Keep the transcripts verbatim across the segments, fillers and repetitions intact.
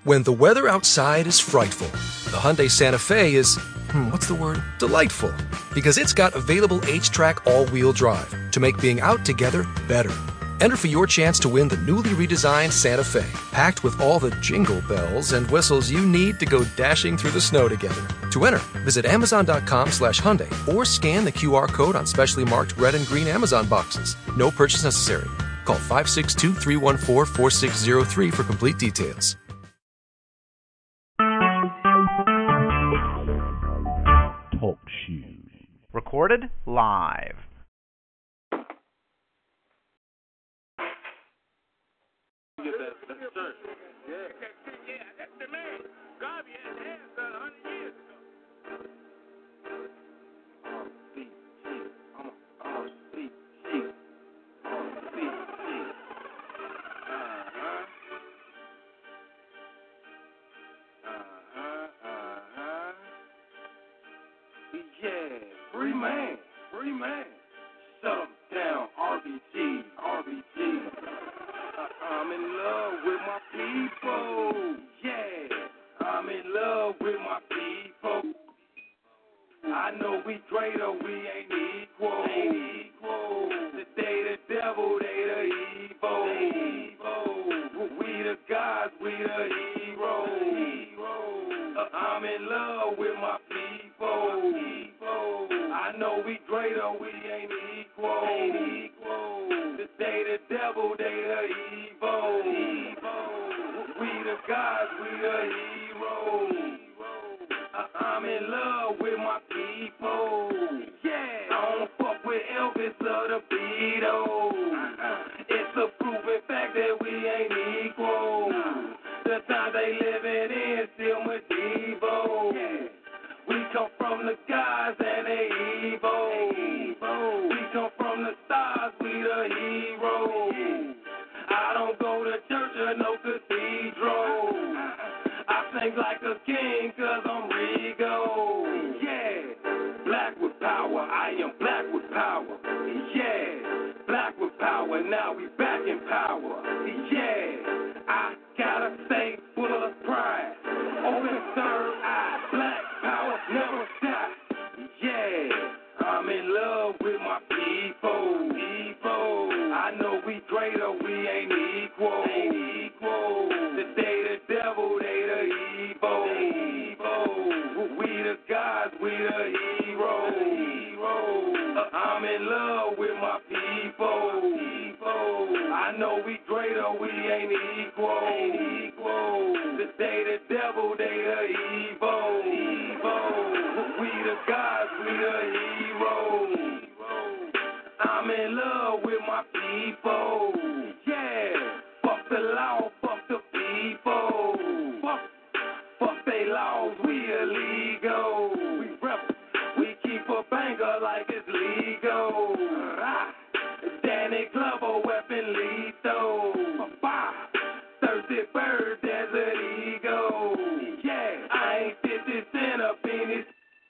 When the weather outside is frightful, the Hyundai Santa Fe is, hmm, what's the word? Delightful. Because it's got available H-Track all-wheel drive to make being out together better. Enter for your chance to win the newly redesigned Santa Fe, packed with all the jingle bells and whistles you need to go dashing through the snow together. To enter, visit amazon.com slash Hyundai or scan the Q R code on specially marked red and green Amazon boxes. No purchase necessary. Call five six two, three one four, four six zero three for complete details. Talk shoes. Recorded live. Free man, free man. Shut 'em down, R B G, R B G. Uh, I'm in love with my people. Yeah, I'm in love with my people. I know we greater, we ain't equal. Ain't equal. Today the devil, they the evil. They evil. We the gods, we the heroes. Uh, I'm in love with my people. people. I know we greater, we ain't equal. Ain't equal. Today the devil, they the evil. evil. We the gods, we the heroes. Uh, I'm in love with my people. Yeah, I don't fuck with Elvis or the Beatles. Uh-uh. It's a proven fact that we ain't equal. No. The time they living in still medieval. Yeah. We come from the gods and they evil. evil. We come from the stars, we the heroes. Yeah. I don't go to church or no cathedral. I sing like a king cause I'm regal. Yeah, black with power, I am black with power. Yeah, black with power, now we back in power. Yeah, I gotta say full of pride. Open third eye, black power never die. Yeah, I'm in love with my people. People, I know we greater, we ain't equal. Ain't equal. Today the devil, they the evil. They evil. We the gods, we the heroes. heroes. Uh, I'm in love with my people. people. I know we greater, we ain't equal. Ain't equal. Today the devil, they the evil. evil. We the gods, we the heroes. I'm in love with my people. Yeah, fuck the law, fuck the people. Fuck, fuck they laws, we illegal. We rep, we keep a banger like it's legal. Ah, Danny Glover, weapon lethal. Bah, thirsty bird, desert eagle. Yeah, I ain't fifty cent up in this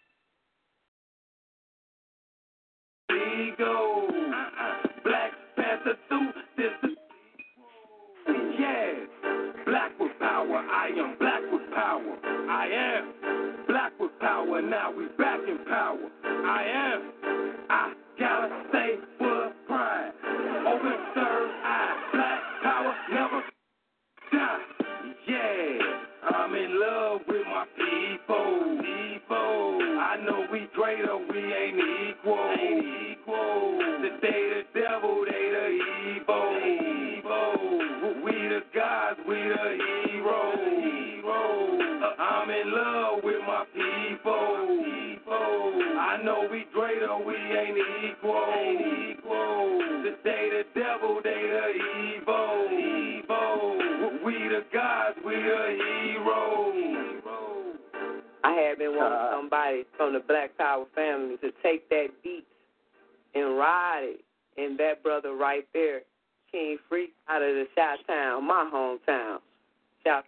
ego. Uh-uh. Black Panther suit, this is yeah. Black with power, I am black with power. I am black with power, now we back in power. I am, I gotta say full of pride. Open third eye, black power never die. Yeah, I'm in love with my people. People, I know we greater, we ain't equal. Ain't equal. Today the devil, they the evil. evil. We the gods, we the heroes. heroes. Uh, I'm in love with my people. people. I know we greater, we ain't equal. Ain't equal. Today the devil, they the evil. evil. We the gods, we the heroes. I had been wanting somebody from the Black Power family to take that beat and ride it. And that brother right there, King Freak, out of the Chi-Town, my hometown. Shout.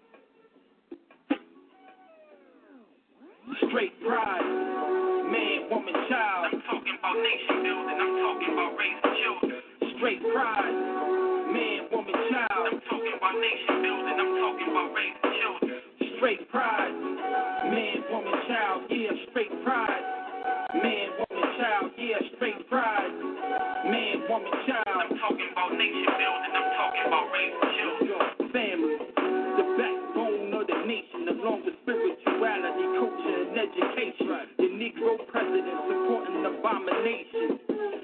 Straight pride, man woman, child. I'm talking about nation building. I'm talking about raising children. Straight pride. Man, woman, child. I'm talking about nation building. I'm talking about raising children. Straight pride. Man, woman, child. Yeah, straight pride. Man, woman, child. Yeah, straight pride. Man, woman, child. I'm talking about nation building. I'm talking about raising children. Family, the backbone of the nation, along with spirituality, culture, and education. The Negro president supporting abomination.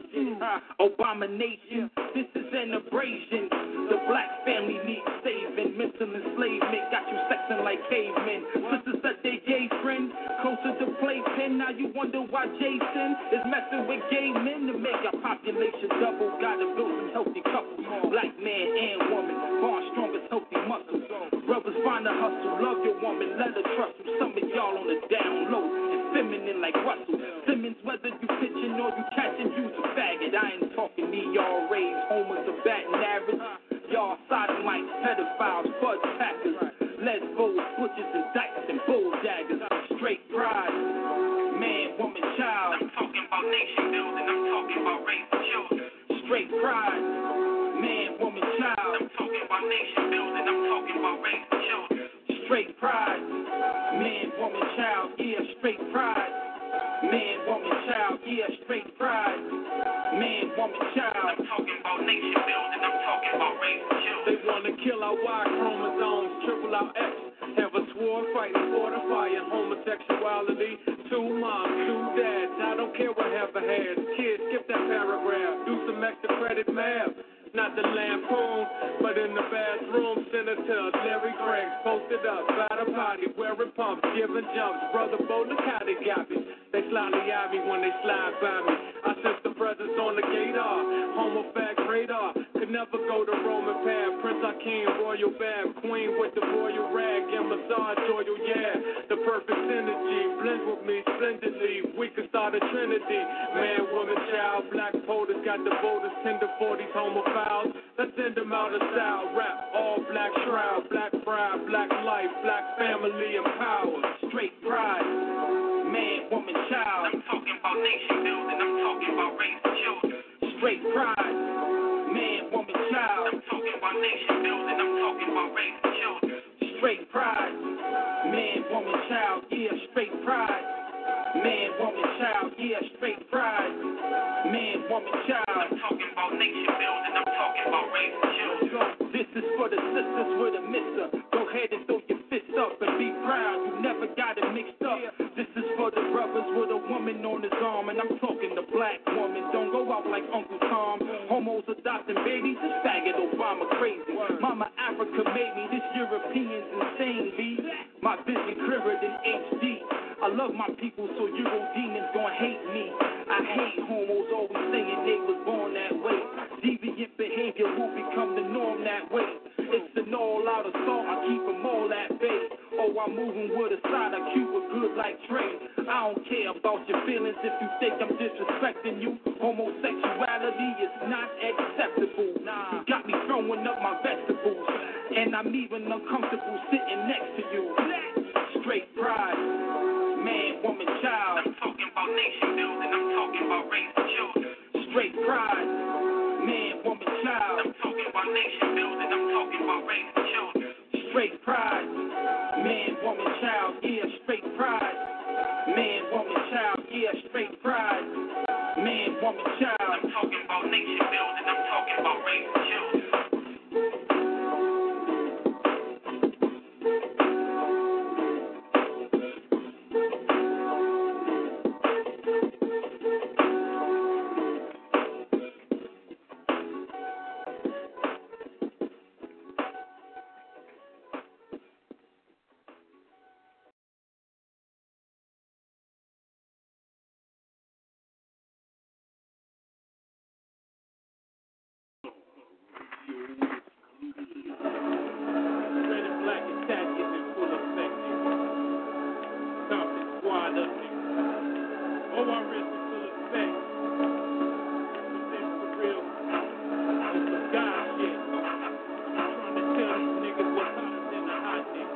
Uh, abomination. This is an abrasion. The black family needs saving. Mental enslavement got you sexing like cavemen. Sisters said they gay friend, closer to playpen. Now you wonder why Jason is messing with gay men to make our population double. Gotta build some healthy couples. Black man and woman, far strongest healthy muscles. Brothers find a hustle, love your woman, let her trust you. Some of y'all on the down low, it's feminine like Russell Simmons. Whether you pitching or you catching, you's a faggot. I ain't talking E R As, homers, or batting average. Y'all sodomites, pedophiles, fudge packers, lesbos, butchers, and dykes, and bull daggers. Straight pride, man, woman, child. I'm talking about nation building. I'm talking about raising children. Straight pride, man, woman, child. I'm talking about nation building. I'm talking about raising children. Straight pride, man, woman, child. Yeah, straight pride. Man, woman, child. Yeah, straight pride. Man, woman, child. I'm talking about nation building. I'm talking about raising children. They want to kill our Y chromosomes, triple our X. Have a sword fighting, fortifying homosexuality. Two moms, two dads. I don't care what heaven has. Kids, skip that paragraph. Do some extra credit math. Not the lampoon, but in the bathroom, Senator Larry Craig posted up, by the potty, wearing pumps, giving jumps. Brother Bo, look how they got me. They slyly eye me when they slide by me. I sense the presence on the gator, homo fact radar. Could never go the Roman path. Prince Akeem, royal bab, queen with the royal rag and massage oil, yeah. The perfect synergy blends with me splendidly. We could start a trinity. Man, woman, child, black POTUS got the voters, tender forties, homo. Let's send them out of style. Rap, all black shroud, black pride, black life, black family and power. Straight pride, man, woman, child. I'm talking about nation building. I'm talking about raising children. Straight pride, man, woman, child. I'm talking about nation building. I'm talking about raising children. Straight pride, man, woman, child. Yeah, straight pride. Man, woman, child, yeah, straight pride. Man, woman, child. I'm talking about nation building. I'm talking about raising children. This is for the sisters with a mister. Go ahead and throw your fists up and be proud. You never got it mixed up. This is for the brothers with a woman on his arm. And I'm talking the black woman. Don't go out like Uncle Tom. Homos adopting babies. This faggot Obama crazy. Mama Africa made me. This European's insane, B. My vision clearer than H D. I love my people, so Euro demons gon' hate me. I hate homos always saying they was born that way. Deviant behavior will become the norm that way. It's an all-out assault, I keep them all at bay. Oh, I'm moving with a side of Cuba good like Trey. I don't care about your feelings if you think I'm disrespecting you. Homosexuality is not acceptable. Nah, you got me throwing up my vegetables, and I'm even uncomfortable sitting next to you. Straight pride. Man, woman, child. I'm talking about nation building. I'm talking about raising children. Straight pride. Man, woman, child. I'm talking about nation building. I'm talking about raising children. Straight pride. Man, woman, child. Yeah, straight pride. Man, woman, child. Yeah, straight pride. Man, woman, child. I'm talking about nation building. I'm talking about raising children.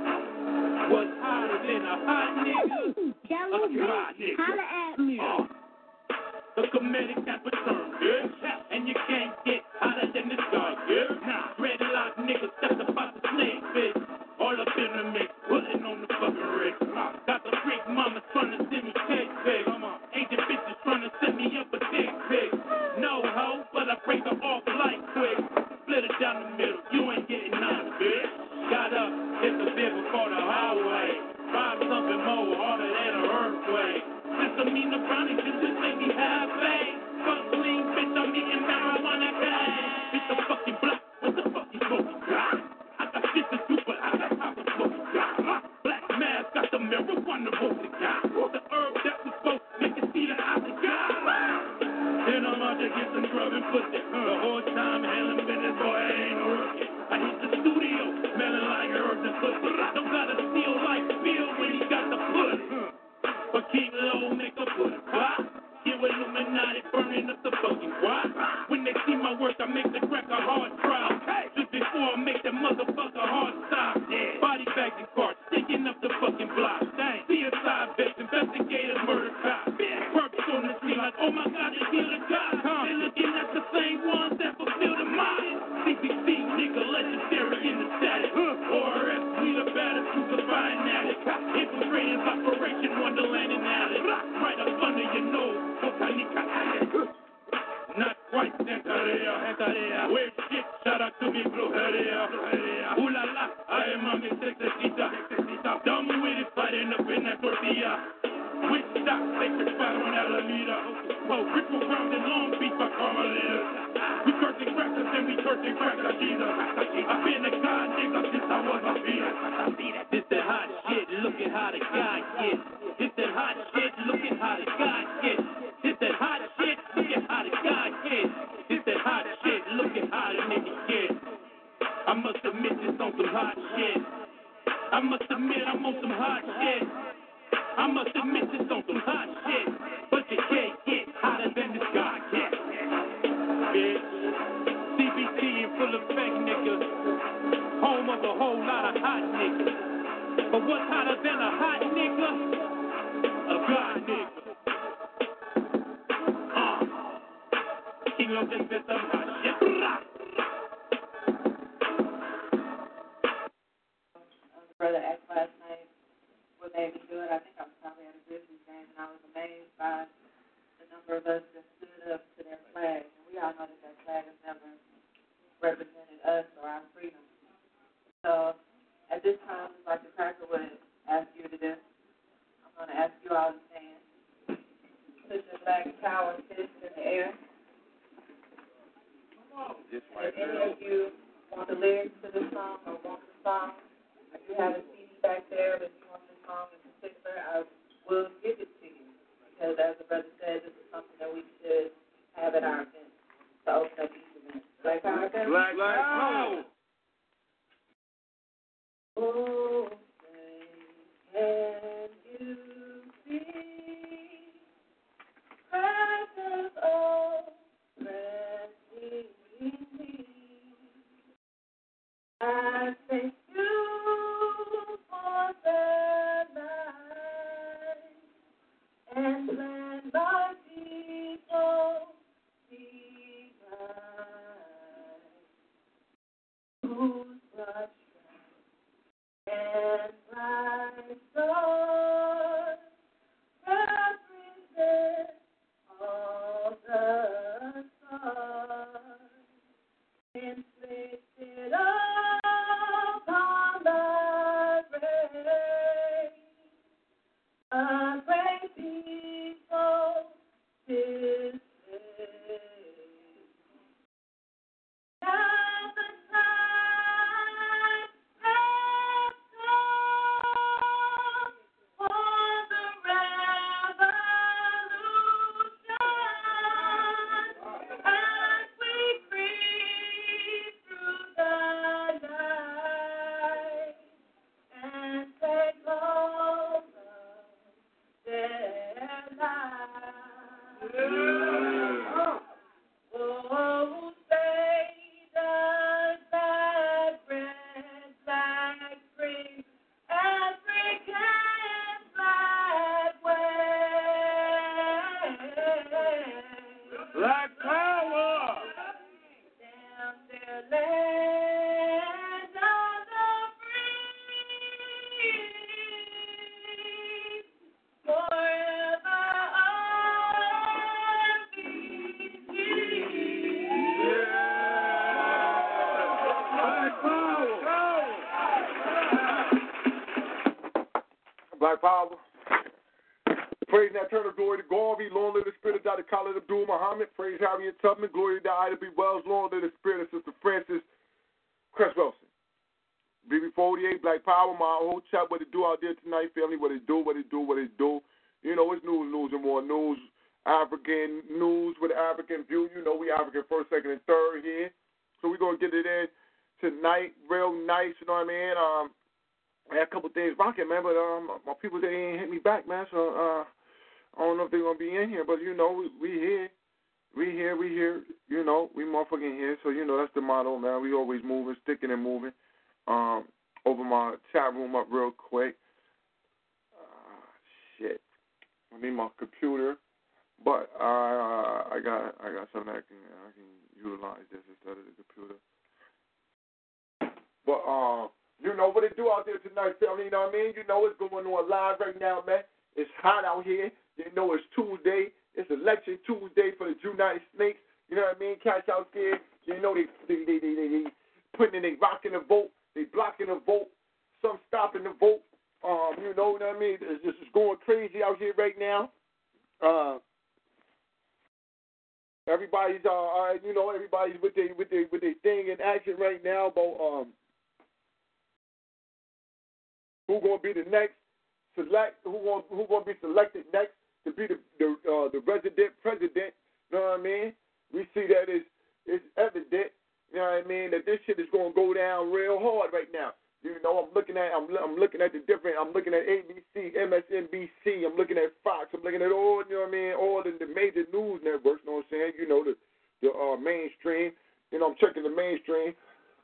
Holla at me. The comedic type of term, bitch. And you can't get hotter than this guy, bitch. Nah, dreadlock niggas stepped about the snake, bitch. All up in the mix, putting on the fucking rig. Got the freak mama trying to send me cake, bitch. Agent bitches trying to send me up a dick, bitch. No hoe, but I break her off like quick. Split it down the middle, you ain't getting none, bitch. Got up, hit the bit before the highway. Five something more, harder than an earthquake. Since I mean the brownie, just this make me happy. Fuck clean, bitch, I'm eating marijuana, guy. Hit the fucking block, what the fuck you smoking, guy? I got shit to do, but I got time to smoke, guy. Black mask, got the marijuana, vote, guy. The herb that was supposed to make it see that I the guy. Then I'm out to get some grub and pussy. The whole time handling business, boy, I ain't no rookie. I hit the studio, smelling like herbs and pussy. Don't gotta steal like Bill when he got the pussy. But keep low, make a pussy. What? Get with Illuminati, burning up the fucking what? When they see my work, I make the crack a hard trial. Just before I make that motherfucker hard stop. Body bags and carts, sticking up the fucking block. C S I vets, investigators, murder cops. Perps on the street like, oh my God, they killed a cop. They looking at the same ones that fulfill the mind. C B C, nigga, legendary in the status. O R S, we the baddest, who's the fine addict. Infiltrating Operation Wonderland and Alice. Right up under your nose, Botanica Alice. Not quite Santeria, Santeria. Weird shit, shout out to me, Brujeria. Ooh la la, I am a mi sexecita. Dumb with it, fighting up in that tortilla. Witch stop, sacred fire on Alameda. Oh, ritual ground in Long Beach by Carmelita. We cursing crackers and we cursing crackers, Jesus. I've been a god nigga since I was a fetus. This that hot shit, look at how the guy gets. This that hot shit, look at how the guy gets. This that hot shit, look at how the guy gets. This that hot shit, look at how the nigga gets. I must admit this on some hot shit. I must admit I'm on some hot shit. I must admit this on some hot shit. But you can't get hotter than this guy gets. Bitch. C B T in full effect, nigga. Home of a whole lot of hot niggas. But what's hotter than a hot nigga? A god nigga. Uh. King of this bitch, I'm hot shit. Brother asked last night what made me do it. I think I was probably at a Grizzlies game, and I was amazed by the number of us that stood up to their flag. And we all know that that flag has never represented us or our freedom. So at this time, just like the cracker would ask you to do, I'm going to ask you all to stand. Put your flag power fist in the air. This And if any of you want the lyrics to this song or want the song, if you have a C D back there, but you want this song in particular, I will give it to you. Because as the brother said, this is something that we should have at our event to open up each event. Black Power, okay? Black Power. Oh, say, can you see precious old resting me? I thank you for the night and let my people be mine, whose blood and bright soul. Black Power. Praise and eternal glory to Garvey. Long live the spirit of Doctor Khalid Abdul Muhammad. Praise Harriet Tubman. Glory to Ida B. Wells. Long live the spirit of Sister Francis Cress Wilson. B B forty-eight, Black Power. My whole chat, what it do out there tonight, family. What it do, what it do, what it do. You know, it's news, news, and more news. African news with African view. You know, we African first, second, and third here. So we're going to get it in tonight real nice, you know what I mean? Um, I had a couple things rocking, man, but um, my people, they ain't hit me back, man, so uh, I don't know if they're going to be in here, but, you know, we, we here. We here, we here, you know, we motherfucking here. So, you know, that's the motto, man. We always moving, sticking and moving. Um, over my chat room up real quick. Uh, shit. I need my computer. But uh, I got I got something I can I can utilize this instead of the computer. But uh, you know what it do out there tonight, family. You know what I mean? You know what's going on live right now, man. It's hot out here. You know it's Tuesday. It's election Tuesday for the United Snakes. You know what I mean? Cats out there. You know they they they they, they, they putting in, they rocking the vote. They blocking the vote. Some stopping the vote. Um, you know what I mean? It's just it's going crazy out here right now. Uh. Everybody's, uh, you know, everybody's with their with their with their thing in action right now about um who gonna be the next select, who gonna who gonna be selected next to be the the uh, the resident president. You know what I mean? We see that it's it's evident. You know what I mean? That this shit is gonna go down real hard right now. You know, I'm looking at I'm I'm looking at the different. I'm looking at A B C, M S N B C. I'm looking at Fox. I'm looking at all. You know what I mean? All the, the major news networks. You know what I'm saying? You know the the uh, mainstream. You know, I'm checking the mainstream.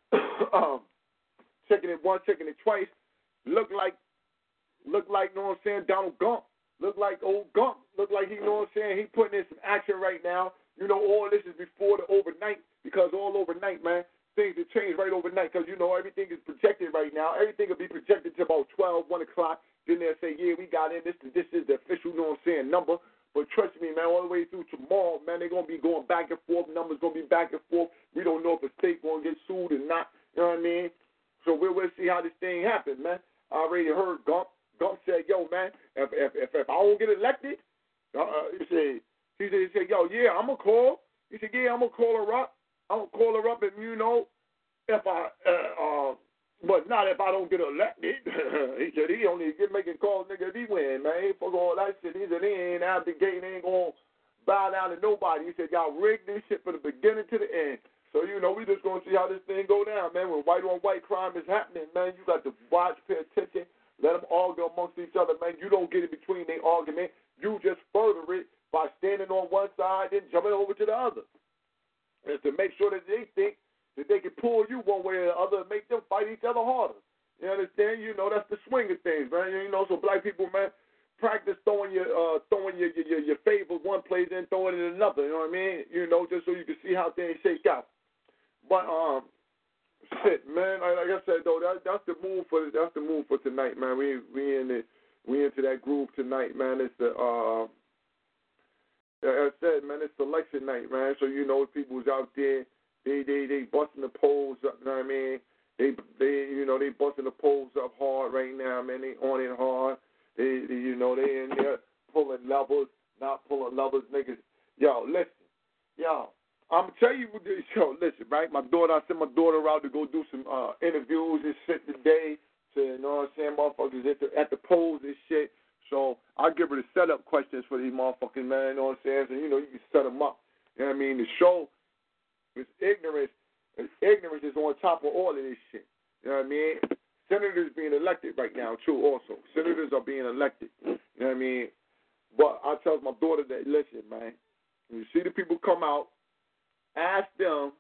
um, checking it once, checking it twice. Look like look like. You know what I'm saying? Donald Gump. Look like old Gump. Look like he. You know what I'm saying? He putting in some action right now. You know, all this is before the overnight because all overnight, man. Things have changed right overnight because, you know, everything is projected right now. Everything will be projected to about twelve, one o'clock. Then they'll say, yeah, we got in. This this is the official, you know what I'm saying, number. But trust me, man, all the way through tomorrow, man, they're going to be going back and forth. Numbers going to be back and forth. We don't know if a state going to get sued or not. You know what I mean? So we'll, we'll see how this thing happens, man. I already heard Gump. Gump said, yo, man, if if if, if I don't get elected, uh, he said, he said, he said, yo, yeah, I'm going to call. He said, yeah, I'm going to call her up. I'm going to call her up and, you know, if I, uh, uh, but not if I don't get elected. He said he only get making calls, nigga, if he win, man. He fuck all that shit. He said he ain't out the gate, he ain't going to bow down to nobody. He said y'all rigged this shit from the beginning to the end. So, you know, we just going to see how this thing go down, man. When white on white crime is happening, man, you got to watch, pay attention, let them argue amongst each other, man. You don't get in between their argument. You just further it by standing on one side and jumping over to the other. And to make sure that they think that they can pull you one way or the other and make them fight each other harder. You understand? You know, that's the swing of things, man. You know, so black people, man, practice throwing your uh, throwing your, your your favorite one place and throwing it in another. You know what I mean? You know, just so you can see how things shake out. But um, shit, man. Like I said though, that that's the move for that's the move for tonight, man. We we in the we into that groove tonight, man. It's the uh, like I said, man, it's election night, man. So you know, people's out there. They they they busting the polls up, you know what I mean? They they you know they busting the polls up hard right now, man. They on it hard. They, they you know they in there pulling levels, not pulling levels, niggas. Yo, listen, yo, I'm tell you what this. Yo, listen, right? My daughter, I sent my daughter out to go do some uh, interviews and shit today. To you know what I'm saying, motherfuckers at the at the polls and shit. So I'll give her the setup questions for these motherfucking man. You know what I'm saying? So you know you can set them up. You know what I mean? The show. It's ignorance. Ignorance is on top of all of this shit. You know what I mean? Senators being elected right now, too, also. Senators are being elected. You know what I mean? But I tell my daughter that, listen, man, when you see the people come out, ask them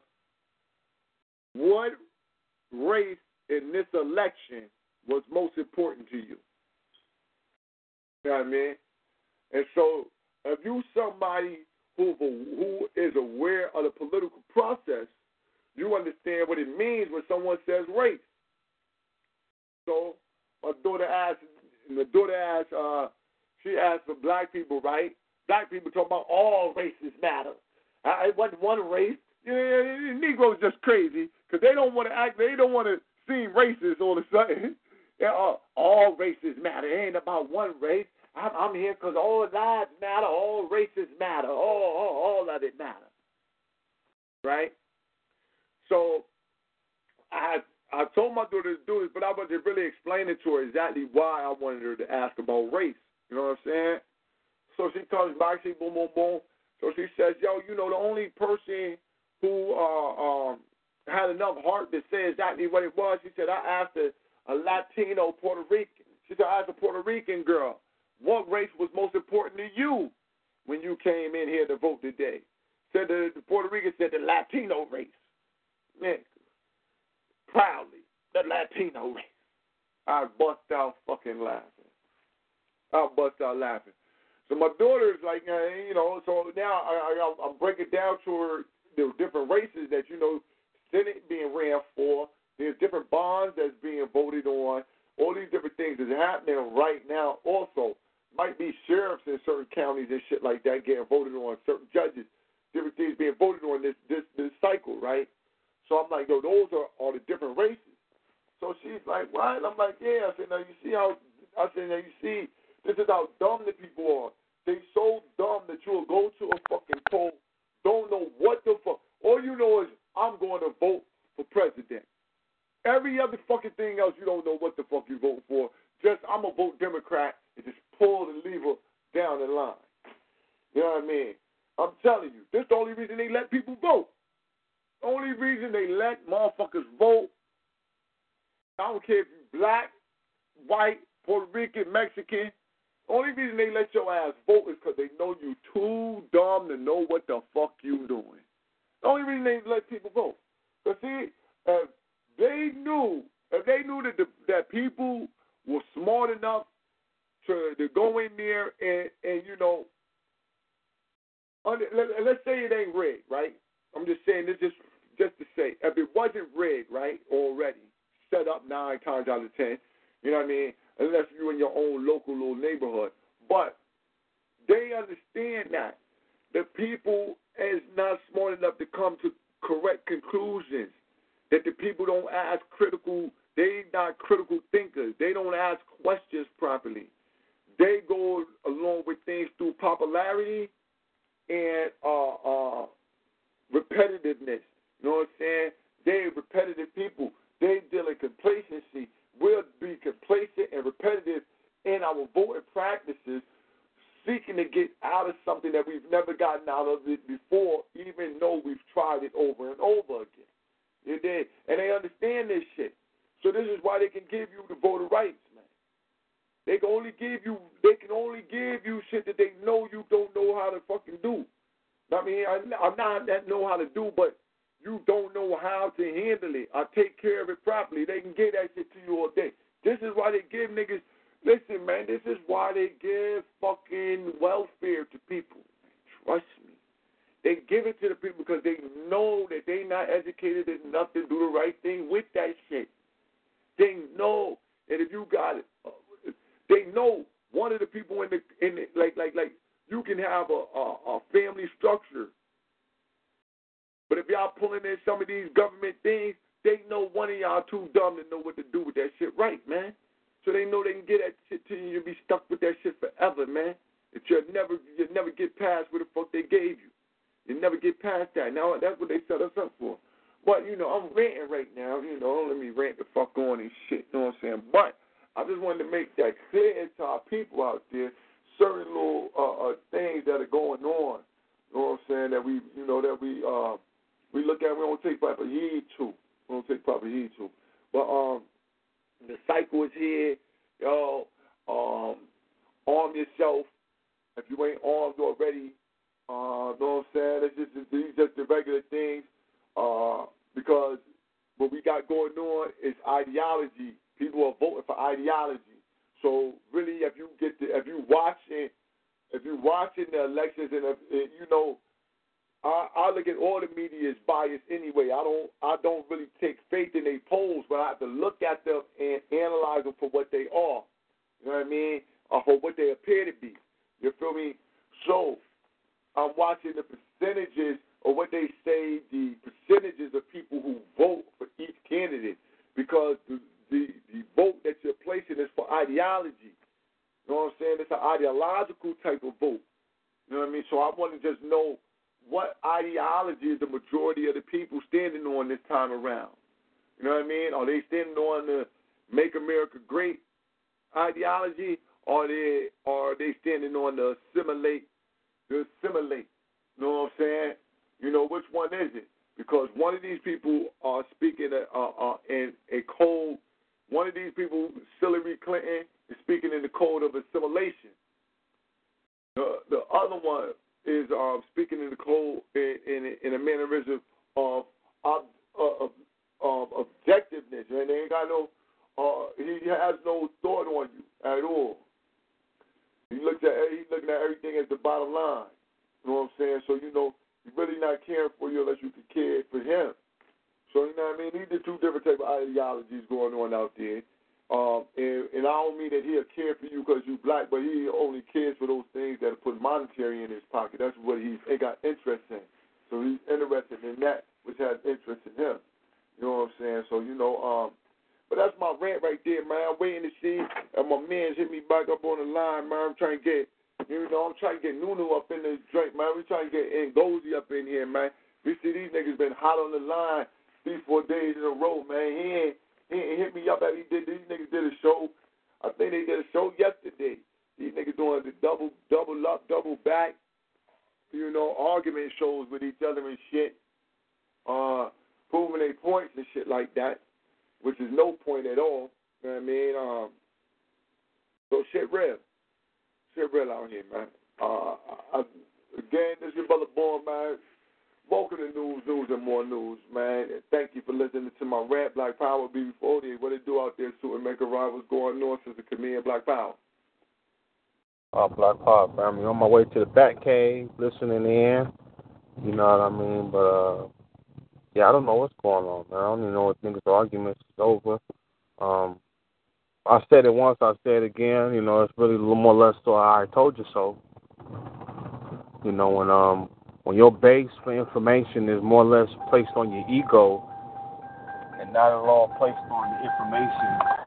what race in this election was most important to you. You know what I mean? And so if you somebody who, who is aware of the political process, you understand what it means when someone says race. So my daughter asked, my daughter asked, uh, she asked for black people, right? Black people talk about all races matter. I, it wasn't one race. Yeah, Negroes just crazy because they don't want to act. They don't want to seem racist all of a sudden. Yeah, all, all races matter. It ain't about one race. I'm, I'm here because all lives matter. All races matter. All, all, all of it matters. Right? So I I told my daughter to do this, but I wasn't really explaining to her exactly why I wanted her to ask about race. You know what I'm saying? So she comes back, she boom, boom, boom. So she says, yo, you know, the only person who uh, um, had enough heart to say exactly what it was, she said, I asked a, a Latino Puerto Rican. She said, I asked a Puerto Rican girl, what race was most important to you when you came in here to vote today? Said the, the Puerto Rican said the Latino race. Man, proudly, the Latino race. I bust out fucking laughing. I bust out laughing. So my daughter's like, you know, so now I, I, I'm breaking down to her the different races that, you know, Senate being ran for. There's different bonds that's being voted on. All these different things is happening right now also. Might be sheriffs in certain counties and shit like that getting voted on, certain judges, different things being voted on this this, this cycle, right? So I'm like, yo, those are, are the different races. So she's like, what? I'm like, yeah. I said, now you see how, I said, now you see, this is how dumb the people are. They so dumb that you'll go to a fucking poll, don't know what the fuck. All you know is I'm going to vote for president. Every other fucking thing else, you don't know what the fuck you vote for. Just, I'm going to vote Democrat and just pull the lever down the line. You know what I mean? I'm telling you, this is the only reason they let people vote. The only reason they let motherfuckers vote, I don't care if you're black, white, Puerto Rican, Mexican, the only reason they let your ass vote is because they know you too dumb to know what the fuck you doing. The only reason they let people vote. Because see, if they knew, if they knew that the, that people were smart enough to, to go in there and, and you know, under, let, let's say it ain't rigged, right? I'm just saying this just, just to say, if it wasn't rigged, right, already, set up nine times out of ten, you know what I mean, unless you're in your own local little neighborhood. But they understand that the people is not smart enough to come to correct conclusions, that the people don't ask critical, they not critical thinkers. They don't ask questions properly. They go along with things through popularity and uh, uh, repetitiveness. You know what I'm saying? They're repetitive people. They deal in complacency. We'll be complacent and repetitive in our voting practices, seeking to get out of something that we've never gotten out of it before, even though we've tried it over and over again. You did. And they understand this shit. So this is why they can give you the voter rights, man. They can only give you they can only give you shit that they know you don't know how to fucking do. I mean, I, I'm not that know how to do, but you don't know how to handle it or take care of it properly. They can give that shit to you all day. This is why they give niggas, listen, man, this is why they give fucking welfare to people. Trust me. They give it to the people because they know that they not educated enough to do the right thing with that shit. They know that if you got it, uh, they know one of the people in the, in the like, like, like, you can have a, a, a family structure. But if y'all pulling in some of these government things, they know one of y'all too dumb to know what to do with that shit right, man. So they know they can get that shit to you and be stuck with that shit forever, man. That you'll never, you'll never get past what the fuck they gave you. You'll never get past that. Now, that's what they set us up for. But, you know, I'm ranting right now. You know, don't let me rant the fuck on and shit, you know what I'm saying? But I just wanted to make that clear to our people out there, certain little uh, uh, things that are going on, you know what I'm saying, that we, you know, that we, uh, we look at, we don't take proper heed to. We don't take proper heed to. But um, the cycle is here. Yo, um, arm yourself. If you ain't armed already, uh, you know what I'm saying? It's just, these just the regular things. Uh, because what we got going on is ideology. People are voting for ideology. So really, if you get to, if you watching, if you watching the elections, and if, if you know. I, I look at all the media as biased anyway. I don't I don't really take faith in their polls, but I have to look at them and analyze them for what they are. You know what I mean? Or for what they appear to be. You feel me? So I'm watching the percentages of what they say, the percentages of people who vote for each candidate, because the, the, the vote that you're placing is for ideology. You know what I'm saying? It's an ideological type of vote. You know what I mean? So I want to just know what ideology is the majority of the people standing on this time around. You know what I mean? Are they standing on the Make America Great ideology, or are they, or are they standing on the assimilate, the assimilate? You know what I'm saying? You know, which one is it? Because one of these people are speaking uh, uh, in a code. One of these people, Hillary Clinton, is speaking in the code of assimilation. The, the other one is uh, speaking in the code in, in, in a mannerism of, of, of, of objectiveness. And they ain't got no, uh, he has no thought on you at all. He looks at he's looking at everything as the bottom line. You know what I'm saying? So you know, he's really not caring for you unless you can care for him. So you know what I mean? These are two different type of ideologies going on out there. Um, and, and I don't mean that he'll care for you because you're black, but he only cares for those things that put monetary in his pocket. That's what he's he got interest in. So he's interested in that, which has interest in him. You know what I'm saying? So, you know, um, but that's my rant right there, man. I'm waiting to see. And my man's hit me back up on the line, man. I'm trying to get, you know, I'm trying to get Nunu up in this drink, man. We trying to get Ngozi up in here, man. We see these niggas been hot on the line three, four days in a row, man. He ain't, he ain't hit me up after he did. These niggas did a show. I think they did a show yesterday. These niggas doing the double, double up, double back, you know, argument shows with each other and shit, uh, proving their points and shit like that, which is no point at all. You know what I mean? Um, so shit real. Shit real out here, man. Uh, I, again, this is your brother Born, man. Welcome to News, News, and More News, man. And thank you for listening to my rant, Black Power, B B forty. What it do out there, Super Maker Rivals going on since the comedian Black Power? Uh, Black Power family, on my way to the Bat Cave, listening in. You know what I mean? But, uh, yeah, I don't know what's going on, man. I don't even know what niggas' arguments is over. Um, I said it once, I said it again. You know, it's really a little more or less so I told you so. You know, when um when your base for information is more or less placed on your ego and not at all placed on the information,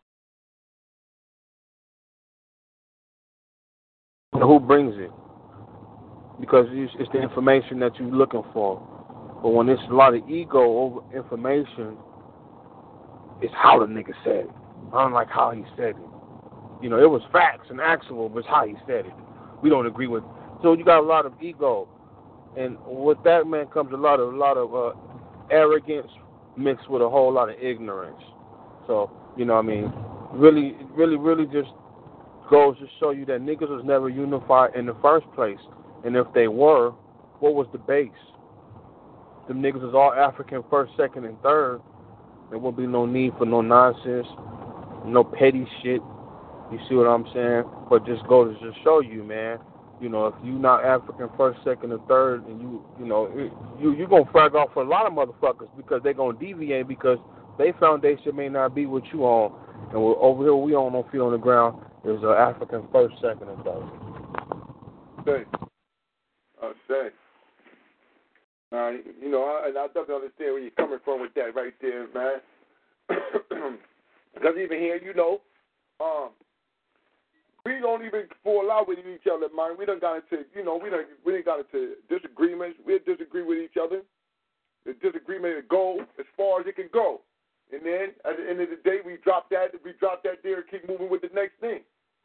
who brings it? Because it's the information that you're looking for. But when there's a lot of ego over information, it's how the nigga said it. I don't like how he said it. You know, it was facts and actual, but it's how he said it. We don't agree with. So you got a lot of ego, and with that, man, comes a lot of a lot of uh, arrogance mixed with a whole lot of ignorance. So you know, what I mean, really, really, really, just goes to show you that niggas was never unified in the first place. And if they were, what was the base? Them niggas was all African first, second, and third. There won't be no need for no nonsense, no petty shit. You see what I'm saying? But just go to just show you, man. You know, if you not African first, second, and third, and you, you know, you you gonna frag off for a lot of motherfuckers because they gonna deviate because their foundation may not be what you on, and we're, over here we on no feet on the ground is uh, African first, second, and third. Say, I say. Uh, you know, I, and I definitely understand where you're coming from with that right there, man. Because even here, you know, um, we don't even fall out with each other, man. We done got into, you know, we done, we done got into disagreements. We disagree with each other. The disagreement to go as far as it can go. And then, at the end of the day, we drop that, we drop that there and keep moving with the next thing.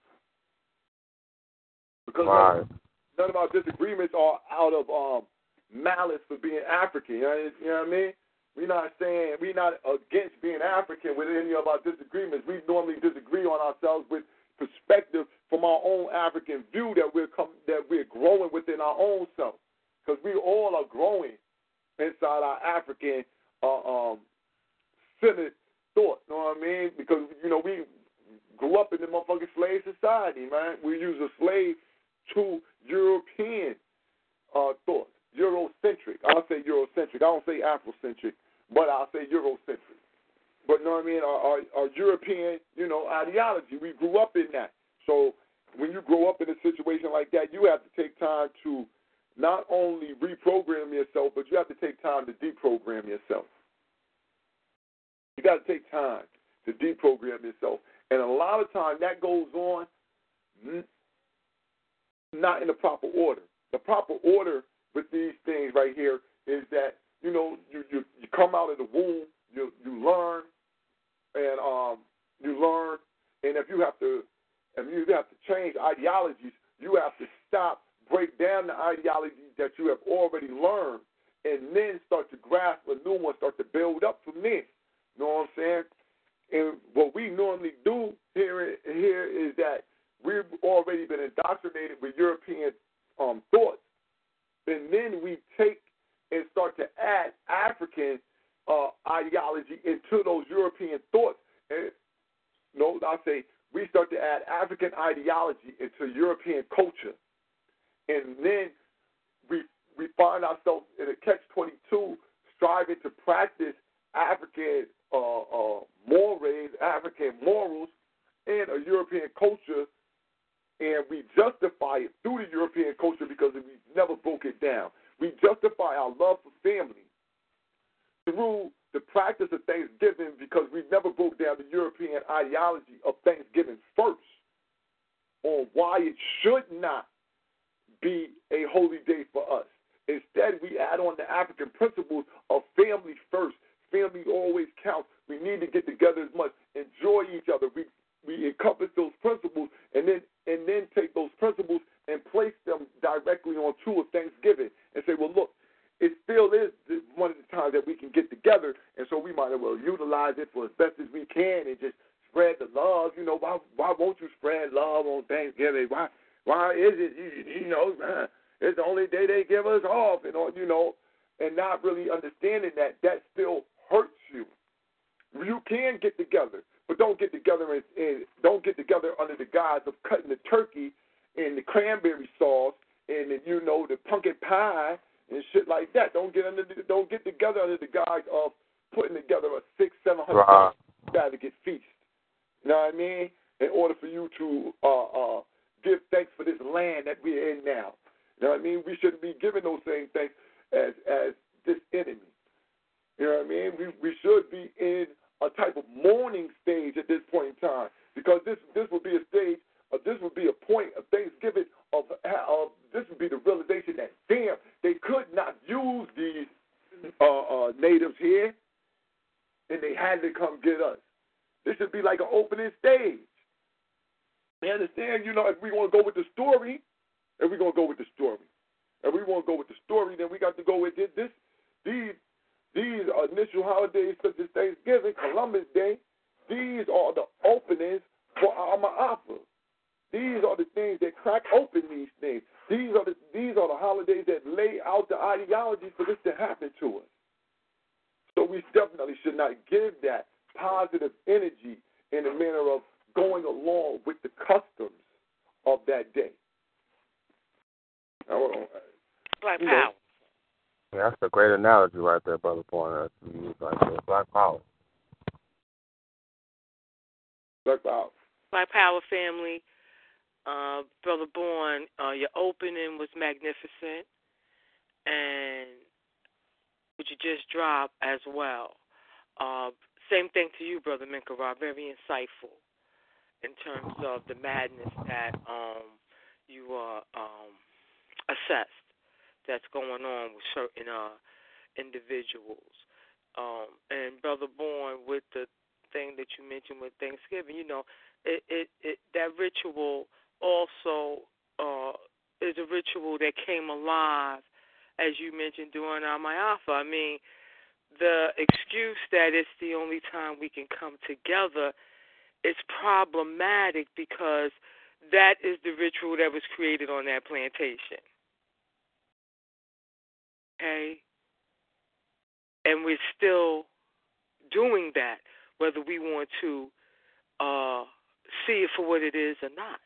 Because right. none, none of our disagreements are out of um, malice for being African. You know, you know what I mean? We're not saying, we're not against being African with any of our disagreements. We normally disagree on ourselves with perspective from our own African view that we're come, that we're growing within our own self, because we all are growing inside our African uh, um, centered thought. You know what I mean? Because you know we grew up in the motherfucking slave society, man. We use a slave to European uh, thought, Eurocentric. I'll say Eurocentric. I don't say Afrocentric, but I'll say Eurocentric. But you know what I mean? Our, our, our European, you know, ideology. We grew up in that. So when you grow up in a situation like that, you have to take time to not only reprogram yourself, but you have to take time to deprogram yourself. You got to take time to deprogram yourself. And a lot of times that goes on not in the proper order. The proper order with these things right here is that, you know, you, you, you come out of the womb, you you learn, and um you learn, and if you have to, if you have to change ideologies, you have to stop, break down the ideologies that you have already learned, and then start to grasp a new one, start to build up from there. You know what I'm saying? And what we normally do here here is that we've already been indoctrinated with European um, thoughts, and then we take and start to add African uh, ideology into those European thoughts. And no, I'll say we start to add African ideology into European culture, and then we we find ourselves in a catch twenty-two, striving to practice African uh, uh, mores, African morals, and a European culture, and we justify it through the European culture because we never broke it down. We justify our love for family through the practice of Thanksgiving because we never broke down the European ideology of Thanksgiving first, on why it should not be a holy day for us. Instead, we add on the African principles of family first. Family always counts. We need to get together as much, enjoy each other. We we encompass those principles, and then and then take those principles and place them directly on true of Thanksgiving and say, well, look, it still is one of the times that we can get together, and so we might as well utilize it for as best as we can and just spread the love. You know, why why won't you spread love on Thanksgiving? Why why is it, you, you know, it's the only day they give us off, and all, you know, and not really understanding that that still hurts you. You can get together, but don't get together and, and don't get together under the guise of cutting the turkey and the cranberry sauce and the, you know, the pumpkin pie and shit like that. Don't get under the, don't get together under the guise of putting together a six, seven hundred right. extravagant feast. You know what I mean? In order for you to uh, uh, give thanks for this land that we're in now. You know what I mean? We shouldn't be giving those same thanks as as this enemy. You know what I mean? We we should be in a type of mourning stage at this point in time, because this this would be a stage, uh, this would be a point of Thanksgiving of, of this would be the realization that, damn, they could not use these uh, uh, natives here, and they had to come get us. This should be like an opening stage. You understand? You know, if we want to go with the story, if we're going to go with the story, if we want to go with the story, then we got to go with this. this these These initial holidays such as Thanksgiving, Columbus Day, these are the openings for our Ma'afa. These are the things that crack open these things. These are the these are the holidays that lay out the ideology for this to happen to us. So we definitely should not give that positive energy in the manner of going along with the customs of that day. Black you power. know, Yeah, that's a great analogy right there, Brother Bourne. You use right there. Black power. Black power. Black Power family. Uh, Brother Bourne, uh, your opening was magnificent, and what you just dropped as well. Uh, same thing to you, Brother Minkara. Very insightful in terms of the madness that um, you uh, um, assessed that's going on with certain uh, individuals. Um, and Brother Bourne, with the thing that you mentioned with Thanksgiving, you know, it, it, it that ritual also uh, is a ritual that came alive, as you mentioned, during our Ma'afa. I mean, the excuse that it's the only time we can come together is problematic because that is the ritual that was created on that plantation. Okay? And we're still doing that, whether we want to uh, see it for what it is or not.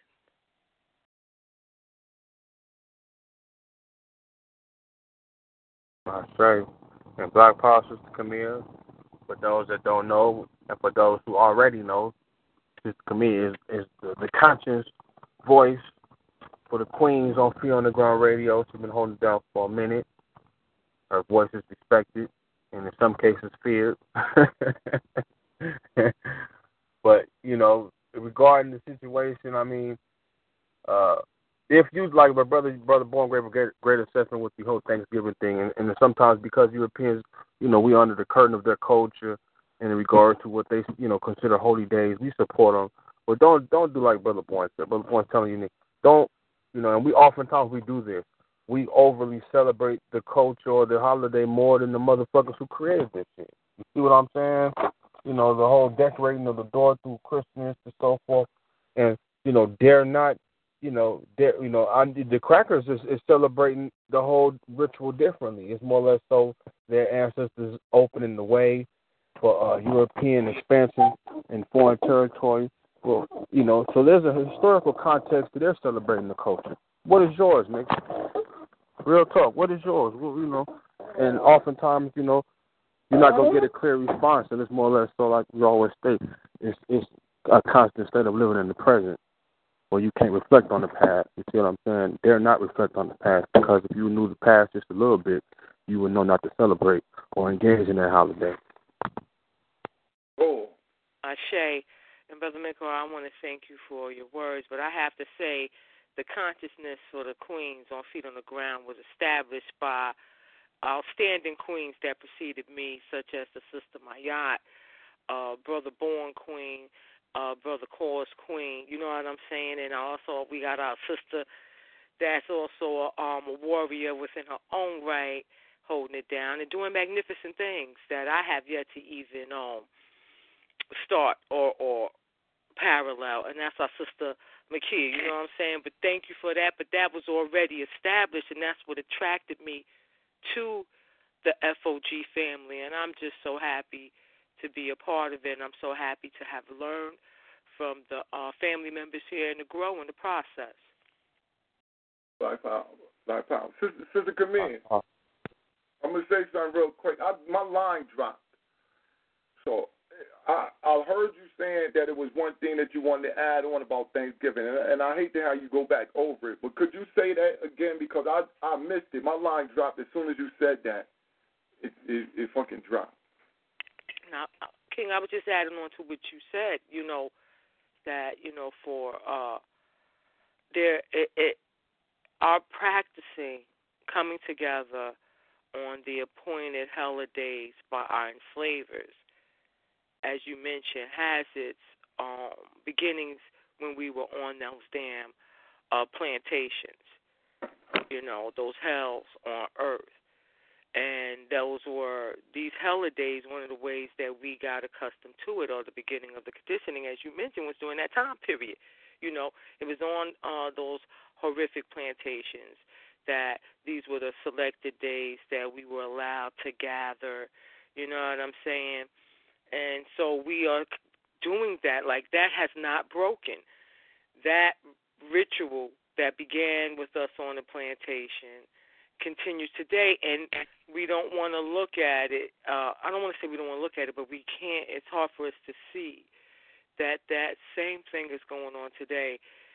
I say, and Black Power, Sister Camille, for those that don't know, and for those who already know, Sister Camille is, is the, the conscious voice for the Queens on Free on the Ground Radio. She's been holding it down for a minute. Her voice is respected, and in some cases feared. But, you know, regarding the situation, I mean, uh, if you, like my brother, brother Born gave a great, great assessment with the whole Thanksgiving thing, and, and sometimes because Europeans, you know, we under the curtain of their culture in regard to what they, you know, consider holy days, we support them. But don't don't do like Brother Born said. Brother Born's telling you, Nick, don't, you know, and we oftentimes we do this. We overly celebrate the culture or the holiday more than the motherfuckers who created this shit. You see what I'm saying? You know, the whole decorating of the door through Christmas and so forth. And, you know, dare not, you know, dare, you know, on, the crackers is, is celebrating the whole ritual differently. It's more or less so their ancestors opening the way for uh, European expansion in foreign territory. Well, you know, so there's a historical context to their celebrating the culture. What is yours, Nick? Real talk. What is yours? Well, you know, and oftentimes, you know, you're not gonna get a clear response, and it's more or less so, like we always state, it's it's a constant state of living in the present, where you can't reflect on the past. You see what I'm saying? Dare not reflect on the past, because if you knew the past just a little bit, you would know not to celebrate or engage in that holiday. Oh, Ashe, and Brother Mikko, I want to thank you for your words, but I have to say, the consciousness for the queens on feet on the ground was established by outstanding queens that preceded me, such as the Sister Mayat, uh, Brother Born Queen, uh, Brother Cause Queen. You know what I'm saying? And also we got our sister that's also a, um, a warrior within her own right, holding it down and doing magnificent things that I have yet to even um, start or, or parallel, and that's our sister McKee, you know what I'm saying? But thank you for that. But that was already established, and that's what attracted me to the F O G family, and I'm just so happy to be a part of it, and I'm so happy to have learned from the uh, family members here and to grow in the process. Black Power. Black Power. Sister, Sister Camille, I'm going to say something real quick. I, my line dropped. So I, I heard you saying that it was one thing that you wanted to add on about Thanksgiving, and, and I hate to have you go back over it, but could you say that again, because I I missed it. My line dropped as soon as you said that. It it, it fucking dropped. Now, King, I was just adding on to what you said, you know, that, you know, for uh, there, it, it, our practicing coming together on the appointed holidays by our enslavers, as you mentioned, has its um, beginnings when we were on those damn uh, plantations, you know, those hells on earth. And those were, these holidays, one of the ways that we got accustomed to it, or the beginning of the conditioning, as you mentioned, was during that time period. You know, it was on uh, those horrific plantations that these were the selected days that we were allowed to gather, you know what I'm saying? And so we are doing that. Like, that has not broken. That ritual that began with us on the plantation continues today, and we don't want to look at it. Uh, I don't want to say we don't want to look at it, but we can't. It's hard for us to see that that same thing is going on today.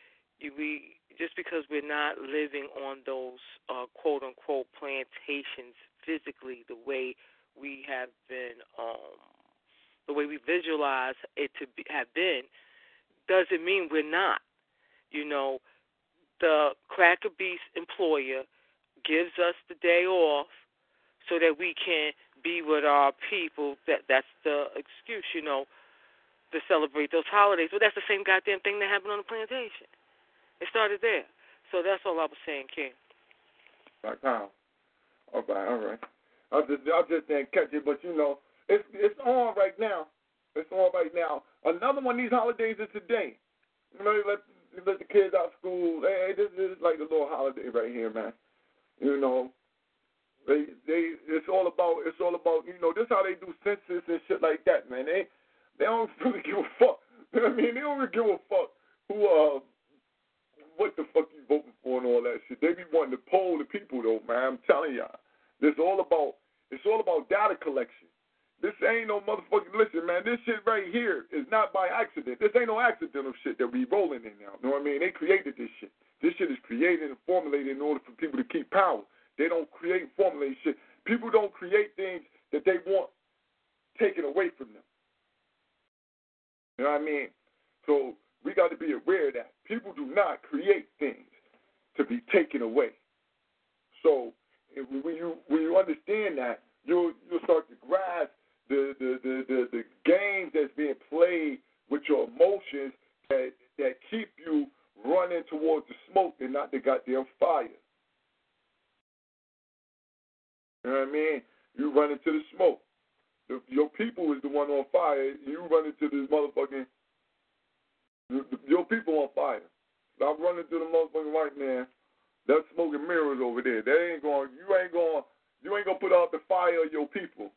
We just because we're not living on those uh, quote unquote plantations physically the way we have been, um, the way we visualize it to be, have been, doesn't mean we're not. You know, the Cracker Beast employer gives us the day off so that we can be with our people. That that's the excuse, you know, to celebrate those holidays. But that's the same goddamn thing that happened on the plantation. It started there. So that's all I was saying, King. Right now. All right, all right. I just I just didn't catch it, but you know, it's it's on right now. It's on right now. Another one of these holidays is today. You know, let let the kids out of school. Hey, this is like a little holiday right here, man. You know, they they it's all about it's all about you know this is how they do census and shit like that, man. They they don't really give a fuck. You know what I mean? They don't really give a fuck who uh what the fuck you voting for and all that shit. They be wanting to poll the people though, man. I'm telling y'all, this all about it's all about data collection. This ain't no motherfucking listen, man. This shit right here is not by accident. This ain't no accidental shit that we rolling in now. You know what I mean? They created this shit. This shit is created and formulated in order for people to keep power. They don't create and formulate shit. People don't create things that they want taken away from them. You know what I mean? So we got to be aware of that. People do not create things to be taken away. So when you when you understand that, you'll you'll start to grasp the the, the, the, the games that's being played with your emotions that that keep you running towards the smoke and not the goddamn fire. You know what I mean? You run into the smoke. The, your people is the one on fire. You run into this motherfucking the, the, your people on fire. I'm running to the motherfucking white man. That's smoking mirrors over there. They ain't going. You ain't going. You ain't gonna put out the fire of your people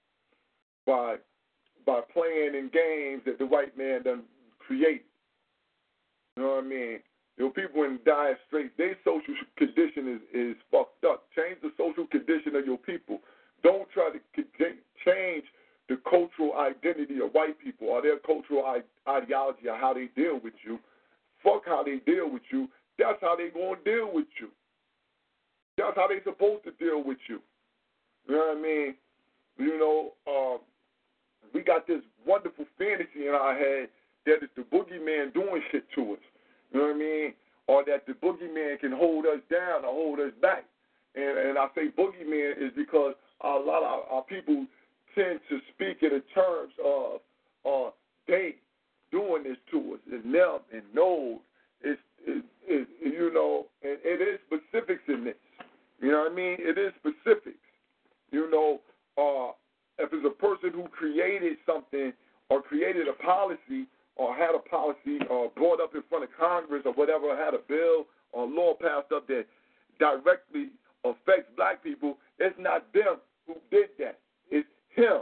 by by playing in games that the white man done created. You know what I mean? Your people in dire straits. Their social condition is is fucked up. Change the social condition of your people. Don't try to change the cultural identity of white people or their cultural ideology or how they deal with you. Fuck how they deal with you. That's how they going to deal with you. That's how they supposed to deal with you. You know what I mean? You know, uh, we got this wonderful fantasy in our head that it's the boogeyman doing shit to us. You know what I mean? Or that the boogeyman can hold us down or hold us back. And, and I say boogeyman is because a lot of our people tend to speak in the terms of uh, they doing this to us, and them, and those. It's, it, it, you know, and it is specifics in this. You know what I mean? It is specifics. You know, uh, if it's a person who created something or created a policy or had a policy or brought up in front of Congress or whatever, had a bill or law passed up that directly affects black people, it's not them who did that. It's him.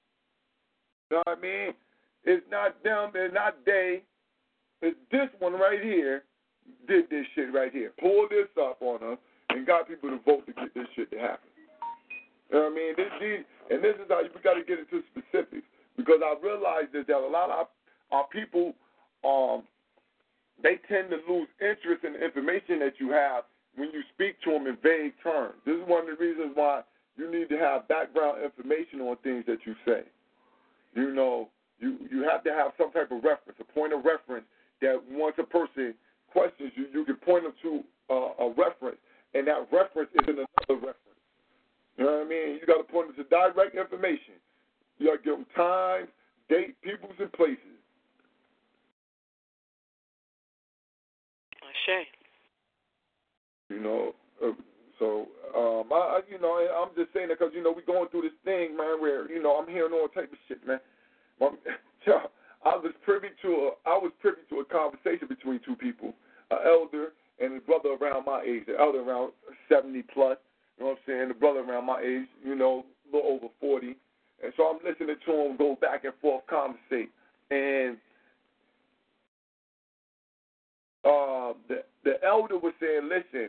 You know what I mean? It's not them. It's not they. It's this one right here did this shit right here. Pulled this up on us and got people to vote to get this shit to happen. You know what I mean? This, these, and this is how we got to get into specifics, because I realize that a lot of our, our people, um, they tend to lose interest in the information that you have when you speak to them in vague terms. This is one of the reasons why you need to have background information on things that you say. You know, you, you have to have some type of reference, a point of reference, that once a person questions you, you can point them to uh, a reference, and that reference is in another reference. You know what I mean? You got to point them to direct information. You got to give them time, date, peoples, and places. Shay. You know, uh, so um, I, you know, I'm just saying that because you know we're going through this thing, man, where you know I'm hearing all type of shit, man. I was privy to a, I was privy to a conversation between two people, an elder and a brother around my age, the elder around seventy plus. You know what I'm saying? The brother around my age, you know, a little over forty. And so I'm listening to him go back and forth, conversate, and uh, the the elder was saying, listen,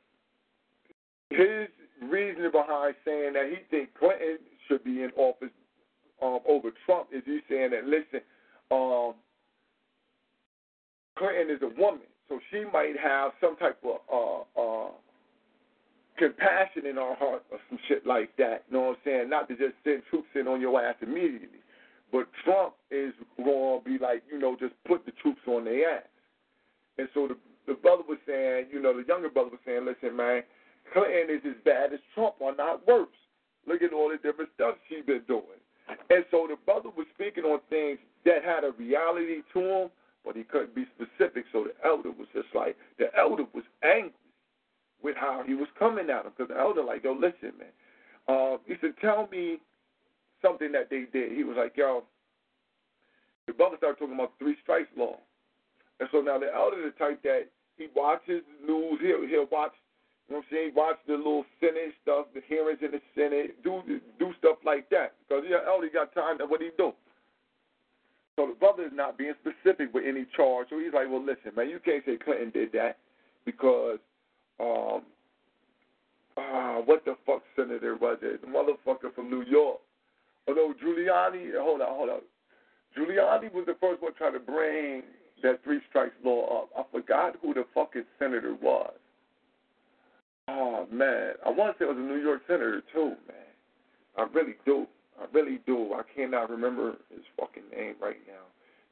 his reasoning behind saying that he thinks Clinton should be in office um, over Trump is he's saying that, listen, um, Clinton is a woman, so she might have some type of uh, uh, compassion in her heart or some shit like that, you know what I'm saying? Not to just send troops in on your ass immediately. But Trump is going to be like, you know, just put the troops on their ass. And so the, the brother was saying, you know, the younger brother was saying, listen, man, Clinton is as bad as Trump or not worse. Look at all the different stuff she's been doing. And so the brother was speaking on things that had a reality to him, but he couldn't be specific. So the elder was just like, the elder was angry with how he was coming at him, because the elder like, yo, listen, man. Uh, he said, tell me something that they did. He was like, yo, the brother started talking about the three strikes law. And so now the elder is the type that he watches the news, he'll, he'll watch, you know what I'm saying, watch the little Senate stuff, the hearings in the Senate, do do stuff like that. Because the elder got time to what he do. So the brother is not being specific with any charge. So he's like, well, listen, man, you can't say Clinton did that because, um, uh, what the fuck senator was it? The motherfucker from New York. Oh, no, Giuliani. Hold on, hold on. Giuliani was the first one trying to bring that three strikes law up. I forgot who the fucking senator was. Oh, man. I want to say it was a New York senator, too, man. I really do. I really do. I cannot remember his fucking name right now.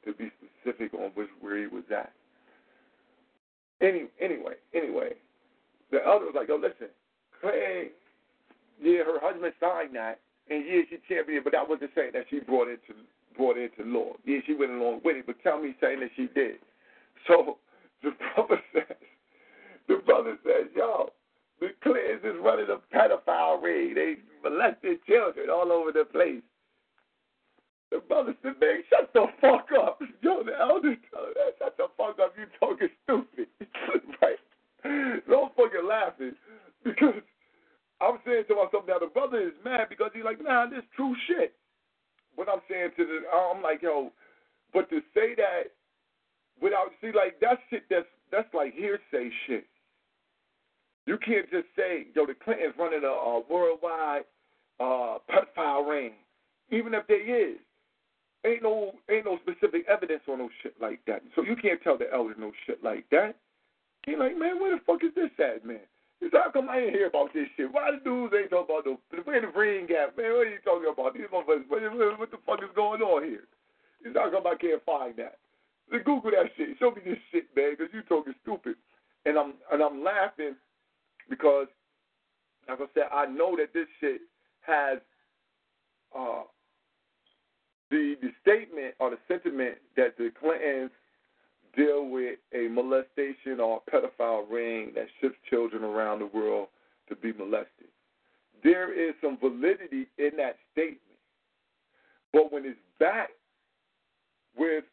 to be specific on which where he was at. Any, anyway, anyway, the elder was like, "Yo, listen, Clay, yeah, her husband signed that, and yeah, she championed, but that wasn't saying that she brought it to brought it to law. Yeah, she went along with it, but tell me saying that she did." So the brother says, the brother says, "Yo, the Clintons is running a pedophile ring. They molested children all over the place." The brother said, "Man, shut the fuck up." Yo, the elder told him, "Shut the fuck up. You talking stupid." Right? So I'm fucking laughing because I'm saying to myself now, the brother is mad because he's like, "Nah, this true shit." But I'm saying to the, I'm like, yo, but to say that without, see, like, that shit, that's, that's like hearsay shit. You can't just say, yo, the Clintons running a, a worldwide uh, pedophile ring, even if they is. Ain't no ain't no specific evidence on no shit like that. So you can't tell the elders no shit like that. He like, "Man, where the fuck is this at, man?" He said, "How come I ain't hear about this shit? Why the dudes ain't talking about the where the ring at, man? What are you talking about? These motherfuckers, what, what, what the fuck is going on here?" He's talking about, "I can't find that." So Google that shit. Show me this shit, man, because you talking stupid. And I'm and I'm laughing because, like I said, I know that this shit has uh, the the statement or the sentiment that the Clintons deal with a molestation or a pedophile ring that ships children around the world to be molested. There is some validity in that statement. But when it's backed with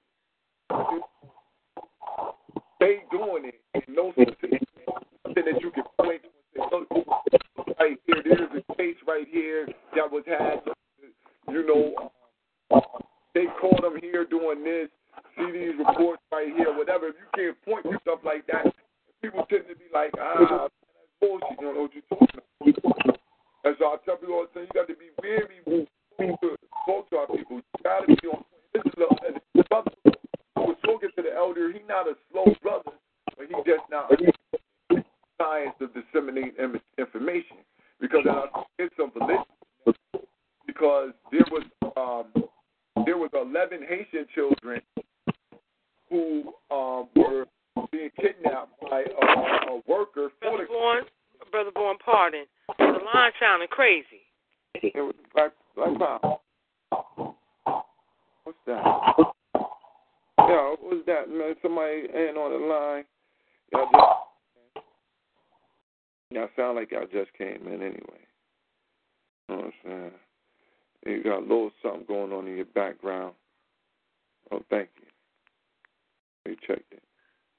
they doing it, and no specific something that you can point to, right here, there's a case right here that was had, you know, they caught them here doing this. See these reports right here, whatever. If you can't point to stuff like that, people tend to be like, ah, that's bullshit. You don't know what you're talking about. And so I tell people all the time, you got to be very to talk to our people. You got to be on point. This is a, the brother who was talking to the elder. He's not a slow brother, but he just not science of disseminating information. Because I think it's some validity. Because there was um, there was eleven Haitian children who um, were being kidnapped by a, a worker. For Brother Bourne, Brother Bourne, pardon. The line sounding crazy. It was Black, Black Power. What's that? Yeah, what was that, man? Somebody ain't on the line. Y'all just, y'all sound like y'all just came in anyway. You know what I'm saying? You got a little something going on in your background. Oh, thank you. They checked it.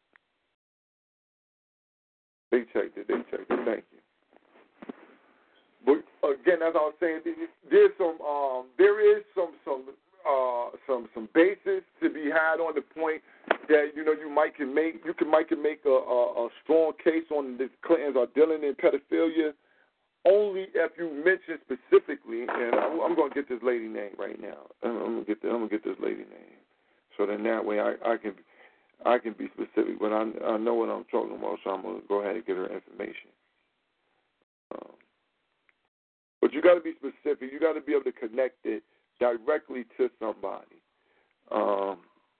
They checked it. They checked it. Thank you. But again, as I was saying, there's some, um, there is some, some, uh, some, some basis to be had on the point that you know you might can make, you can might can make a, a, a strong case on the Clintons are dealing in pedophilia, only if you mention specifically. And I'm, I'm going to get this lady name right now. I'm going to get the, I'm going to get this lady name, so then that way I, I can. I can be specific, but I, I know what I'm talking about, so I'm going to go ahead and get her information. Um, but you got to be specific. You got to be able to connect it directly to somebody. Um,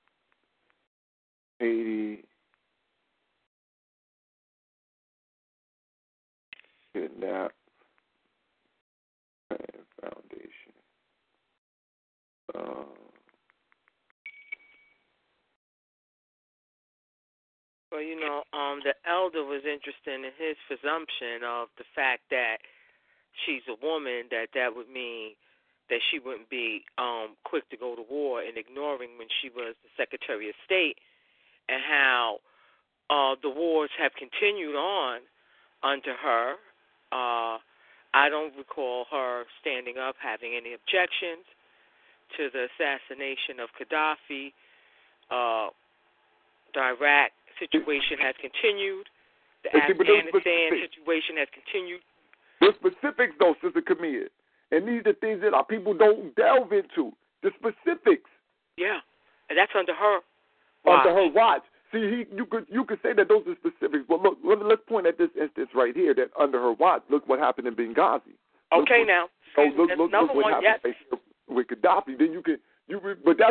Haiti, Kidnap Foundation. Um, Well, you know, um, the elder was interested in his presumption of the fact that she's a woman, that that would mean that she wouldn't be um, quick to go to war, and ignoring when she was the Secretary of State, and how uh, the wars have continued on under her. Uh, I don't recall her standing up, having any objections to the assassination of Gaddafi. Uh, the Iraq situation has continued. The see, Afghanistan situation has continued. The specifics, though, Sister Camille, and these are things that our people don't delve into. The specifics. Yeah, and that's under her watch. Under watch. her watch. See, he, you could you could say that those are specifics, but look, let, let's point at this instance right here that under her watch, look what happened in Benghazi. Okay, look, now. Oh, look, That's look, another look what one, happened yes. right with Gaddafi. Then you can you, but that's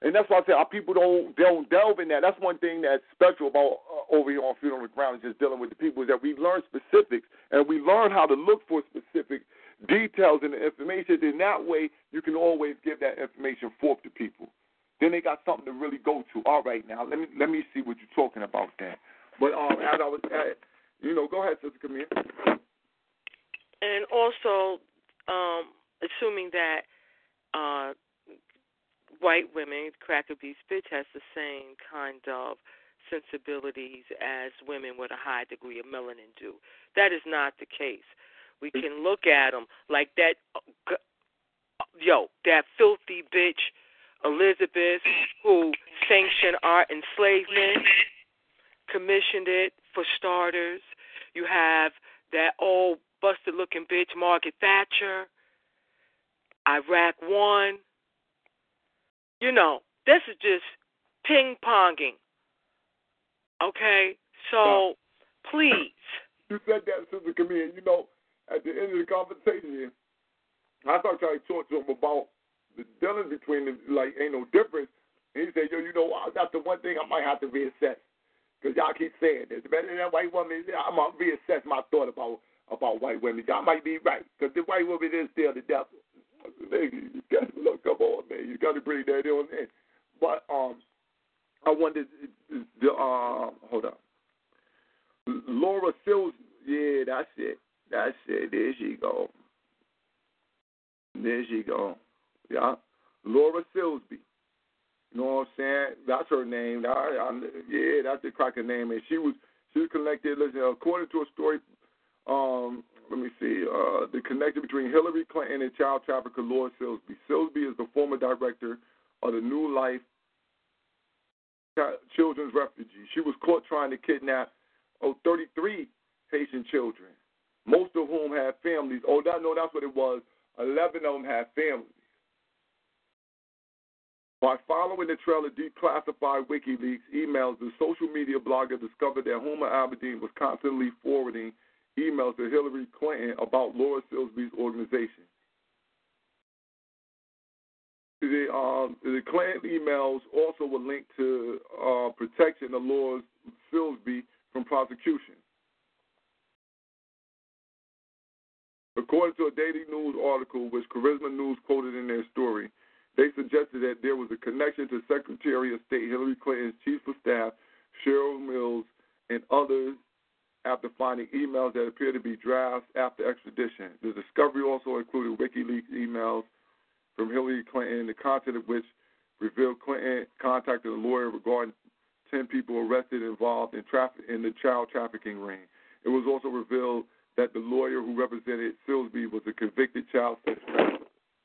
And that's why I say our people don't don't delve in that. That's one thing that's special about uh, over here on Freedom on the Ground, is just dealing with the people, is that we learn specifics and we learn how to look for specific details in the information. In that way, you can always give that information forth to people. Then they got something to really go to. All right, now let me let me see what you're talking about then. But um, as I was at, you know, go ahead, Sister Camille. And also, um, assuming that uh, white women, Cracker Beast Bitch, has the same kind of sensibilities as women with a high degree of melanin do. That is not the case. We can look at them like that, yo, that filthy bitch, Elizabeth, who sanctioned our enslavement, commissioned it for starters. You have that old busted-looking bitch, Margaret Thatcher, Iraq One. You know, this is just ping-ponging, okay? So, please. You said that, Sister Camille. You know, at the end of the conversation, I started trying to talk to him about the dealings between them, like, ain't no difference. And he said, yo, you know, that's the one thing I might have to reassess. Because y'all keep saying this. Better than that white woman, I'm going to reassess my thought about about white women. Y'all might be right. Because the white woman is still the devil. You got to look, come on, man. You got to bring that on in. But um, I wanted the, uh, hold on. Laura Sills, yeah, that's it. That's it. There she go. There she go. Yeah. Laura Silsby. You know what I'm saying? That's her name. I, I, yeah, that's the cracker name. And she was she was connected. Listen, according to a story, um, let me see, uh, the connection between Hillary Clinton and child trafficker Laura Silsby. Silsby is the former director of the New Life Children's Refugee. She was caught trying to kidnap oh, thirty-three Haitian children, most of whom had families. Oh, that, no, that's what it was. eleven of them had families. By following the trail of declassified WikiLeaks emails, the social media blogger discovered that Huma Abedin was constantly forwarding emails to Hillary Clinton about Laura Silsby's organization. The, um, the Clinton emails also were linked to uh, protection of Laura Silsby from prosecution. According to a Daily News article, which Charisma News quoted in their story, they suggested that there was a connection to Secretary of State Hillary Clinton's chief of staff, Cheryl Mills, and others after finding emails that appear to be drafts after extradition. The discovery also included WikiLeaks emails from Hillary Clinton, the content of which revealed Clinton contacted a lawyer regarding ten people arrested involved in, traffic, in the child trafficking ring. It was also revealed that the lawyer who represented Silsby was a convicted child sex trafficker.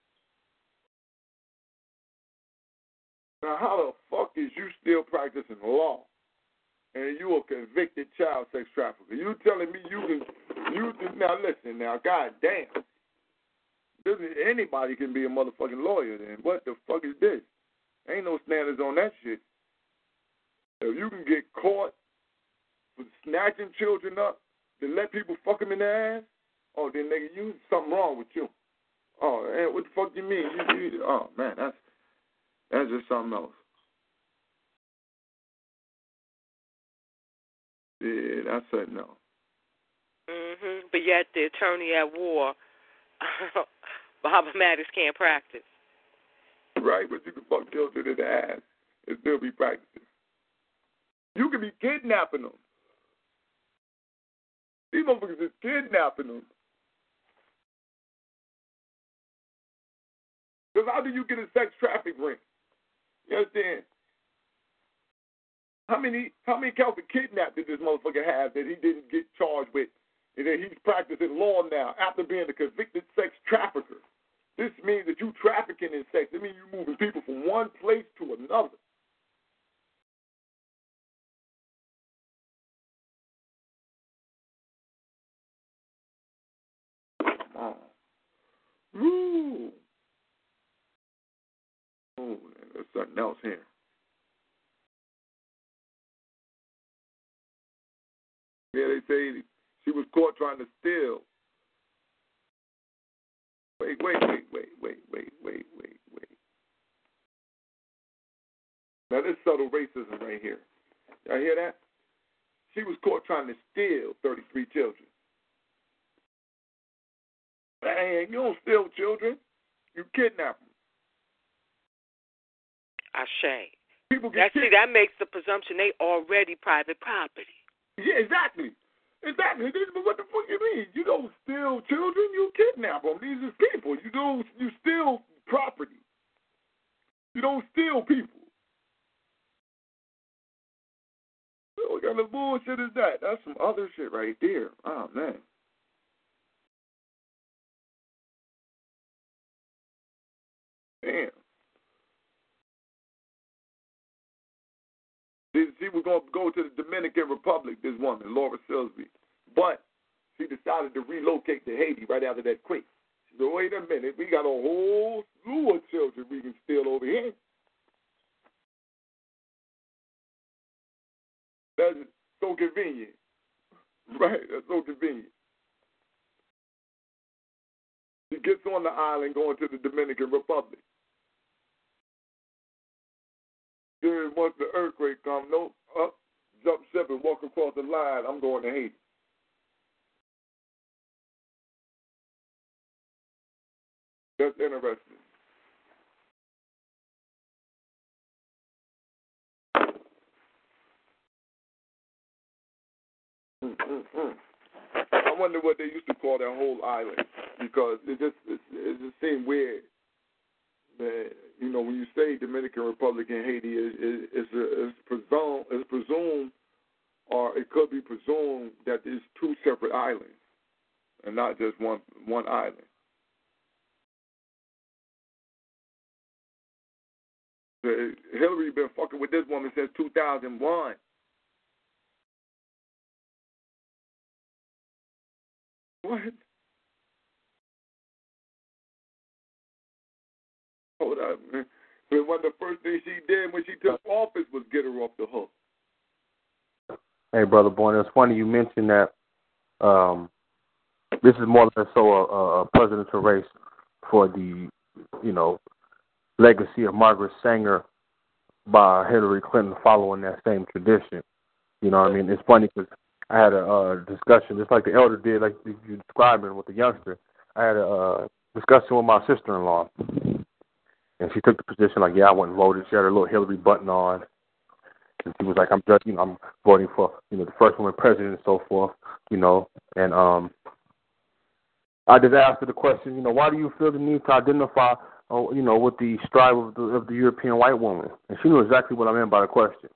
Now, how the fuck is you still practicing law and you a convicted child sex trafficker? You telling me you can, you can, now listen now, goddamn. Anybody can be a motherfucking lawyer then. What the fuck is this? Ain't no standards on that shit. If you can get caught for snatching children up, then let people fuck them in their ass, oh, then nigga, you, something wrong with you. Oh, man, what the fuck you mean? You, you, oh, man, that's, that's just something else. Yeah, that's something else. Mm-hmm. But yet the attorney at war, Barbara Maddox, can't practice. Right, but you can fuck children in the ass and still be practicing. You can be kidnapping them. These motherfuckers is kidnapping them. Because how do you get a sex traffic ring? You understand? How many how many counts of kidnap did this motherfucker have that he didn't get charged with and that he's practicing law now after being a convicted sex trafficker? This means that you trafficking in sex. It means you moving people from one place to another. Oh. Woo. Oh, there's something else here. Yeah, they say she was caught trying to steal. Wait, wait, wait, wait, wait, wait, wait, wait, wait. Now, this subtle racism right here. Y'all hear that? She was caught trying to steal thirty-three children. Man, you don't steal children. You kidnap them. Ashe. People get that, kidnapped. See, that makes the presumption they already private property. Yeah, exactly. Exactly. This, but what the fuck you mean? You don't steal children, you kidnap them. These are people. You don't. You steal property. You don't steal people. What kind of bullshit is that? That's some other shit right there. Oh, man. Damn. She was going to go to the Dominican Republic, this woman, Laura Silsby. But she decided to relocate to Haiti right after that quake. She said, wait a minute, we got a whole slew of children we can steal over here. That's so convenient. Right, that's so convenient. She gets on the island going to the Dominican Republic. Then once the earthquake comes, no, up, jump ship and walk across the line, I'm going to Haiti. That's interesting. Mm-mm-mm. I wonder what they used to call that whole island, because it just it, it just seemed weird. That, you know, when you say Dominican Republic and Haiti, it, it, it's, it's presumed, it's presumed, or it could be presumed that there's two separate islands and not just one one island. Hillary been fucking with this woman since two thousand one. What? Hold up, man. But one of the first things she did when she took office was get her off the hook. Hey, Brother Boyne, it's funny you mentioned that um, this is more or less so a, a presidential race for the, you know, legacy of Margaret Sanger by Hillary Clinton following that same tradition. You know what I mean? It's funny because I had a uh, discussion, just like the elder did, like you describing with the youngster. I had a uh, discussion with my sister-in-law, and she took the position like, yeah, I went and voted. She had her little Hillary button on, and she was like, I'm just, you know, I'm voting for, you know, the first woman president and so forth, you know. And um, I just asked her the question, you know, why do you feel the need to identify, uh, you know, with the strive of the, of the European white woman? And she knew exactly what I meant by the question.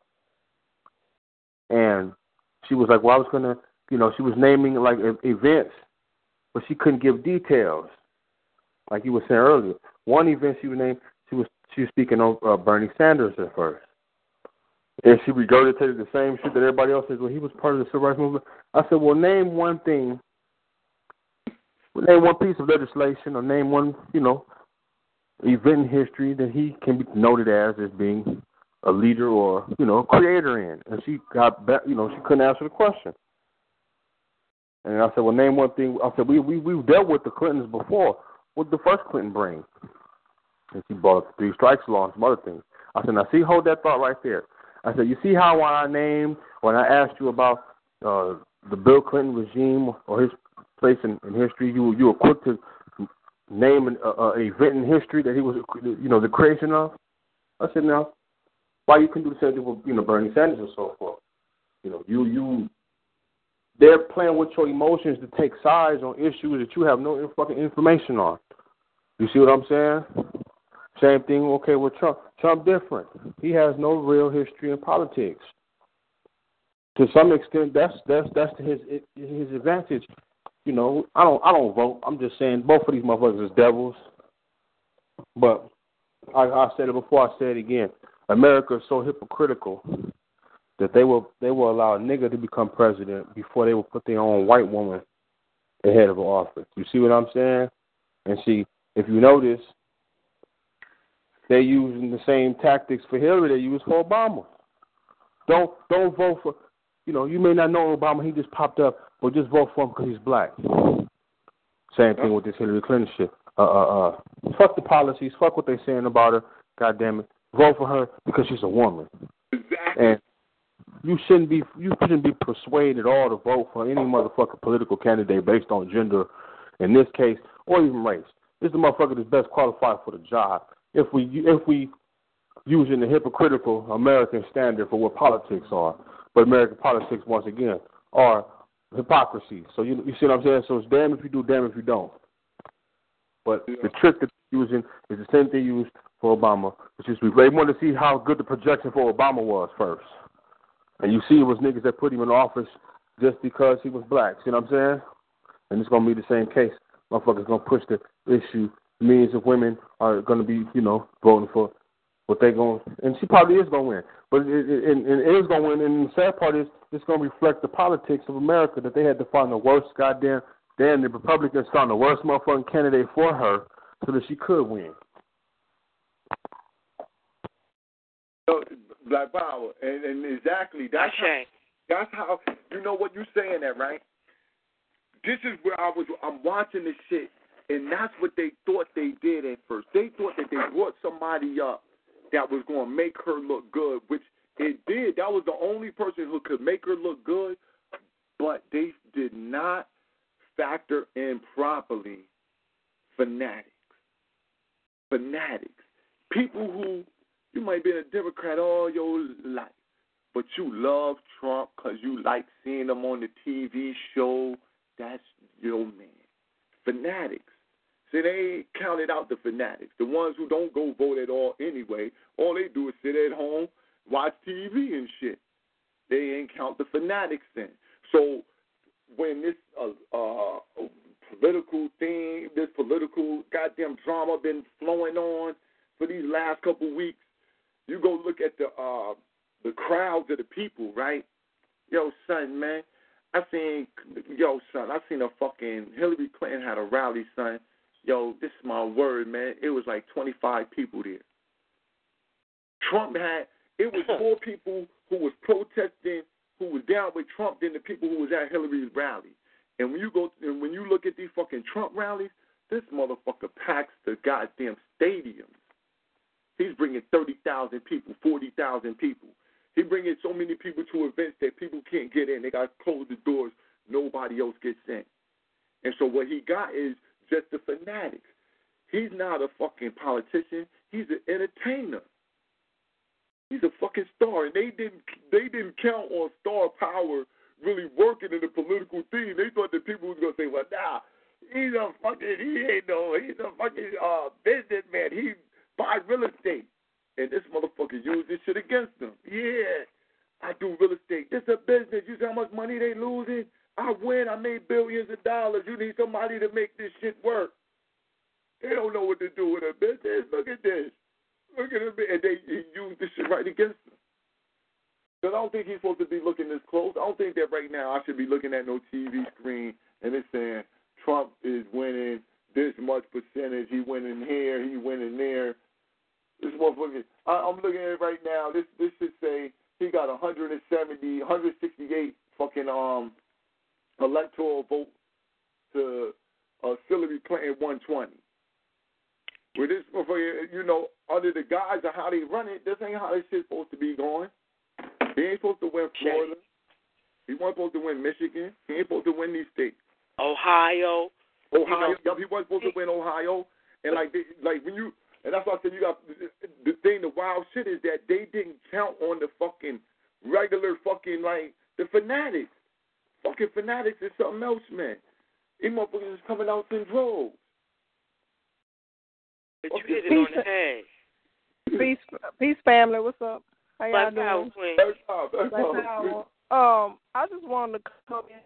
And she was like, well, I was going to, you know, she was naming, like, events, but she couldn't give details, like you were saying earlier. One event she was named, she was she was speaking of uh, Bernie Sanders at first. And she regurgitated the same shit that everybody else says, well, he was part of the civil rights movement. I said, well, name one thing, name one piece of legislation or name one, you know, event in history that he can be noted as as being a leader or, you know, creator in. And she got back, you know, she couldn't answer the question. And I said, well, name one thing. I said, we, we, we've dealt with the Clintons before. What did the first Clinton bring? And she brought up the three strikes law and some other things. I said, now see, hold that thought right there. I said, you see how when I named, when I asked you about uh, the Bill Clinton regime or his place in, in history, you you were quick to name an uh, event in history that he was, you know, the creation of? I said, now, why you couldn't do the same thing with, you know, Bernie Sanders and so forth? You know, you, you, they're playing with your emotions to take sides on issues that you have no fucking information on. You see what I'm saying? Same thing, okay, with Trump. Trump different. He has no real history in politics. To some extent, that's that's that's to his his advantage. You know, I don't I don't vote. I'm just saying both of these motherfuckers is devils. But I, I said it before. I say it again. America is so hypocritical that they will they will allow a nigga to become president before they will put their own white woman ahead of an office. You see what I'm saying? And see, if you notice, they're using the same tactics for Hillary they used for Obama. Don't don't vote for, you know, you may not know Obama, he just popped up, but just vote for him because he's black. Same thing with this Hillary Clinton shit. Uh, uh, uh. Fuck the policies. Fuck what they're saying about her. God damn it. vote for her because she's a woman. Exactly. And you shouldn't be you shouldn't be persuaded at all to vote for any motherfucking political candidate based on gender, in this case, or even race. This is the motherfucker that's best qualified for the job. If we if we using the hypocritical American standard for what politics are, but American politics once again are hypocrisy. So you you see what I'm saying? So it's damn if you do, damn if you don't. But yeah. The trick that they're using is the same thing used for Obama. It's just we they wanted to see how good the projection for Obama was first. And you see it was niggas that put him in office just because he was black. See what I'm saying? And it's going to be the same case. Motherfuckers going to push the issue. Millions of women are going to be, you know, voting for what they going to, and she probably is going to win. But it, it, it, it is going to win. And the sad part is it's going to reflect the politics of America that they had to find the worst goddamn, damn, the Republicans found the worst motherfucking candidate for her so that she could win. So, Black Power, and, and exactly that's how, that's how you know what you're saying that, right? This is where I was. I'm watching this shit, and that's what they thought they did at first. They thought that they brought somebody up that was going to make her look good, which it did. That was the only person who could make her look good, but they did not factor in properly fanatics. Fanatics, people who. You might be a Democrat all your life, but you love Trump because you like seeing him on the T V show. That's your man. Fanatics. See, they counted out the fanatics, the ones who don't go vote at all anyway. All they do is sit at home, watch T V and shit. They ain't count the fanatics in. So when this uh, uh, political thing, this political goddamn drama been flowing on for these last couple weeks, you go look at the uh, the crowds of the people, right? Yo, son, man, I seen, yo, son, I seen a fucking, Hillary Clinton had a rally, son. Yo, this is my word, man. It was like twenty-five people there. Trump had, it was more people who was protesting, who was down with Trump than the people who was at Hillary's rally. And when you go, and when you look at these fucking Trump rallies, this motherfucker packs the goddamn stadiums. He's bringing thirty thousand people, forty thousand people. He's bringing so many people to events that people can't get in. They got to close the doors. Nobody else gets in. And so what he got is just the fanatics. He's not a fucking politician. He's an entertainer. He's a fucking star. And they didn't they didn't count on star power really working in the political thing. They thought that people was going to say, well, nah, he's a fucking, he ain't no, he's a fucking uh, businessman. He buy real estate. And this motherfucker used this shit against them. Yeah, I do real estate. This a business. You see how much money they losing? I win. I made billions of dollars. You need somebody to make this shit work. They don't know what to do with a business. Look at this. Look at it. And they use this shit right against them. Because I don't think he's supposed to be looking this close. I don't think that right now I should be looking at no T V screen and it's saying Trump is winning this much percentage. He winning here. He winning there. This motherfucker, I, I'm looking at it right now. This this should say he got one seventy, one sixty-eight fucking um electoral vote to uh, Hillary Clinton one twenty. With this motherfucker, you know, under the guise of how they run it, this ain't how this shit's supposed to be going. He ain't supposed to win Florida. He wasn't supposed to win Michigan. He ain't supposed to win these states. Ohio. Ohio. You know, he wasn't supposed to win Ohio. And like, they, like when you. And that's why I said you got the thing. The wild shit is that they didn't count on the fucking regular fucking like the fanatics. Fucking fanatics is something else, man. These motherfuckers is coming out in droves. But you hit it on the head. Peace, peace, family. What's up? How y'all Black Power, doing? Queen. Black Power, Black Black Power. Um, I just wanted to come in.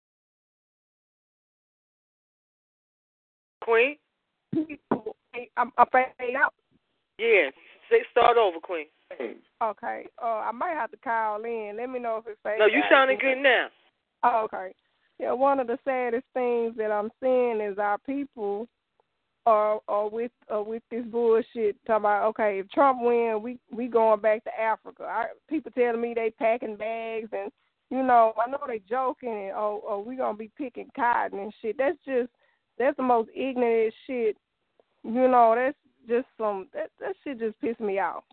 Queen. I'm, I'm fading out. Yeah, say start over, Queen. Okay. Uh, I might have to call in. Let me know if it's fading. No, you sounding good now. Oh, okay. Yeah, one of the saddest things that I'm seeing is our people are, are with are with this bullshit. Talking about, okay, if Trump wins, we we going back to Africa. I, people telling me they packing bags and, you know, I know they joking and, oh, oh we going to be picking cotton and shit. That's just, that's the most ignorant shit. You know, that's just some, that, that shit just pissed me off.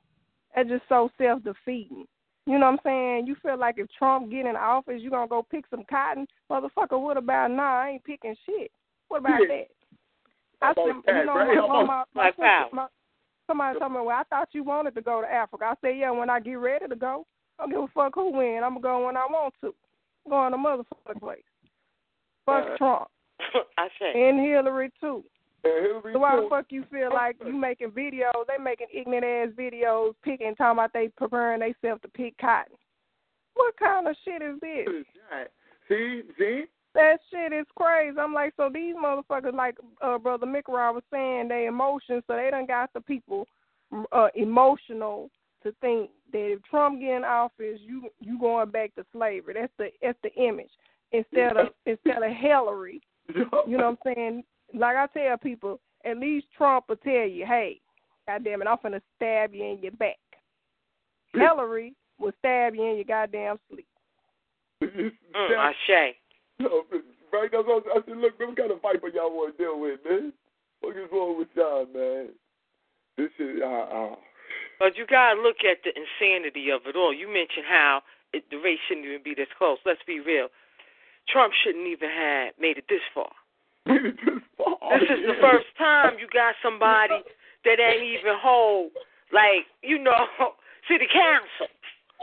That's just so self-defeating. You know what I'm saying? You feel like if Trump get in office, you going to go pick some cotton? Motherfucker, what about, nah, I ain't picking shit. What about Yeah. that? I said, you know, my, my, my, my, sister, my, somebody told me, well, I thought you wanted to go to Africa. I said, yeah, when I get ready to go, I don't give a fuck who win. I'm going to go when I want to. I'm going to motherfucking place. Fuck uh, Trump. I say. And Hillary, too. Hillary so why too. the fuck you feel like you making videos, they making ignorant-ass videos, picking, talking about they preparing themselves to pick cotton? What kind of shit is this? See, see? That shit is crazy. I'm like, so these motherfuckers, like uh, Brother Mikra was saying, they emotions, so they done got the people uh, emotional to think that if Trump get in office, you you going back to slavery. That's the that's the image. Instead of instead of Hillary, you know what I'm saying? Like I tell people, at least Trump will tell you, hey, goddamn it, I'm finna stab you in your back. Hillary will stab you in your goddamn sleep. Mm, I say. Right, that's what I said, look, what kind of viper y'all want to deal with, man? What is wrong with y'all, man? This is, uh, uh. But you got to look at the insanity of it all. You mentioned how it, the race shouldn't even be this close. Let's be real. Trump shouldn't even have made it this far. Made it this far? This is yeah. the first time you got somebody that ain't even hold, like, you know, city council.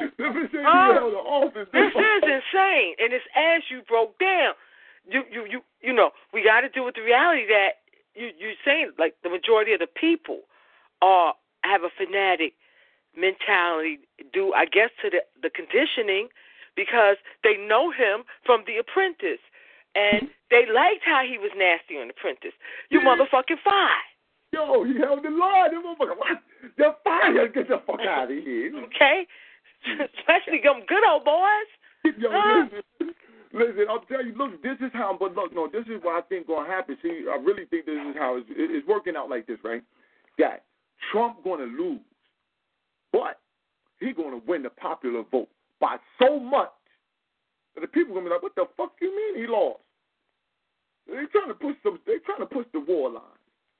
Uh, office, this is insane, and it's as you broke down. You, you, you, you know, we got to deal with the reality that you, you're saying, like the majority of the people are have a fanatic mentality due, I guess, to the, the conditioning, because they know him from The Apprentice, and they liked how he was nasty on The Apprentice. You yeah. motherfucking fired. Yo, he held the line. You motherfucker, what? You're fired. Get the fuck out of here. Okay. Especially them good old boys. Yo, huh? listen, listen, I'll tell you, look, this is how, but look, no, this is what I think going to happen. See, I really think this is how it's, it's working out like this, right? That Trump going to lose, but he going to win the popular vote by so much that the people going to be like, what the fuck you mean he lost? They trying to push some, they trying to push the war lines.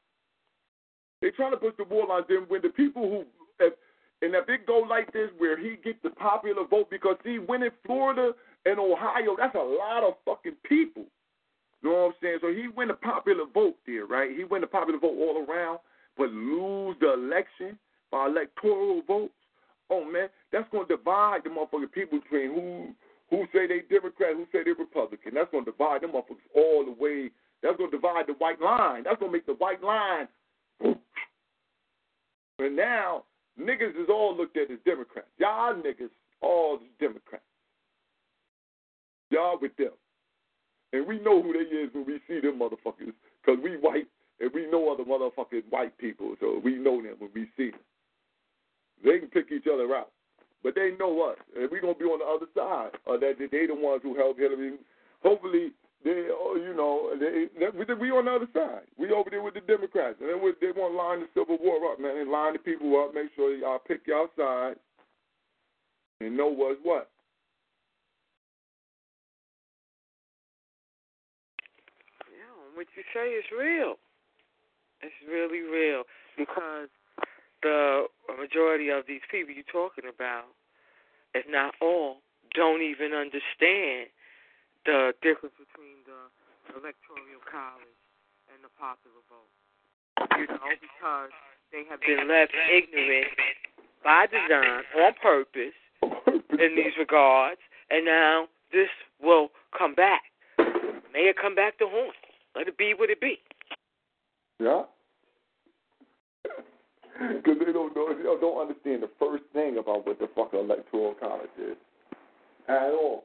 They trying to push the war lines. Then when the people who, if, and if it go like this where he gets the popular vote, because see, winning Florida and Ohio, that's a lot of fucking people. You know what I'm saying? So he win the popular vote there, right? He win the popular vote all around, but lose the election by electoral votes. Oh, man, that's going to divide the motherfucking people between who who say they Democrat, who say they Republican. That's going to divide them motherfuckers all the way. That's going to divide the white line. That's going to make the white line. And now, niggas is all looked at as Democrats. Y'all niggas all Democrats. Y'all with them. And we know who they is when we see them motherfuckers, because we white and we know other motherfucking white people, so we know them when we see them. They can pick each other out, but they know us, and we're going to be on the other side. Uh, that they the ones who helped Hillary. Hopefully, they, oh, you know, they, they, we on the other side. We over there with the Democrats, and then we, they want to line the Civil War up, man. They line the people up, make sure y'all pick y'all side, and know what's what. What you say is real. It's really real, because the majority of these people you're talking about, if not all, don't even understand the difference between the electoral college and the popular vote. You know, because they have been left ignorant by design, on purpose, in these regards, and now this will come back. May it come back to haunt. Let it be what it be. Yeah. Because they don't know, they don't understand the first thing about what the fuck electoral college is at all.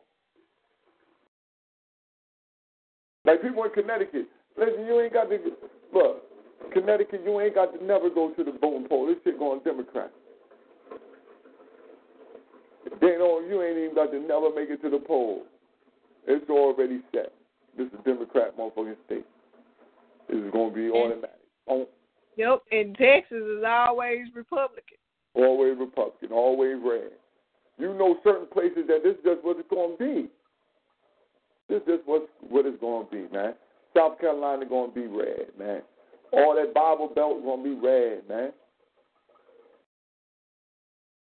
Like people in Connecticut, listen, you ain't got to look. Connecticut, you ain't got to never go to the voting poll. This shit going Democrat. They don't. You ain't even got to never make it to the poll. It's already set. This is a Democrat motherfucking state. This is going to be automatic. Oh. Yep, and Texas is always Republican. Always Republican, always red. You know certain places that this is just what it's going to be. This is just what, what it's going to be, man. South Carolina going to be red, man. All that Bible Belt is going to be red, man.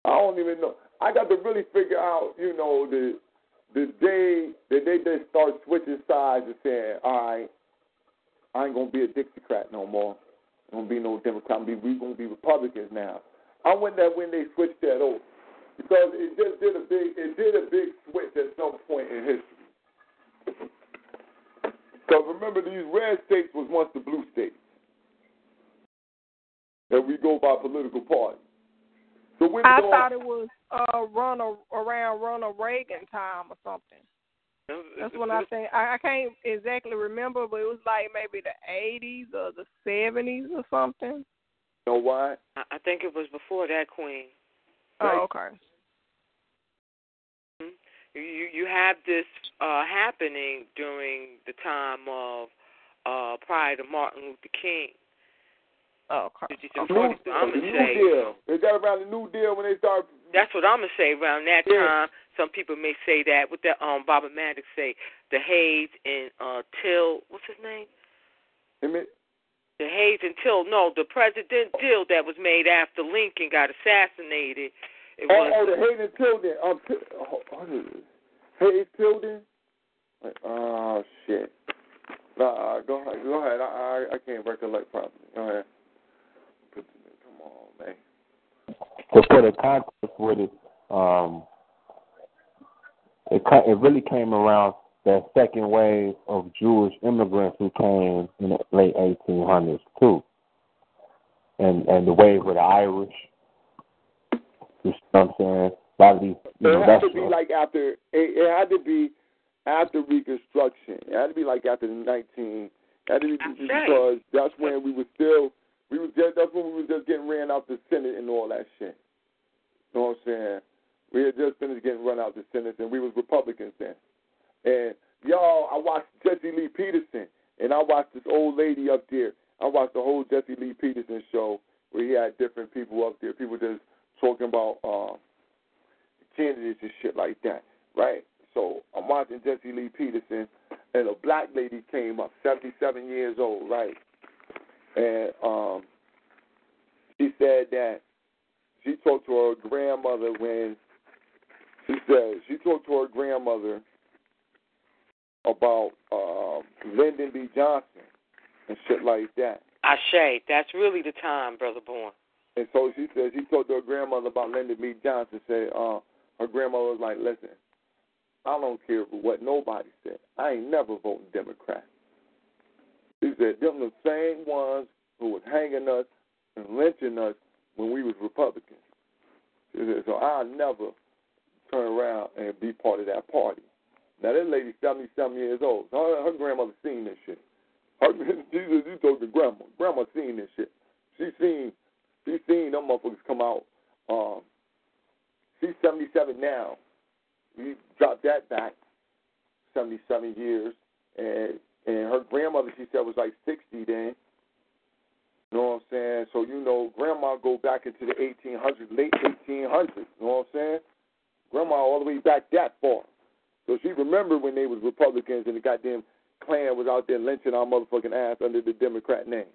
I don't even know. I got to really figure out, you know, the the day that they just start switching sides and saying, all right, I ain't gonna be a Dixiecrat no more. I'm gonna be no Democrat. I'm gonna be, we gonna be Republicans now. I wonder that when they switched that over, because it just did a big, it did a big switch at some point in history. Because remember, these red states was once the blue states that we go by political party. So when I going, thought it was uh, Ronald around Ronald Reagan time or something. That's what I think. I, I can't exactly remember, but it was like maybe the eighties or the seventies or something. You know why? I, I think it was before that, Queen. Oh, okay. Mm-hmm. You you have this uh, happening during the time of uh, prior to Martin Luther King. Oh, okay. I'm New, gonna the say, New Deal. Is that around the New Deal when they start? That's what I'm gonna say. Around that Yeah. time, some people may say that. What that um Bobby Maddox say? The Hayes and uh Till. What's his name? Amen. The Hayes and Till. No, the President deal that was made after Lincoln got assassinated. It Oh, was, oh, the Hayden Tilden. Um, oh, what is it? Hayes Tilden. Oh shit. Nah, go ahead. Go ahead. I I, I can't recollect properly. Go ahead. Come on, man. To put a context with it, um, it it really came around that second wave of Jewish immigrants who came in the late eighteen hundreds too, and and the wave with the Irish. You know what I'm saying? A lot of these, you know, it had that's to be like after. It, it had to be after Reconstruction. It had to be like after the nineteen. It had to be That's because that's when we were still. We was just. That's when we was just getting ran out the Senate and all that shit. You know what I'm saying? We had just finished getting run out the Senate, and we was Republicans then. And y'all, I watched Jesse Lee Peterson, and I watched this old lady up there. I watched the whole Jesse Lee Peterson show where he had different people up there. People just talking about uh, candidates and shit like that, right? So I'm watching Jesse Lee Peterson, and a black lady came up, seventy-seven years old, right? And um, she said that she talked to her grandmother when she said she talked to her grandmother about uh, Lyndon B. Johnson and shit like that. Ashe, that's really the time, Brother Bourne. And so she said she talked to her grandmother about Lyndon B. Johnson. Said uh, her grandmother was like, "Listen, I don't care what nobody said. I ain't never voting Democrat." She said them the same ones who was hanging us and lynching us when we was Republicans. She said, so I'll never turn around and be part of that party. Now, that lady's seventy-seven years old. So her, her grandmother seen this shit. Her, she, she told the grandma. Grandma seen this shit. She seen, she seen them motherfuckers come out. Um, she's seventy-seven now. We dropped that back seventy-seven years. And and her grandmother, she said, was like sixty then. You know what I'm saying? So, you know, grandma go back into the eighteen hundreds, late eighteen hundreds. You know what I'm saying? Grandma all the way back that far. So she remembered when they was Republicans and the goddamn Klan was out there lynching our motherfucking ass under the Democrat name.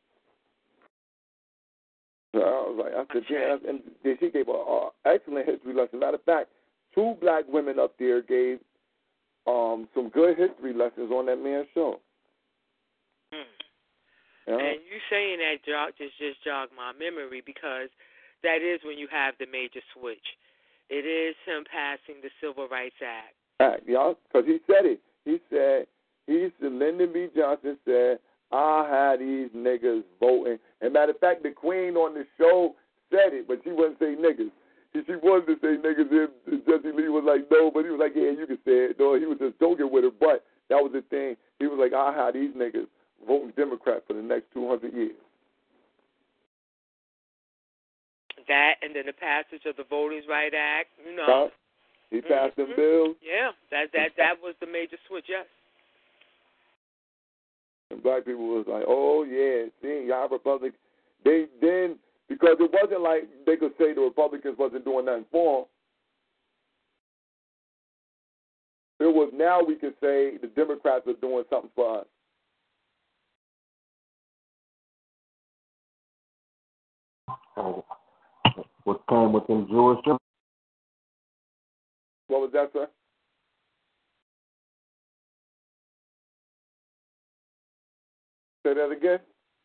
So I was like, I said, yeah. And then she gave an excellent history lesson. Matter of fact, two black women up there gave um, some good history lessons on that man's show. Hmm. Yeah. And you saying that jog, just just jogged my memory because that is when you have the major switch. It is him passing the Civil Rights Act. Act, y'all, because he said it. He said, he said, Lyndon B. Johnson said, I had these niggas voting. And matter of fact, the queen on the show said it, but she wouldn't say niggas. She, she wanted to say niggas, and Jesse Lee was like, no, but he was like, yeah, you can say it. No, he was just joking with her, but that was the thing. He was like, I had these niggas voting Democrat for the next two hundred years. That and then the passage of the Voting Rights Act, you know. Huh? He passed mm-hmm. them bills. Yeah, that that that was the major switch, yes. And black people was like, oh, yeah, see, y'all Republicans. They then, because it wasn't like they could say the Republicans wasn't doing nothing for them. It was now we could say the Democrats are doing something for us. Oh. what came with them Jewish. What was that, sir? Say that again.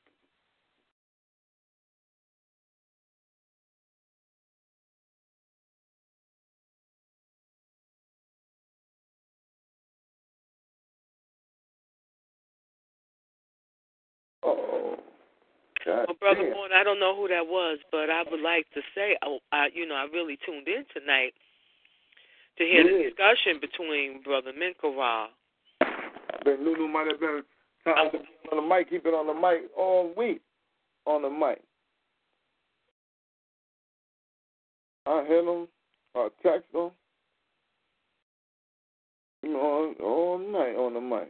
Oh, God Well, Brother damn. Warren, I don't know who that was, but I would like to say, oh, I, you know, I really tuned in tonight to hear Yeah. the discussion between Brother Minkara. Then Lulu might have been trying to be on the mic. He been on the mic all week on the mic. I hit him. I text him. You know, all, all night on the mic.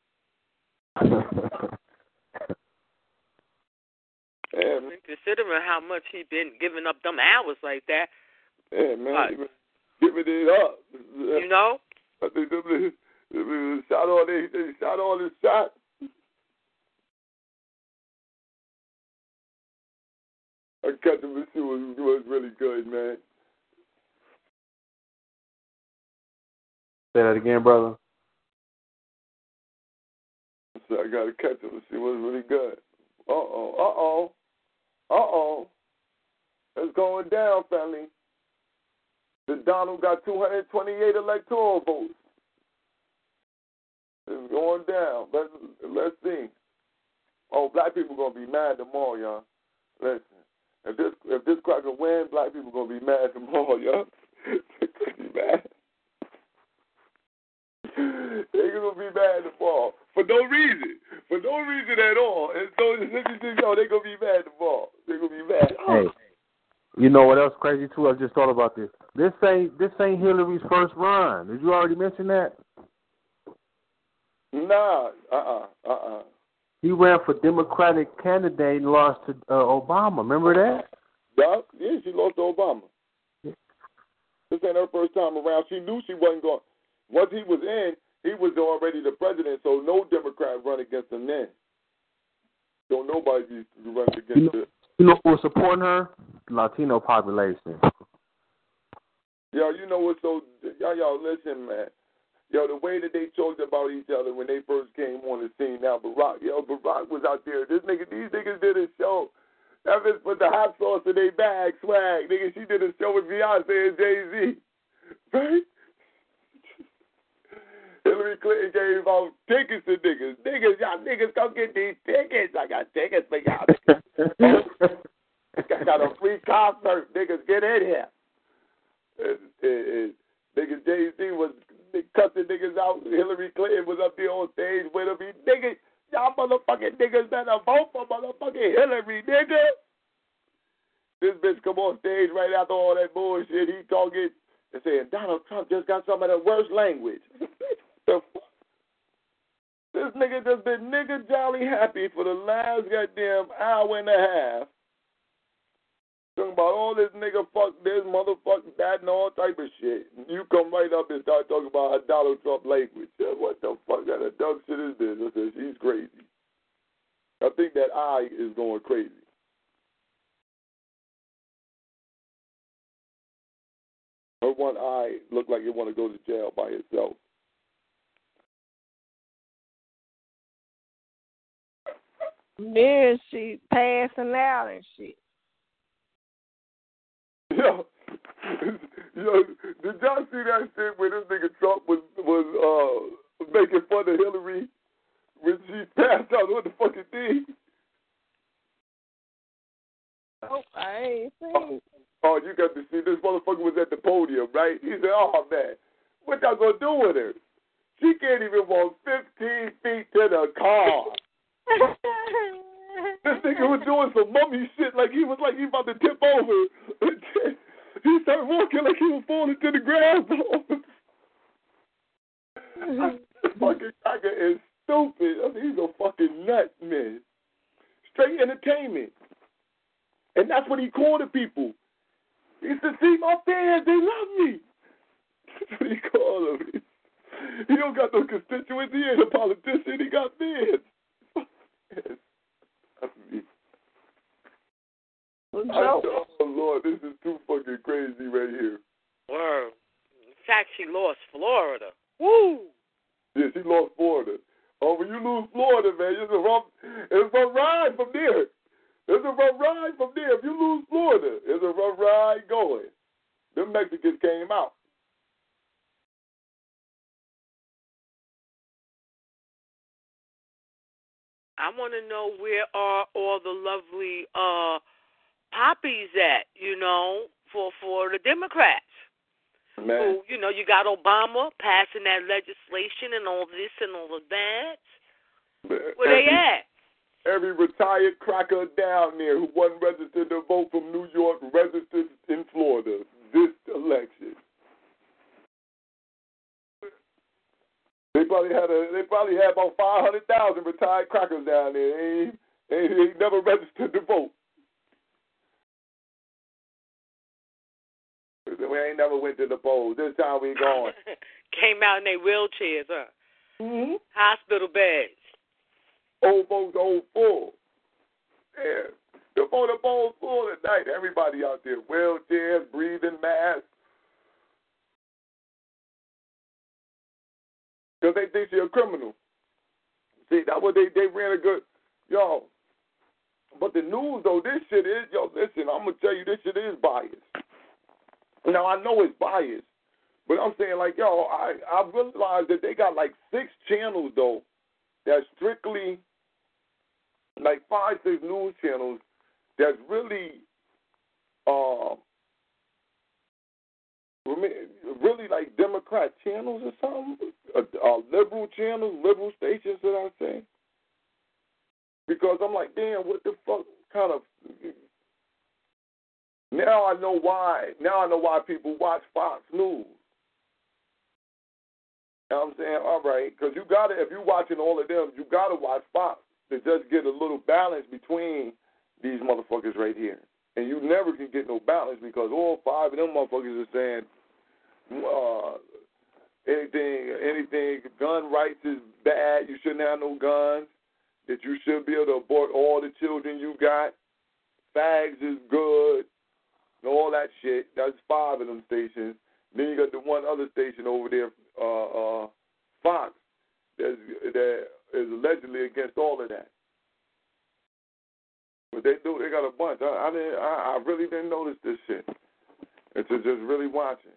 Yeah, man. Considering how much he been giving up them hours like that, Yeah, man. Right. He been giving it up. you know? I think they, they, they shot all they, they shot all his shots. I catch him and see was was really good, man. Say that again, brother. So I gotta catch him and see what's really good. Uh oh, uh oh, uh oh. It's going down, family. The Donald got two hundred twenty-eight electoral votes. It's going down. Let's let's see. Oh, black people gonna be mad tomorrow, y'all. Listen, if this if this cracker win, black people gonna be mad tomorrow, y'all. They gonna be mad. They gonna be mad tomorrow for no reason, for no reason at all. And so yo, they gonna be mad tomorrow. They gonna be mad. Hey, you know what else crazy too? I just thought about this. This ain't this ain't Hillary's first run. Did you already mention that? Nah, uh, uh-uh, uh, uh. He ran for Democratic candidate and lost to uh, Obama. Remember that? Yeah, yeah, she lost to Obama. This ain't her first time around. She knew she wasn't going. Once he was in, he was already the president, so no Democrat run against him then. So nobody used to run against You know, her. you know who was supporting her? Latino population. Yo, you know what's so... Y'all, y'all, listen, man. Yo, the way that they talked about each other when they first came on the scene. Now, Barack, yo, Barack was out there. This nigga, these niggas did a show. That bitch put the hot sauce in their bag, swag. Nigga, she did a show with Beyonce and Jay-Z. Right? Hillary Clinton gave out tickets to niggas. Niggas, y'all niggas come get these tickets. I got tickets for y'all. I got a free concert. Niggas, get in here. And, and, and nigga Jay-Z was cussing niggas out. Hillary Clinton was up there on stage with him. He, nigga, y'all motherfucking niggas better vote for motherfucking Hillary, nigga. This bitch come on stage right after all that bullshit. He talking and saying, Donald Trump just got some of the worst language. The fuck? This nigga just been nigga jolly happy for the last goddamn hour and a half. Talking about all this nigga fuck this, motherfucker that, and all type of shit. And you come right up and start talking about how Donald Trump language. What the fuck kind of dumb shit is this? I said, she's crazy. I think that eye is going crazy. Her one eye looked like it want to go to jail by itself. Then she passing out and shit. Yo, yo, did y'all see that shit where this nigga Trump was was uh making fun of Hillary when she passed out on the fucking thing? Oh, I ain't seen. Oh, you got to see this motherfucker was at the podium, right? He said, "Oh man, what y'all gonna do with her? She can't even walk fifteen feet to the car." This nigga was doing some mummy shit like he was like he about to tip over. He started walking like he was falling to the ground. This fucking cracker is stupid. I mean, he's a fucking nut, man. Straight entertainment. And that's what he called the people. He said, see my fans, they love me. That's what he called them. He don't got no constituency. He ain't a politician. He got fans. I mean, So, oh, Lord. Lord, this is too fucking crazy right here. Word. In fact, she lost Florida. Woo! Yeah, she lost Florida. Oh, when you lose Florida, man, it's a rough, it's a rough ride from there. It's a rough ride from there. If you lose Florida, it's a rough ride going. Them Mexicans came out. I want to know where are all the lovely uh, poppies at, you know, for, for the Democrats. Man. Who, you know, you got Obama passing that legislation and all this and all of that. Man. Where every, they at? Every retired cracker down there who wasn't registered to vote from New York registered in Florida this election. They probably had a. They probably had about five hundred thousand retired crackers down there. They ain't, they ain't never registered to vote. We ain't never went to the polls. This time we going. Came out in their wheelchairs, huh? Mm-hmm. Hospital beds. Old folks, old full. Yeah. The phone, the phone's full tonight. Everybody out there, wheelchairs, breathing masks. Because they think you're a criminal. See, that's what they, they ran a good, yo. But the news, though, this shit is, yo, listen, I'm going to tell you, this shit is biased. Now, I know it's biased, but I'm saying, like, yo, I, I realized that they got, like, six channels, though, that's strictly, like, five, six news channels that's really, uh, really, like, Democrat channels or something, uh, uh, liberal channels, liberal stations, that I say. Because I'm like, damn, what the fuck kind of... Now I know why. Now I know why people watch Fox News. You know what I'm saying? All right, because you got to, if you're watching all of them, you got to watch Fox to just get a little balance between these motherfuckers right here. And you never can get no balance because all five of them motherfuckers are saying uh, anything, anything, gun rights is bad, you shouldn't have no guns, that you should be able to abort all the children you got, fags is good, and all that shit. That's five of them stations. Then you got the one other station over there, uh, uh, Fox, that's, that is allegedly against all of that. But they do. They got a bunch. I, I didn't. I, I really didn't notice this shit. It's just, just really watching.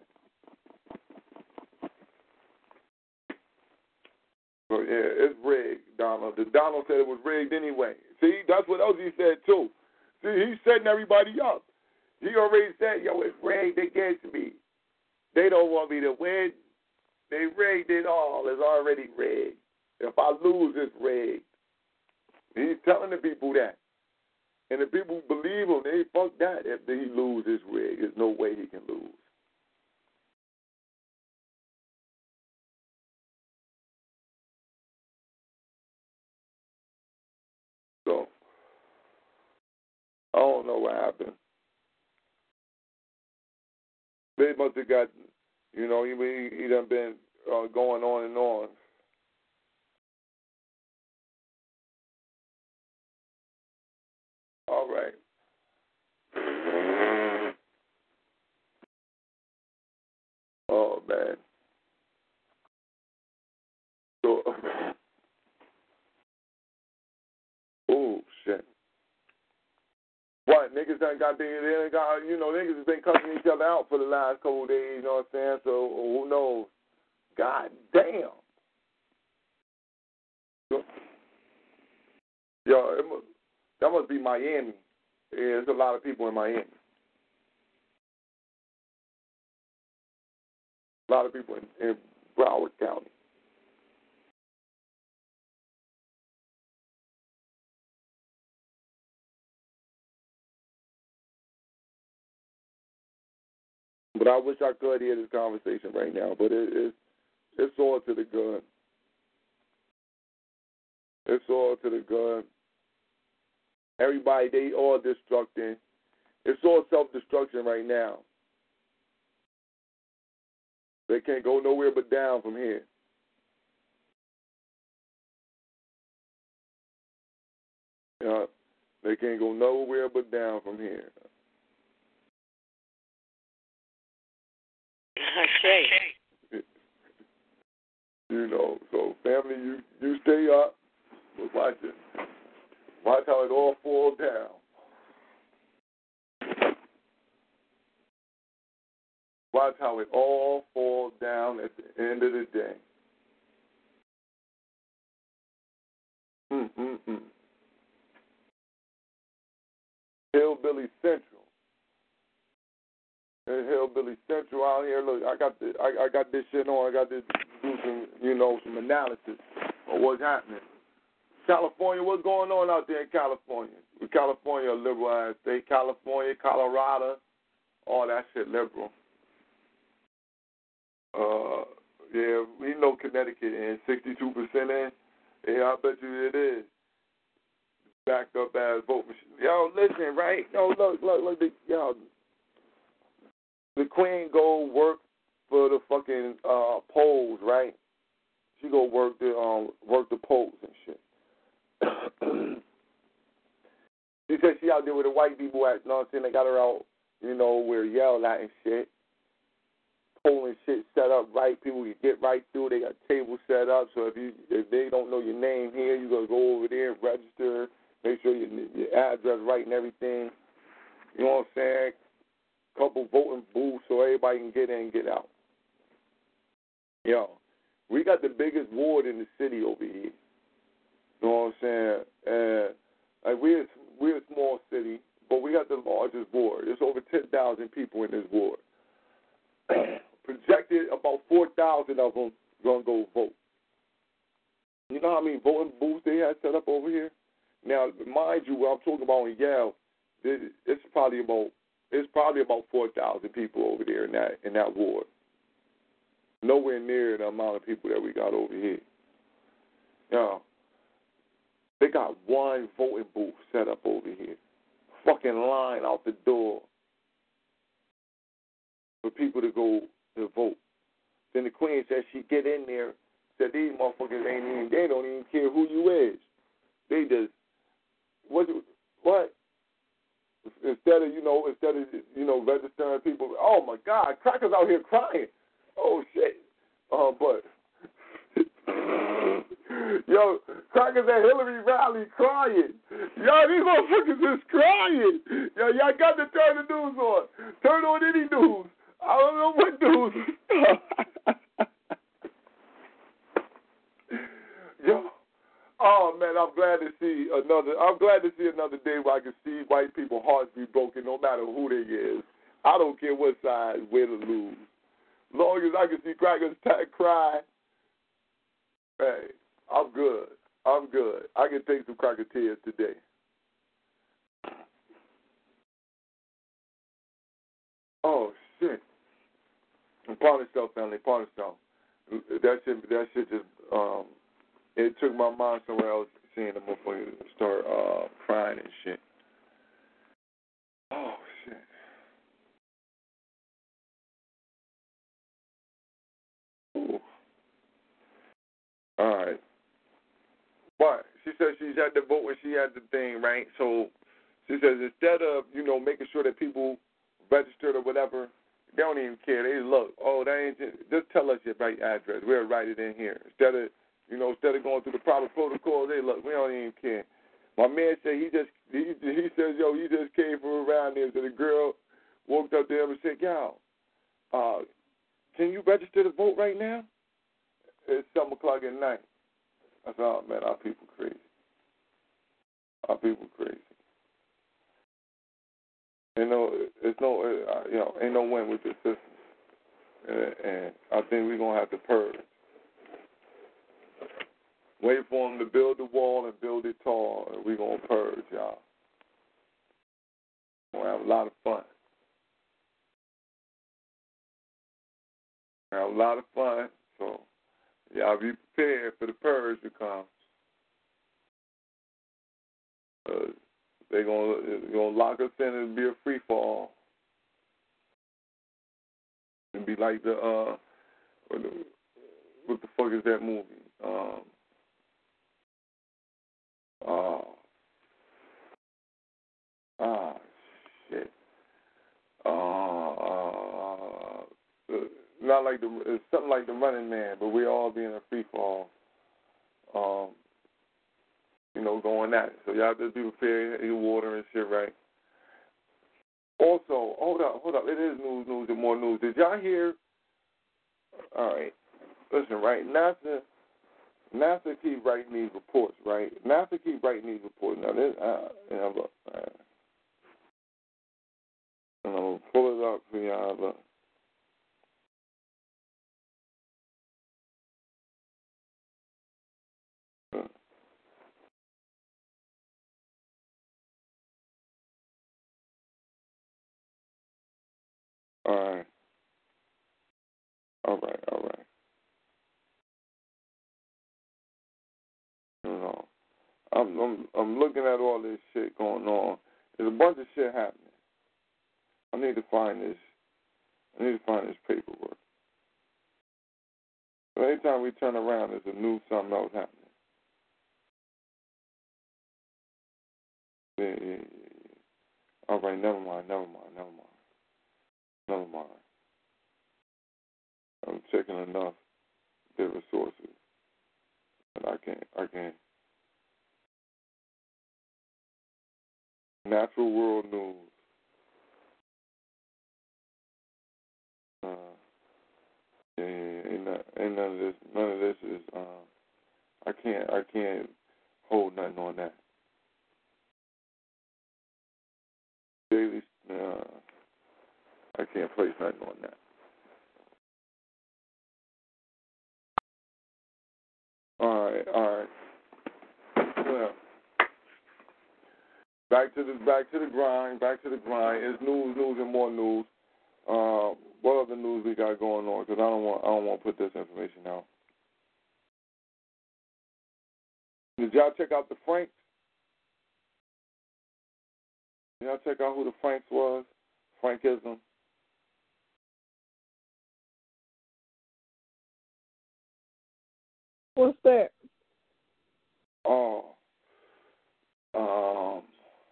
So yeah, it's rigged, Donald. The Donald said it was rigged anyway. See, that's what else he said too. See, he's setting everybody up. He already said, yo, it's rigged against me. They don't want me to win. They rigged it all. It's already rigged. If I lose, it's rigged. He's telling the people that. And the people who believe him, they fuck that. If he loses, it's rigged. There's no way he can lose. So, I don't know what happened. They must have got, you know, he, he done been uh, going on and on. All right. Oh, man. So, oh, shit. What, niggas done got, they, they got, you know, niggas has been cussing each other out for the last couple of days, you know what I'm saying? So, who knows? God damn. So, yo, it must, that must be Miami. Yeah, there's a lot of people in Miami. A lot of people in, in Broward County. But I wish I could hear this conversation right now, but it, it's, it's all to the good. It's all to the good. Everybody, they all destructing. It's all self-destruction right now. They can't go nowhere but down from here. You know, they can't go nowhere but down from here. Okay. You know, so family, you you stay up, but watch it. Watch how it all falls down. Watch how it all falls down at the end of the day. Mm-mm-mm. Hillbilly Central. There's Hillbilly Central out here. Look, I got the, I, I got this shit on. I got to do some, you know, some analysis of what's happening. California, what's going on out there in California? California, a liberal ass state. California, Colorado, all that shit liberal. Uh, yeah, we know Connecticut in sixty-two percent in. Yeah, I bet you it is. Backed up as vote machine. Yo, listen, right? No, look, look, look. The, yo, the queen go work for the fucking uh, polls, right? She go work the um work the polls and shit. She said she out there with the white people at, you know what I'm saying? They got her out, you know, where yell at and shit. Polling shit set up right. People can get right through. They got tables set up. So if you if they don't know your name here, you gotta go over there and register. Make sure your, your address right and everything. You know what I'm saying? Couple voting booths so everybody can get in and get out. Yo, we got the biggest ward in the city over here. You know what I'm saying? And like we're we're a small city, but we got the largest ward. There's over ten thousand people in this ward. Projected about four thousand of them gonna go vote. You know how many voting booths they had set up over here? Now, mind you, what I'm talking about in Yale, it's probably about it's probably about four thousand people over there in that in that ward. Nowhere near the amount of people that we got over here. Now, they got one voting booth set up over here. Fucking line out the door for people to go to vote. Then the queen said she get in there, said these motherfuckers ain't even, they don't even care who you is. They just, what, what? Instead of, you know, instead of, you know, registering people, oh my God, crackers out here crying. Oh shit. Uh, but, yo, crackers at Hillary rally crying. Yo, these motherfuckers is crying. Yo, y'all got to turn the news on. Turn on any news. I don't know what news. Yo, oh man, I'm glad to see another. I'm glad to see another day where I can see white people's hearts be broken, no matter who they is. I don't care what side, win or lose. As long as I can see crackers t- cry, hey, I'm good. I'm good. I can take some cracker tears today. Oh shit. Partner Stuff family, Partner Stuff. That shit, that shit just, um, it took my mind somewhere else seeing the motherfucker start uh, crying and shit. Oh, shit. Ooh. All right. But she said she's had the vote when she had the thing, right? So she says instead of, you know, making sure that people registered or whatever, they don't even care. They look, oh, that ain't just, just tell us your right address. We'll write it in here. Instead of, you know, instead of going through the proper protocol, they look, we don't even care. My man said he just, he, he says, yo, he just came from around there. So the girl walked up there and said, yo, uh, can you register to vote right now? It's seven o'clock at night. I said, oh, man, our people crazy. Our people crazy. You know, it's no, uh, you know, ain't no win with this system. And, and I think we're going to have to purge. Wait for them to build the wall and build it tall, and we're going to purge, y'all. We're going to have a lot of fun. We're going to have a lot of fun, so y'all be prepared for the purge to come. Uh, they're going to lock us in and be a free fall. And be like the, uh, what the, what the fuck is that movie? Um, uh, ah, shit. Uh, uh, not like the. It's something like the Running Man, but we all be in a free fall. Um, you know, going at it. So y'all just be prepared, your water and shit, right? Also, hold up, hold up. It is news, news, and more news. Did y'all hear? All right, listen, right? NASA, NASA keep writing these reports, right? NASA keep writing these reports. Now, this, uh, you know, look, uh, I'm gonna pull it up for y'all. Look. All right. All right, all right. You know, I'm, I'm, I'm looking at all this shit going on. There's a bunch of shit happening. I need to find this. I need to find this paperwork. So anytime we turn around, there's a new something else happening. Yeah, yeah, yeah, yeah. All right, never mind, never mind, never mind, never mind. I'm checking enough different sources, and I can't, I can't. Natural World News. Uh, yeah, yeah, ain't, not, ain't none of this. None of this is. Um, I can't. I can't hold nothing on that. Daily. Uh, I can't place nothing on that. All right. All right. Well, back to the back to the grind. Back to the grind. It's news, news, and more news. Uh, what other news we got going on? Because I don't want. I don't want to put this information out. Did y'all check out the Franks? Did y'all check out who the Franks was? Frankism. What's that? Oh. Um.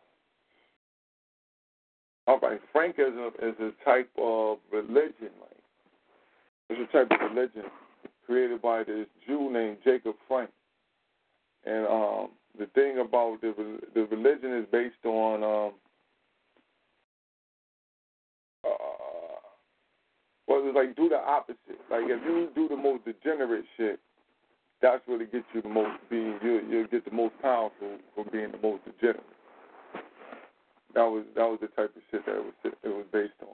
All right. Frankism is a type of religion. Like, it's a type of religion created by this Jew named Jacob Frank. And um, the thing about the the religion is based on um, uh, well, it's like do the opposite. Like if you do the most degenerate shit, that's what it gets you the most. Being you, you'll get the most powerful for being the most degenerate. That was that was the type of shit that it was it was based on.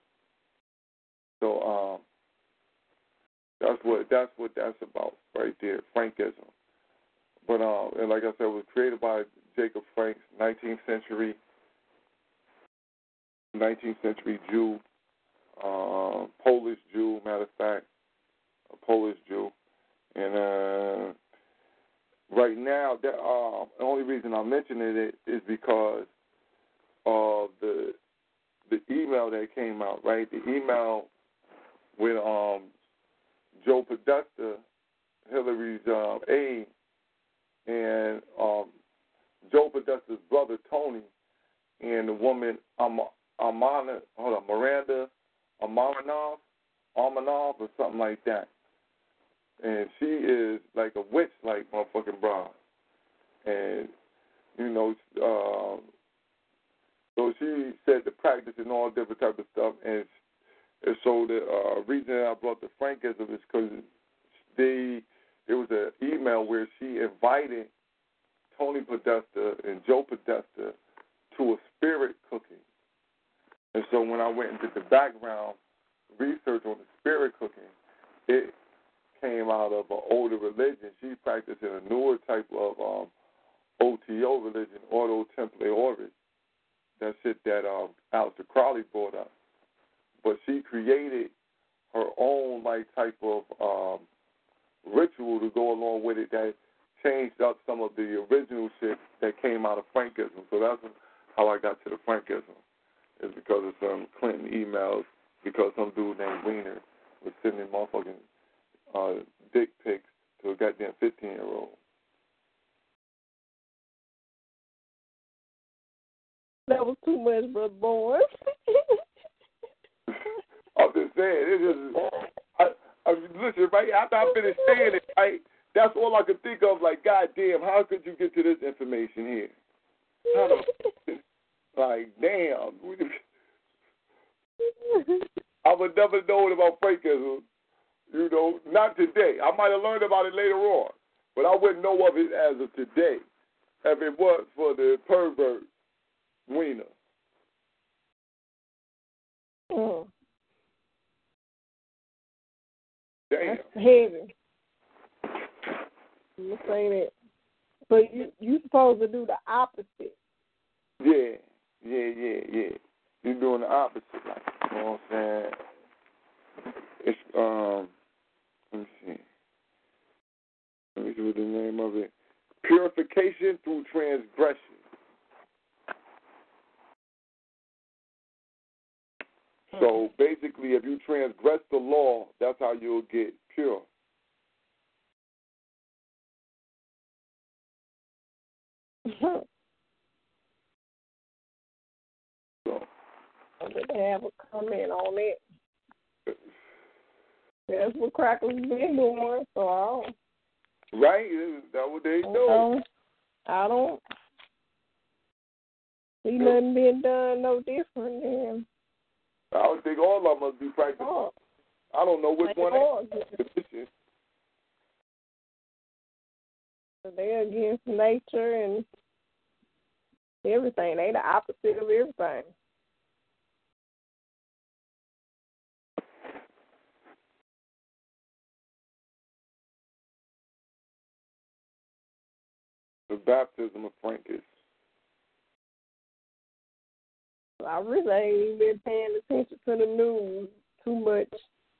So um, that's what that's what that's about right there, Frankism. But um, and like I said, it was created by Jacob Frank, nineteenth century, nineteenth century Jew, uh, Polish Jew, matter of fact, a Polish Jew. And uh, right now, that, uh, the only reason I'm mentioning it is because of the the email that came out. Right, the email with um, Joe Podesta, Hillary's um, aide. And um, Joe Podesta's brother Tony and the woman Am- Amana, hold on, Miranda Amaranoff, Amaranoff or something like that. And she is like a witch, like motherfucking broad. And you know, uh, so she said to practice and all different type of stuff. And, and so the uh, reason that I brought the Frankism is because they. There was an email where she invited Tony Podesta and Joe Podesta to a spirit cooking. And so when I went and did the background research on the spirit cooking, it came out of an older religion. She practiced in a newer type of um, O T O religion, Ordo Templi Oris. That shit that um, Aleister Crowley brought up. But she created her own like type of um, ritual to go along with it that changed up some of the original shit that came out of Frankism. So that's how I got to the Frankism, is because of some Clinton emails, because some dude named Wiener was sending motherfucking uh, dick pics to a goddamn fifteen-year-old. That was too much, brother boy. I'm just saying, it's just, I mean, listen, right after I finished saying it, right, that's all I could think of. Like, goddamn, how could you get to this information here? How the like, damn. I would never know about Frankism. You know, not today. I might have learned about it later on, but I wouldn't know of it as of today if it was for the pervert Weena. Mm. Damn. That's heavy. I'm saying it. But you you supposed to do the opposite. Yeah, yeah, yeah, yeah. You're doing the opposite, like, you know what I'm saying? It's um, let me see. Let me see what the name of it. Purification through transgression. So basically, if you transgress the law, that's how you'll get pure. So, I didn't have a comment on it. That's what Crackers been doing, so I don't. Right? That's what they do. Um, I don't see nothing being done no different than. I would think all of them must be practicing. Oh. I don't know which Like one. all. Is. They're against nature and everything. They the opposite of everything. The baptism of Francis. I really ain't even been paying attention to the news too much.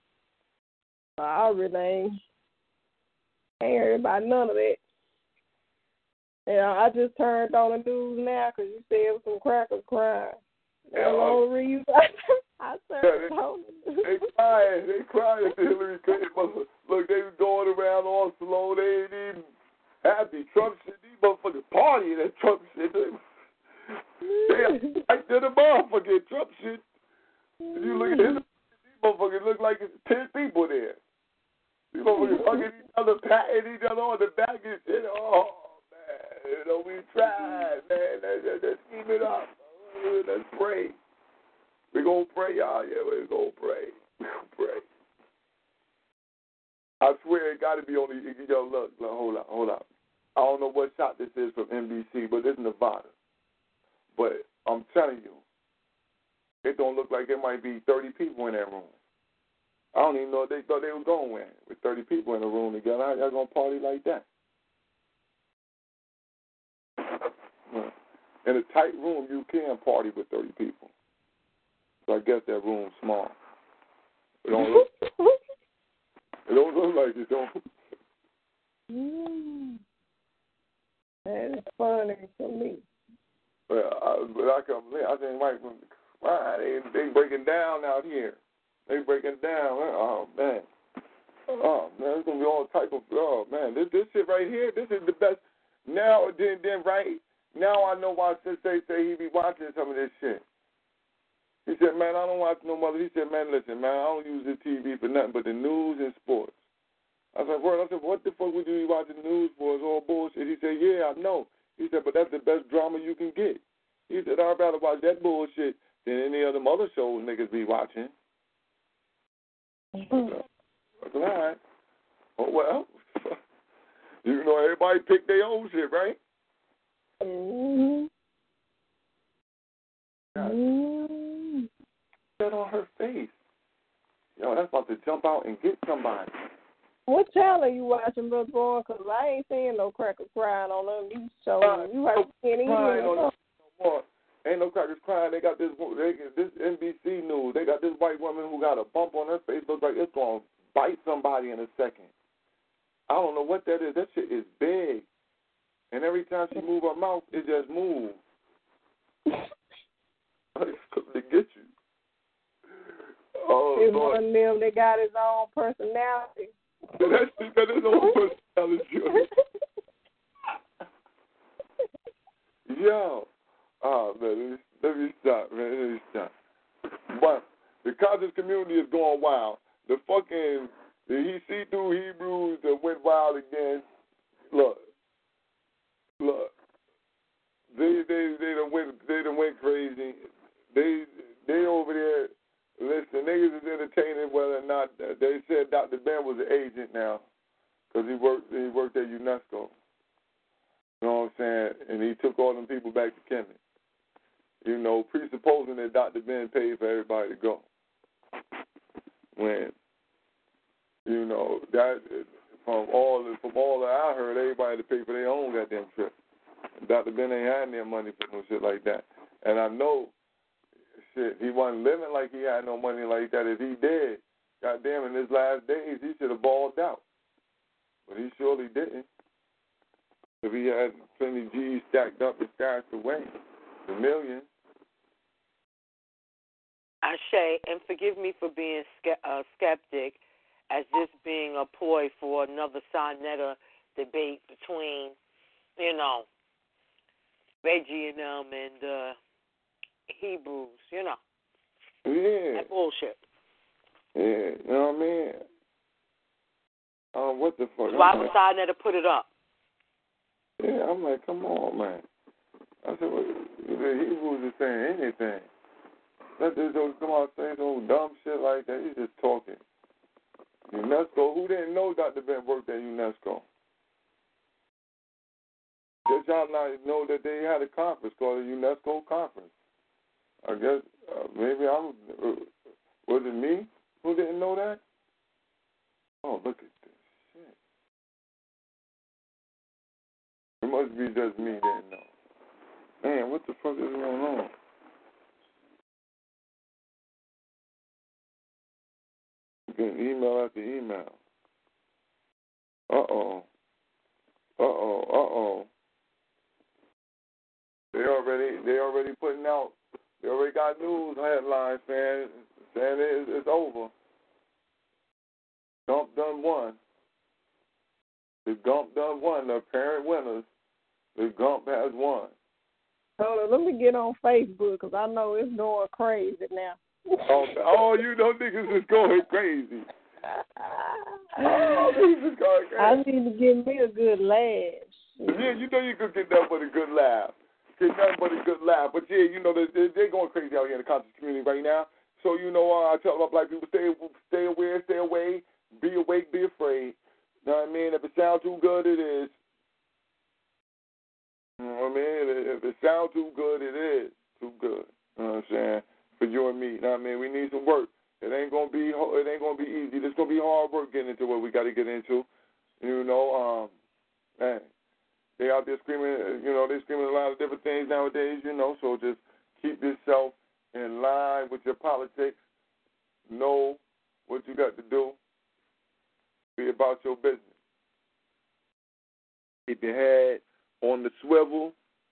I really ain't, ain't heard about none of that. And I just turned on the news now because you said it was some crackers crying. That's Yeah, the only reason I turned yeah, on the news. They crying. They crying at the Hillary Clinton. Look, they was going around all slow. They ain't even happy. Trump shit. These motherfuckers partying at Trump shit. They, they right to the motherfucking Trump shit. If you look at Hillary, these motherfuckers look like it's ten people there. These motherfuckers hugging each other, patting each other on the back and shit. Oh, man. You know, we tried, man. Let's, let's, let's keep it up. Let's pray. We're going to pray, y'all. Yeah, we're going to pray. We're going to pray. I swear it got to be on the, yo, look, look, hold up, hold up. I don't know what shot this is from N B C, but it's Nevada. But I'm telling you, it don't look like there might be thirty people in that room. I don't even know if they thought they were going with, with thirty people in a room together. How y'all going to party like that? In a tight room, you can party with thirty people. So I guess that room's small. It don't look, it don't look like it, don't. Mm. That is funny for me. Well, I, but I come, I think right from wow, they they breaking down out here. They breaking down. Oh man, oh man, it's gonna be all type of. Oh man, this this shit right here. This is the best. Now then then right now I know why Sensei say he be watching some of this shit. He said, man, I don't watch no mother. He said, man, listen, man, I don't use the T V for nothing but the news and sports. I said, word. I said, what the fuck would you be watching news for? It's all bullshit. He said, yeah, I know. He said, but that's the best drama you can get. He said, I'd rather watch that bullshit than any of them other shows niggas be watching. Mm-hmm. I said, all right. Oh, well, you know, everybody pick their own shit, right? Mm-hmm. Mm-hmm. That on her face. Yo, that's about to jump out and get somebody. What channel are you watching, Brother Boy? Because I ain't seeing no crackers crying on them these shows. Uh, you watching any of no more. Ain't no crackers crying. They got this they, this N B C news. They got this white woman who got a bump on her face. Looks like it's going to bite somebody in a second. I don't know what that is. That shit is big. And every time she move her mouth, it just moves. It's coming to get you. Oh, it's Lord. one of them that got his own personality. That shit got his own personality. Yo. Oh, man, let me, let me stop, man. Let me stop. But the conscious community is going wild. The fucking Did he see through Hebrews that went wild again? Look, look. They they they done went they done went crazy. They they over there. Listen, niggas is entertaining whether or not they said Doctor Ben was an agent now because he worked he worked at UNESCO. You know what I'm saying? And he took all them people back to Kemet. You know, presupposing that Doctor Ben paid for everybody to go. When, you know, that from all from all that I heard, everybody had to pay for their own goddamn trip. Doctor Ben ain't had any money for no shit like that. And I know, shit, he wasn't living like he had no money like that. If he did, goddamn, in his last days, he should have balled out. But he surely didn't. If he had plenty of G's stacked up and stashed away, the millions. Ashe, and forgive me for being ske- uh, skeptic, as this being a ploy for another Sonetta debate between, you know, Reggie and them and uh, Hebrews, you know. Yeah. That bullshit. Yeah, you know what I mean? Um, what the fuck? Why would Sonetta put it up? Yeah, I'm like, come on, man. I said, well, the Hebrews is saying anything. Let this dude come out saying some dumb shit like that. He's just talking. UNESCO, who didn't know Doctor Ben worked at UNESCO? Did y'all not know that they had a conference called the UNESCO conference? I guess uh, maybe I'm, uh, was it me who didn't know that? Oh, look at this shit. It must be just me that didn't know. Man, what the fuck is going on? Getting email after email. Uh-oh. Uh-oh. Uh-oh. They already, they already putting out, they already got news headlines, man, saying it, it's over. Gump done won. The Gump done won. The apparent winners, the Gump has won. Hold on, let me get on Facebook because I know it's going crazy now. Oh, oh, you know niggas is going crazy. Oh, niggas is going crazy. I need to give me a good laugh. Yeah, you know you could get that but a good laugh. Get nothing but a good laugh. But yeah, you know, they're, they're going crazy out here in the conscious community right now. So, you know, uh, I tell my black people, stay stay aware, stay away, be awake, be afraid. You know what I mean? If it sounds too good, it is. You know what I mean? If it sounds too good, it is too good. You know what I'm saying? For you and me. You know what I mean? We need some work. It ain't gonna be it ain't gonna be easy. It's gonna be hard work getting into what we gotta get into. You know, um man. They out there screaming, you know, they're screaming a lot of different things nowadays, you know, so just keep yourself in line with your politics. Know what you got to do. Be about your business. Keep your head on the swivel.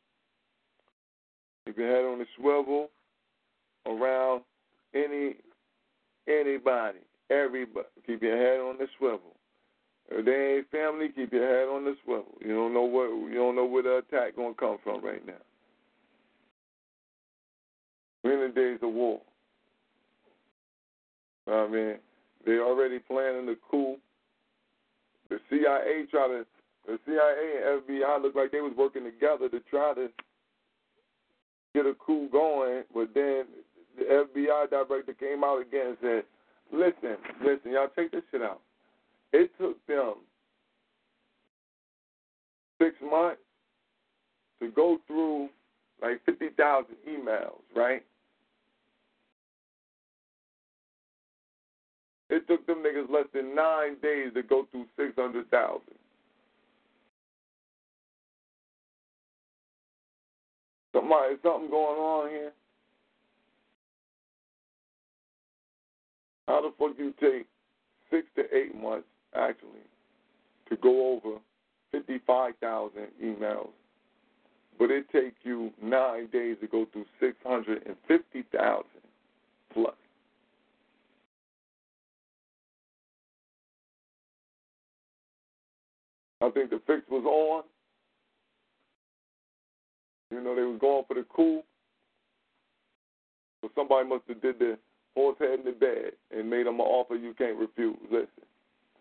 Keep your head on the swivel around any anybody, everybody. Keep your head on the swivel. If they ain't family, keep your head on the swivel. You don't know what you don't know where the attack gonna come from right now. We're in the days of war. I mean, they already planning the coup. The C I A try to the C I A and F B I looked like they was working together to try to get a coup going, but then the F B I director came out again and said, Listen, listen, y'all take this shit out. It took them six months to go through like fifty thousand emails, right? It took them niggas less than nine days to go through six hundred thousand. Somebody, something going on here? How the fuck you take six to eight months, actually, to go over fifty-five thousand emails, but it takes you nine days to go through six hundred fifty thousand plus? I think the fix was on. You know, they was going for the coup. So somebody must have did the horse head in the bed and made them an offer you can't refuse. Listen,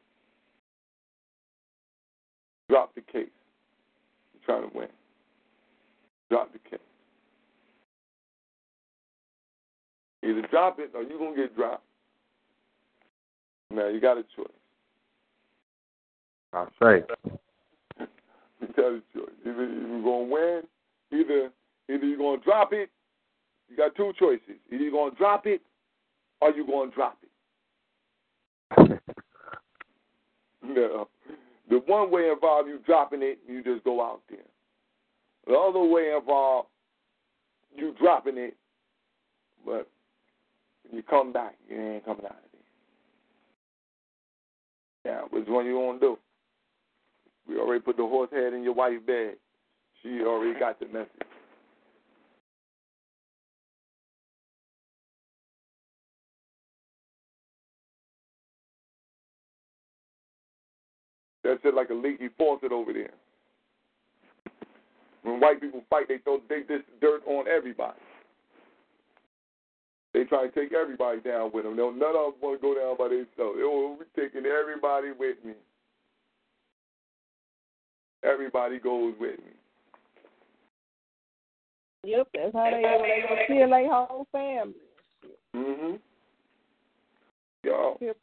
drop the case. You're trying to win. Drop the case. Either drop it or you're going to get dropped. Now, you got a choice. I say. You got a choice. Either you're going to win, either, either you're going to drop it. You got two choices. Either you're going to drop it or you're going to drop it. No. The one way involves you dropping it, you just go out there. The other way involves you dropping it, but when you come back, you ain't coming out of there. Now, which one you want to do? We already put the horse head in your wife's bed. She already got the message. That's just like a leaky faucet over there. When white people fight, they throw they this dirt on everybody. They try to take everybody down with them. None of them want to go down by themselves. They will be taking everybody with me. Everybody goes with me. Yep, that's how they they gonna kill their whole family. Mhm. Yo. Yep.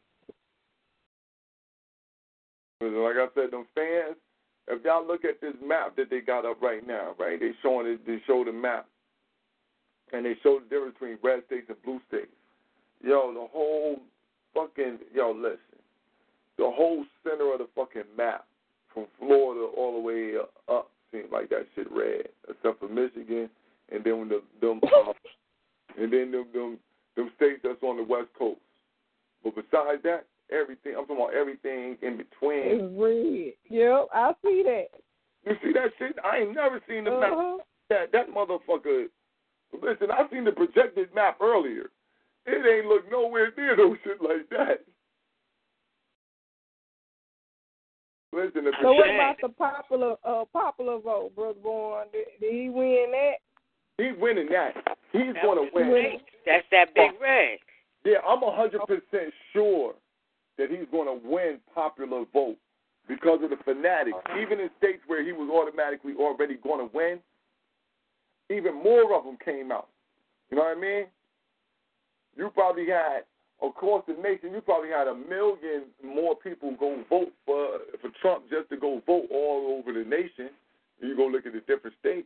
Like I said, them fans. If y'all look at this map that they got up right now, right? They showing it. They show the map, and they show the difference between red states and blue states. Yo, the whole fucking yo, listen. The whole center of the fucking map, from Florida all the way up, seems like that shit red, except for Michigan, and then when the them, uh, and then them, them them states that's on the West Coast. But besides that, everything I'm talking about everything in between. It's red. Yep, I see that. You see that shit? I ain't never seen the uh-huh. map. That that motherfucker. Listen, I seen the projected map earlier. It ain't look nowhere near no shit like that. Listen, the so what about the popular uh, popular vote, Brother Bourne? Did, did he win that? He's winning that. He's That going to win. Great. That's that big red. Yeah, I'm one hundred percent sure that he's going to win popular vote because of the fanatics. Even in states where he was automatically already going to win, even more of them came out. You know what I mean? You probably had, across the nation, you probably had a million more people go vote for for Trump just to go vote all over the nation. You go look at the different states.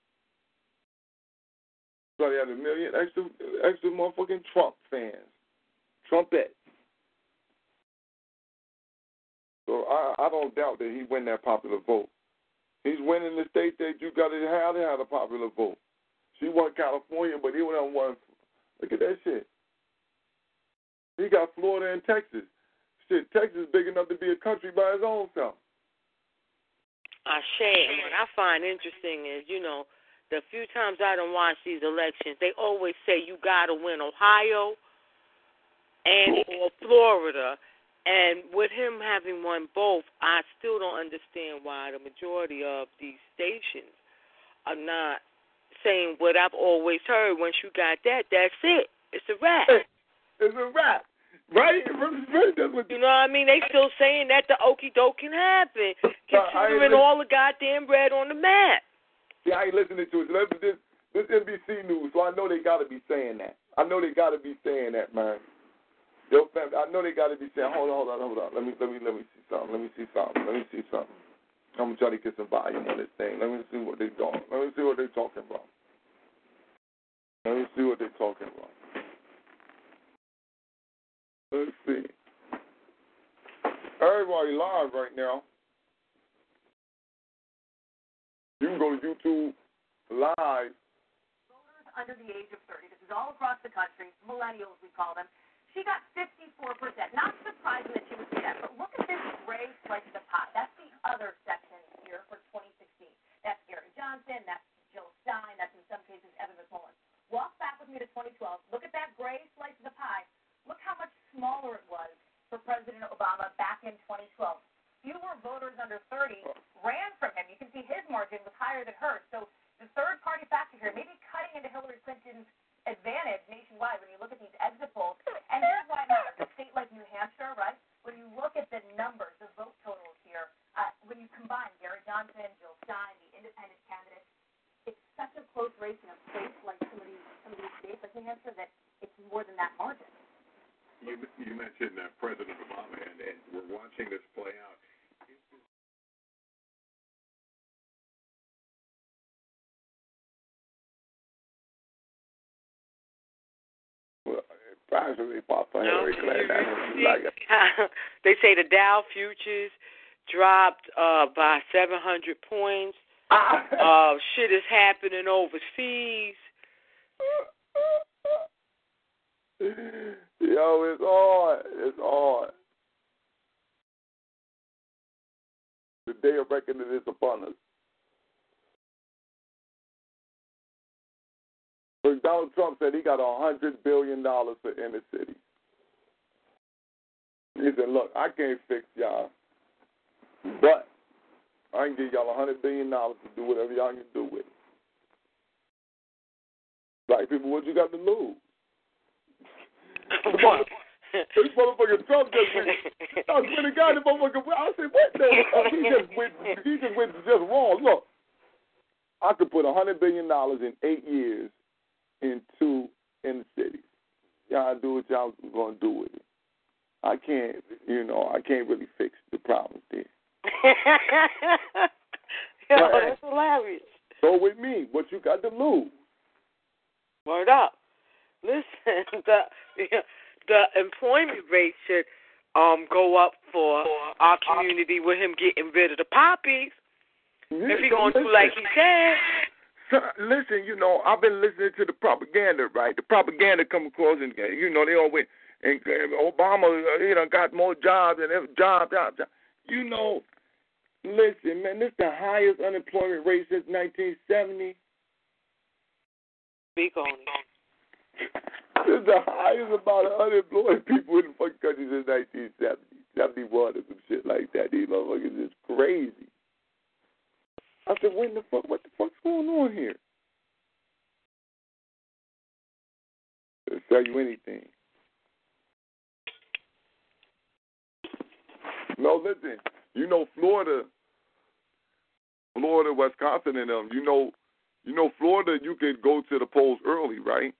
Probably had a million extra, extra motherfucking Trump fans. Trumpets. So I, I don't doubt that he win that popular vote. He's winning the state that you got to have to have a popular vote. She won California, but he went on one. Look at that shit. He got Florida and Texas. Shit, Texas is big enough to be a country by its own self. I share. And what I find interesting is, you know, the few times I done watched these elections, they always say you got to win Ohio and or Florida. And with him having won both, I still don't understand why the majority of these stations are not saying what I've always heard. Once you got that, that's it. It's a wrap. It's a wrap. Right? You know what I mean? They still saying that the okie doke can happen, considering all the goddamn red on the map. See, I ain't listening to it. This, this N B C News, so I know they got to be saying that. I know they got to be saying that, man. Yo, fam, I know they got to be saying, hold on, hold on, hold on. Let me, let me, let me see something. Let me see something. Let me see something. I'm trying to get some volume on this thing. Let me see what they doing. Let me see what they're talking about. Let me see what they're talking about. Let's see. Everybody live right now. You can go to YouTube live. Voters under the age of thirty. This is all across the country. Millennials, we call them. She got fifty-four percent. Not surprising that she would do that, but look at this gray slice of the pie. That's the other section here for twenty sixteen. That's Gary Johnson. That's Jill Stein. That's in some cases Evan McMullin. Walk back with me to twenty twelve. Look at that gray slice of the pie. Look how much smaller it was for President Obama back in twenty twelve. Fewer voters under thirty ran from him. You can see his margin was higher than hers. So the third-party factor here, maybe cutting into Hillary Clinton's advantage nationwide when you look at these exit polls. And here's why it matters. A state like New Hampshire, right? When you look at the numbers, the vote totals here, uh, when you combine the answer that it's more than that margin? You, you mentioned uh, President Obama, and, and we're watching this play out. Well, probably Papa Hillary Clinton. Like they say the Dow futures dropped uh, by seven hundred points. uh, shit is happening overseas. Yo, it's on. It's on. The day of reckoning is upon us. So Donald Trump said he got one hundred billion dollars for inner city. He said, look, I can't fix y'all, but I can give y'all one hundred billion dollars to do whatever y'all can do with it. Black people, what you got to lose? This motherfucker Trump just went, I swear to God, the motherfucker, I said, what the fuck? He just went, he just went just wrong. Look, I could put one hundred billion dollars in eight years into inner cities. Y'all do what y'all going to do with it. I can't, you know, I can't really fix the problems there. Yo, that's hilarious. So with me, what you got to lose? Word up. Listen, the the employment rate should um go up for our community with him getting rid of the poppies. Yeah, if he so going to listen. do like he said. So, listen, you know, I've been listening to the propaganda, right? The propaganda come across, and you know, they always and, and Obama, you know, got more jobs and every job, job, job. You know, listen, man, this is the highest unemployment rate since nineteen seventy. Speak on it. This is the highest amount of unemployed people in the fucking country since nineteen seventy, seventy-one or some shit like that. These motherfuckers is crazy. I said, when the fuck, what the fuck's going on here? They'll sell you anything. No, listen, you know Florida, Florida, Wisconsin, and them. You know, you know Florida. You could go to the polls early, right?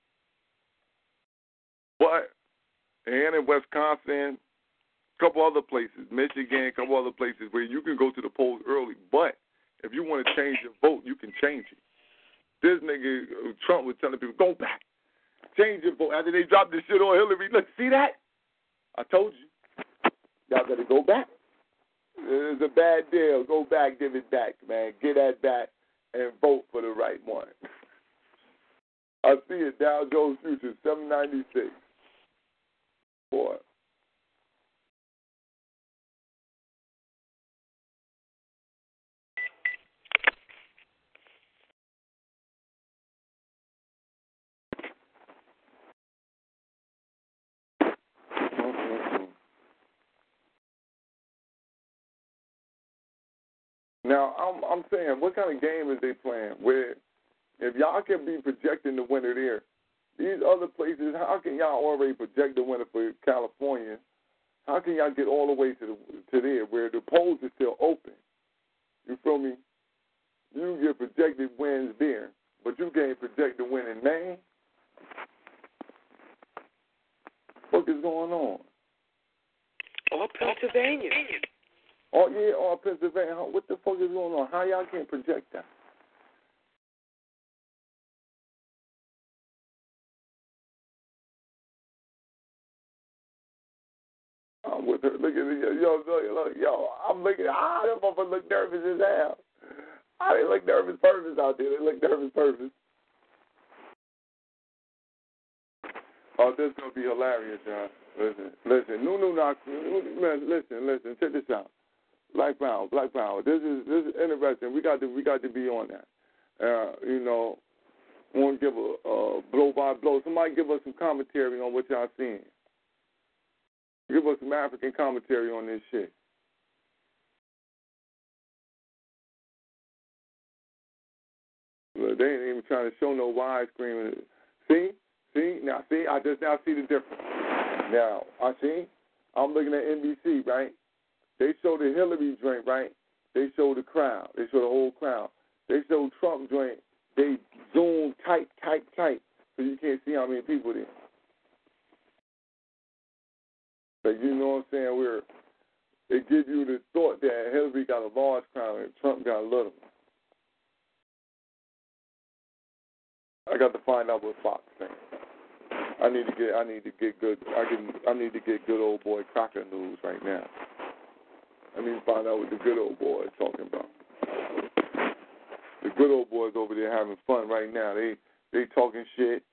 But and in Wisconsin, a couple other places, Michigan, a couple other places where you can go to the polls early. But if you want to change your vote, you can change it. This nigga Trump was telling people, go back, change your vote. After they dropped this shit on Hillary, look, see that? I told you. Y'all got to go back. It's a bad deal. Go back, give it back, man. Get that back and vote for the right one. I see it. Dow Jones Futures, seven ninety-six. Boy. Now, I'm I'm saying, what kind of game is they playing? Where if y'all can be projecting the winner there, these other places, how can y'all already project the winner for California? How can y'all get all the way to the to there where the polls are still open? You feel me? You get projected wins there, but you can't project the win in Maine. What is going on? Or Pennsylvania. Oh, yeah, or Pennsylvania. What the fuck is going on? How y'all can't project that? I'm with her. Look at it. Yo, yo, yo, I'm looking. Ah, that motherfucker look nervous as hell. Ah, they look nervous purpose out there. They look nervous purpose. Oh, this is going to be hilarious, y'all. Listen, listen. No, no, no. Listen, listen. Check this out. Black Power, Black Power. This is this is interesting. We got to we got to be on that. Uh, you know, want to give a uh, blow by blow. Somebody give us some commentary on what y'all seeing. Give us some African commentary on this shit. Look, they ain't even trying to show no widescreen. See, see now, see. I just now see the difference. Now I see. I'm looking at N B C, right? They show the Hillary joint, right? They show the crowd. They show the whole crowd. They show Trump joint. They zoom tight, tight, tight. so you can't see how many people there. Like, you know what I'm saying? Where it gives you the thought that Hillary got a large crowd and Trump got a little. I got to find out what Fox thinks. I need to get. I need to get good. I can. I need to get good old boy Crocker news right now. I need to find out what the good old boy is talking about. The good old boys over there having fun right now. They they talking shit.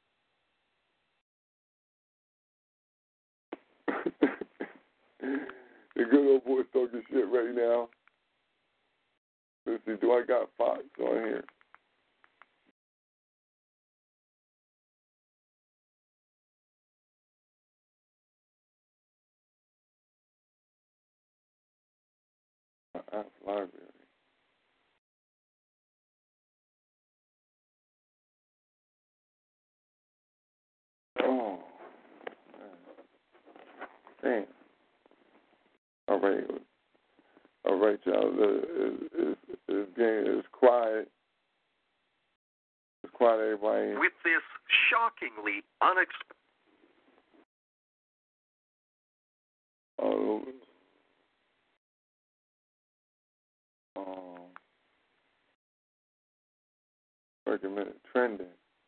The good old boys talking shit right now. Let's see. Do I got Fox on here? App library. Oh, man. Damn. All right. All right, y'all. It's, it's, it's quiet. It's quiet, everybody. With this shockingly unexpected. Oh. Um, wait a minute. Trending.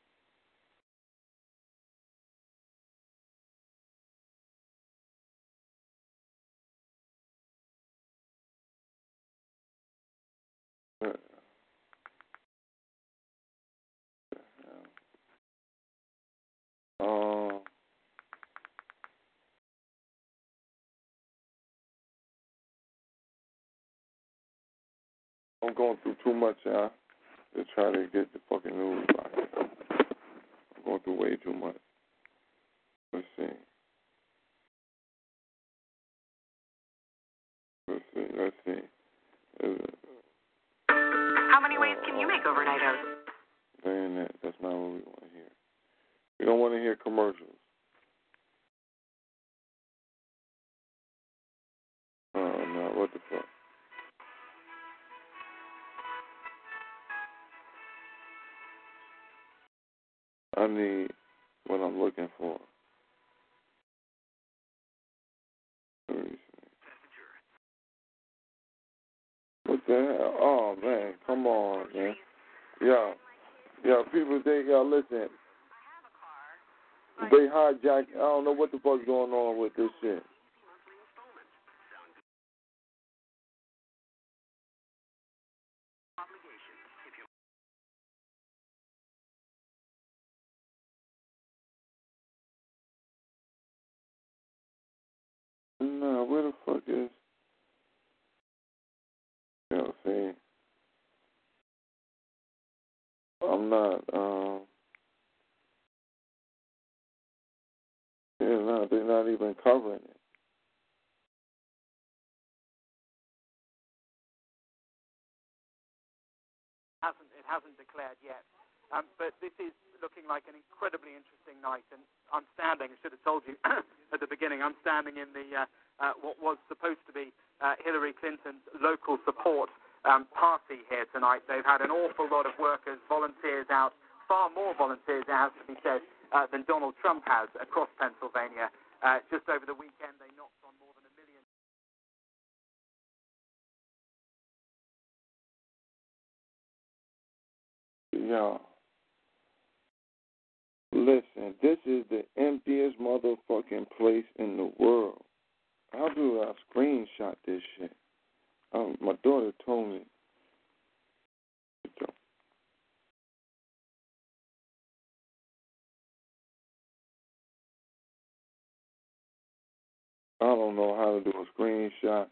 Um, I'm going through too much, y'all, to try to get the fucking news right. I'm going through way too much. Let's see. Let's see. Let's see. How many ways can you make overnight oats? Saying that, that's not what we want to hear. We don't want to hear commercials. Oh, no, what the fuck? I need what I'm looking for. Let me see. What the hell? Oh, man, come on, man. Yo, yo, people, they, y'all, listen. They hijack. I don't know what the fuck's going on with this shit. No, where the fuck is? You know, see, I'm not. Um, yeah, no, they're not even covering it. Hasn't it hasn't declared yet, um, but this is looking like an incredibly interesting night. And I'm standing. I should have told you at the beginning. I'm standing in the uh, uh, what was supposed to be uh, Hillary Clinton's local support um, party here tonight. They've had an awful lot of workers, volunteers out, far more volunteers out, to be said, uh, than Donald Trump has across Pennsylvania. Uh, just over the weekend, they knocked on more than a million. Y'all, listen, this is the emptiest motherfucking place in the world. How do I screenshot this shit? Um, my daughter told me. I don't know how to do a screenshot.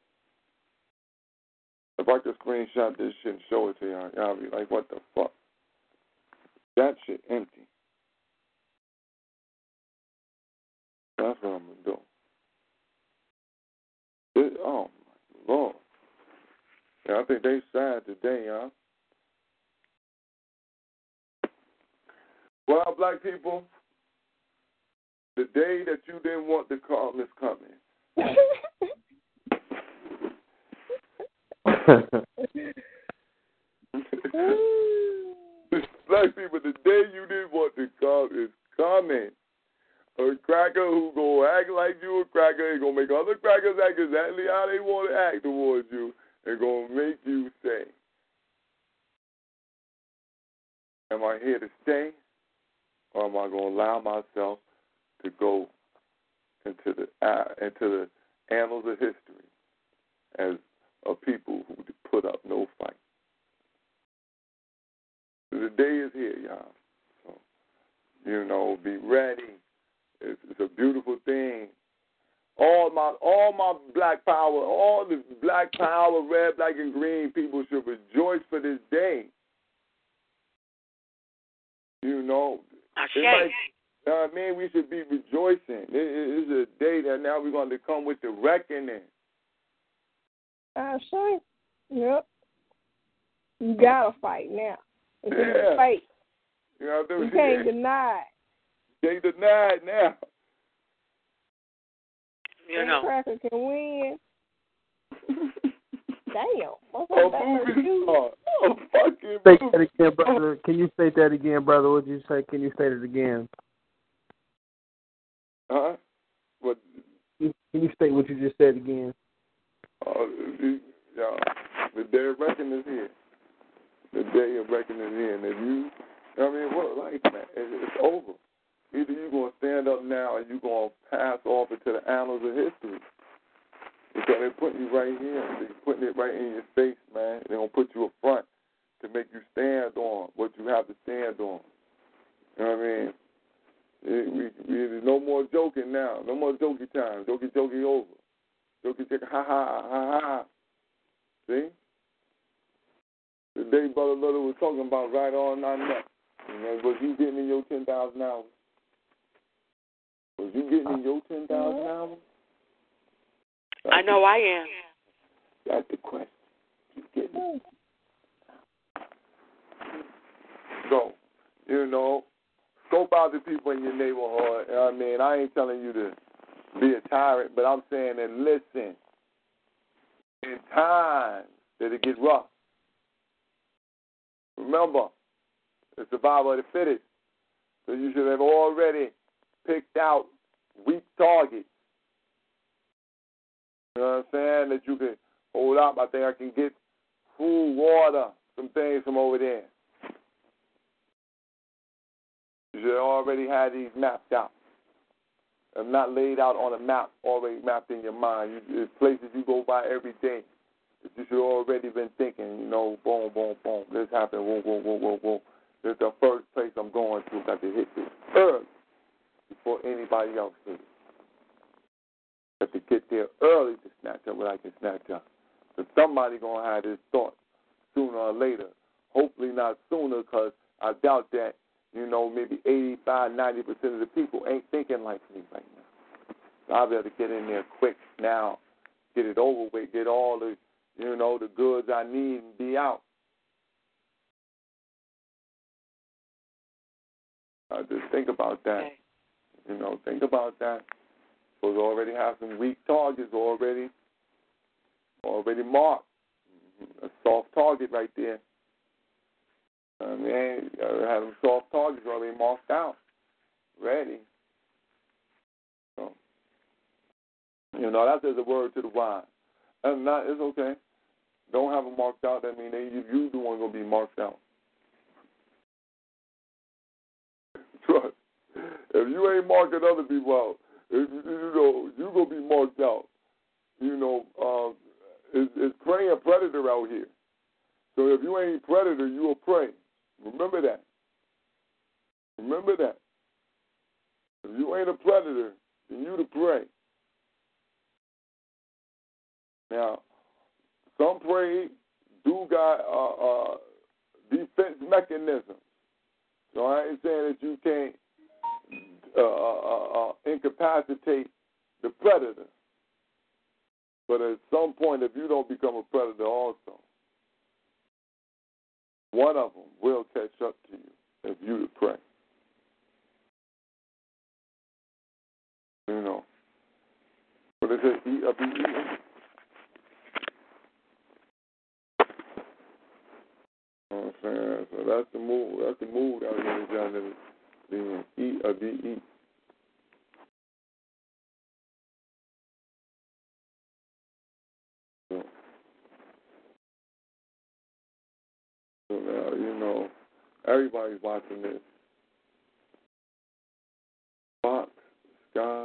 If I could screenshot this shit and show it to y'all, y'all be like, what the fuck? That shit empty. That's what I'm going to do. This, oh, my Lord. Yeah, I think they sad today, y'all. Well, black people, the day that you didn't want to call is coming. Black people, the day you didn't want to call stuff is coming. A cracker who gonna act like you a cracker, he gonna make other crackers act exactly how they want to act towards you, and gonna make you say, am I here to stay, or am I gonna allow myself to go into the uh, into the annals of history as a people who put up no fight? The day is here, y'all. So, you know, be ready. It's, it's a beautiful thing. All my all my black power, all the black power, red, black, and green people should rejoice for this day. You know, Ashe. like, uh, man, we should be rejoicing. It, it, it's a day that now we're going to come with the reckoning. Ashe. Yep. You gotta fight now. It's Yeah. a fight. You know, You can't deny it. Can't deny it now. You know. Cracker can win. Damn. What's A that movie star. A fucking Say movie. that again, brother. Can you state that again, brother? What did you say? Can you state it again? Huh? What? Can you state what you just said again? Uh, the, uh, the day of reckoning is here. The day of reckoning is here. And if you, I mean, what life, man? It, it's over. Either you're going to stand up now or you're going to pass off into the annals of history. Because they're putting you right here. They're putting it right in your face, man. They're going to put you up front to make you stand on what you have to stand on. You know what I mean? It, we, we, there's no more joking now. No more jokey time. Jokey, jokey over. Jokey, jokey, ha, ha, ha, ha. See? The day Brother Little was talking about right on our neck. You know, was you getting in your ten thousand hours? Was you getting in your ten thousand hours? That's I know I am. That's the question. You getting it? So, you know, scope out the people in your neighborhood. You know what I mean, I ain't telling you to be a tyrant, but I'm saying that listen, in times that it gets rough, remember, the survival of the fittest. So you should have already picked out weak targets. You know what I'm saying? That you can hold up. I think I can get food, water, some things from over there. You should have already had these mapped out. If not laid out on a map, already mapped in your mind. You, there's places you go by every day that you should have already been thinking, you know, boom, boom, boom. This happened, whoa, whoa, whoa, whoa, whoa. This is the first place I'm going to. Got to hit this early before anybody else hits it. Got to get there early to snatch up what I can snatch up. So somebody going to have this thought sooner or later. Hopefully not sooner, because I doubt that, you know, maybe eighty-five, ninety percent of the people ain't thinking like me right now. So I'll be able to get in there quick now, get it over with, get all the, you know, the goods I need and be out. Uh, just think about that. Okay. You know, think about that. Supposed to already have some weak targets already, already marked. A soft target right there. I mean, you have them soft targets already marked out, ready. So, you know, that's just a word to the wise. That's not, it's okay. Don't have them marked out. That means they, you the one going to be marked out. Trust. If you ain't marking other people out, if, you know, you going to be marked out. You know, um, it's, it's prey and predator out here. So if you ain't predator, you a prey. Remember that. Remember that. If you ain't a predator, then you the prey. Now, some prey do got uh, uh, defense mechanisms. So I ain't saying that you can't uh, uh, uh, incapacitate the predator. But at some point, if you don't become a predator also, one of them will catch up to you if you the prey. You know. But it says eat up and eat. You know what I'm saying? So that's the move. That's the move out here, John. being E or D E. So, so now, you know, everybody's watching this. Fox, Sky.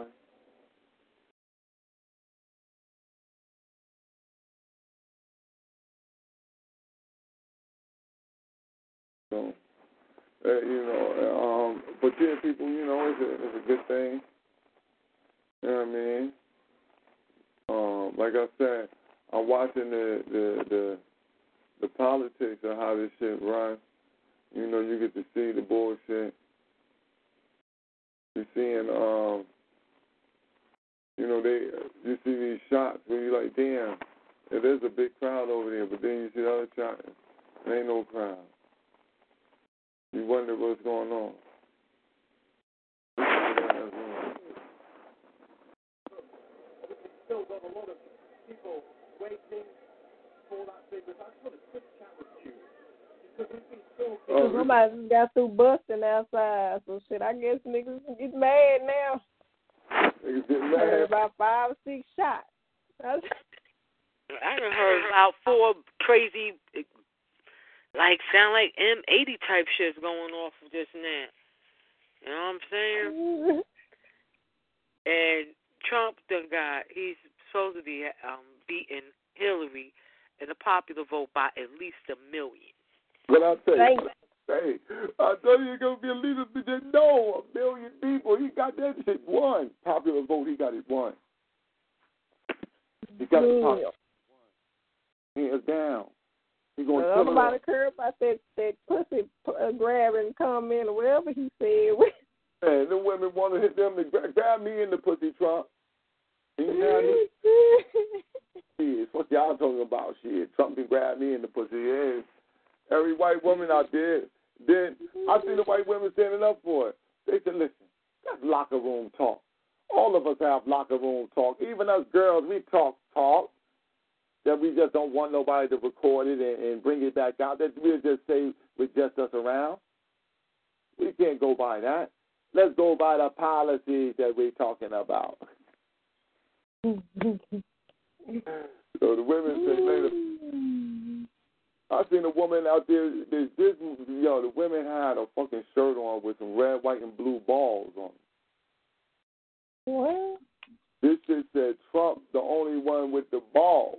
So, uh, you know, um, but yeah, people, you know, it's a, it's a good thing. You know what I mean? Um, like I said, I'm watching the, the the the politics of how this shit runs. You know, you get to see the bullshit. You're seeing, um, you know, they you see these shots where you're like, damn, yeah, there's a big crowd over there, but then you see the other shot, there ain't no crowd. You wonder what's going on. Still got a lot of people waiting for that thing, but I just want a quick chat with you. Because we've been talking. Oh, somebody just got through busting outside, so shit, I guess niggas get mad now. Niggas get I heard mad. about five or six shots. I done heard about four crazy, like, sound like M eighty type shits going off just now. You know what I'm saying? And Trump done got, he's supposed to be um, beating Hillary in the popular vote by at least a million. But I tell you, hey, I tell you, it's gonna be a leader. No, a million people. He got that shit won. Popular vote, he got it won. He got it popular. Hands down. He going to tell about the curb about that that pussy uh, grabbing comment or whatever he said. Man, the women want to hit them to grab, grab me in the pussy, Trump. You know shit, what y'all talking about? Shit, Trump can grab me in the pussy. Yeah. Every white woman out there, then I see the white women standing up for it. They said, listen, that's locker room talk. All of us have locker room talk. Even us girls, we talk talk. That we just don't want nobody to record it and, and bring it back out. That we'll just say with just us around. We can't go by that. Let's go by the policies that we're talking about. So the women say later. I seen a woman out there. This, this, you know, the women had a fucking shirt on with some red, white, and blue balls on it. What? This shit said Trump, the only one with the balls.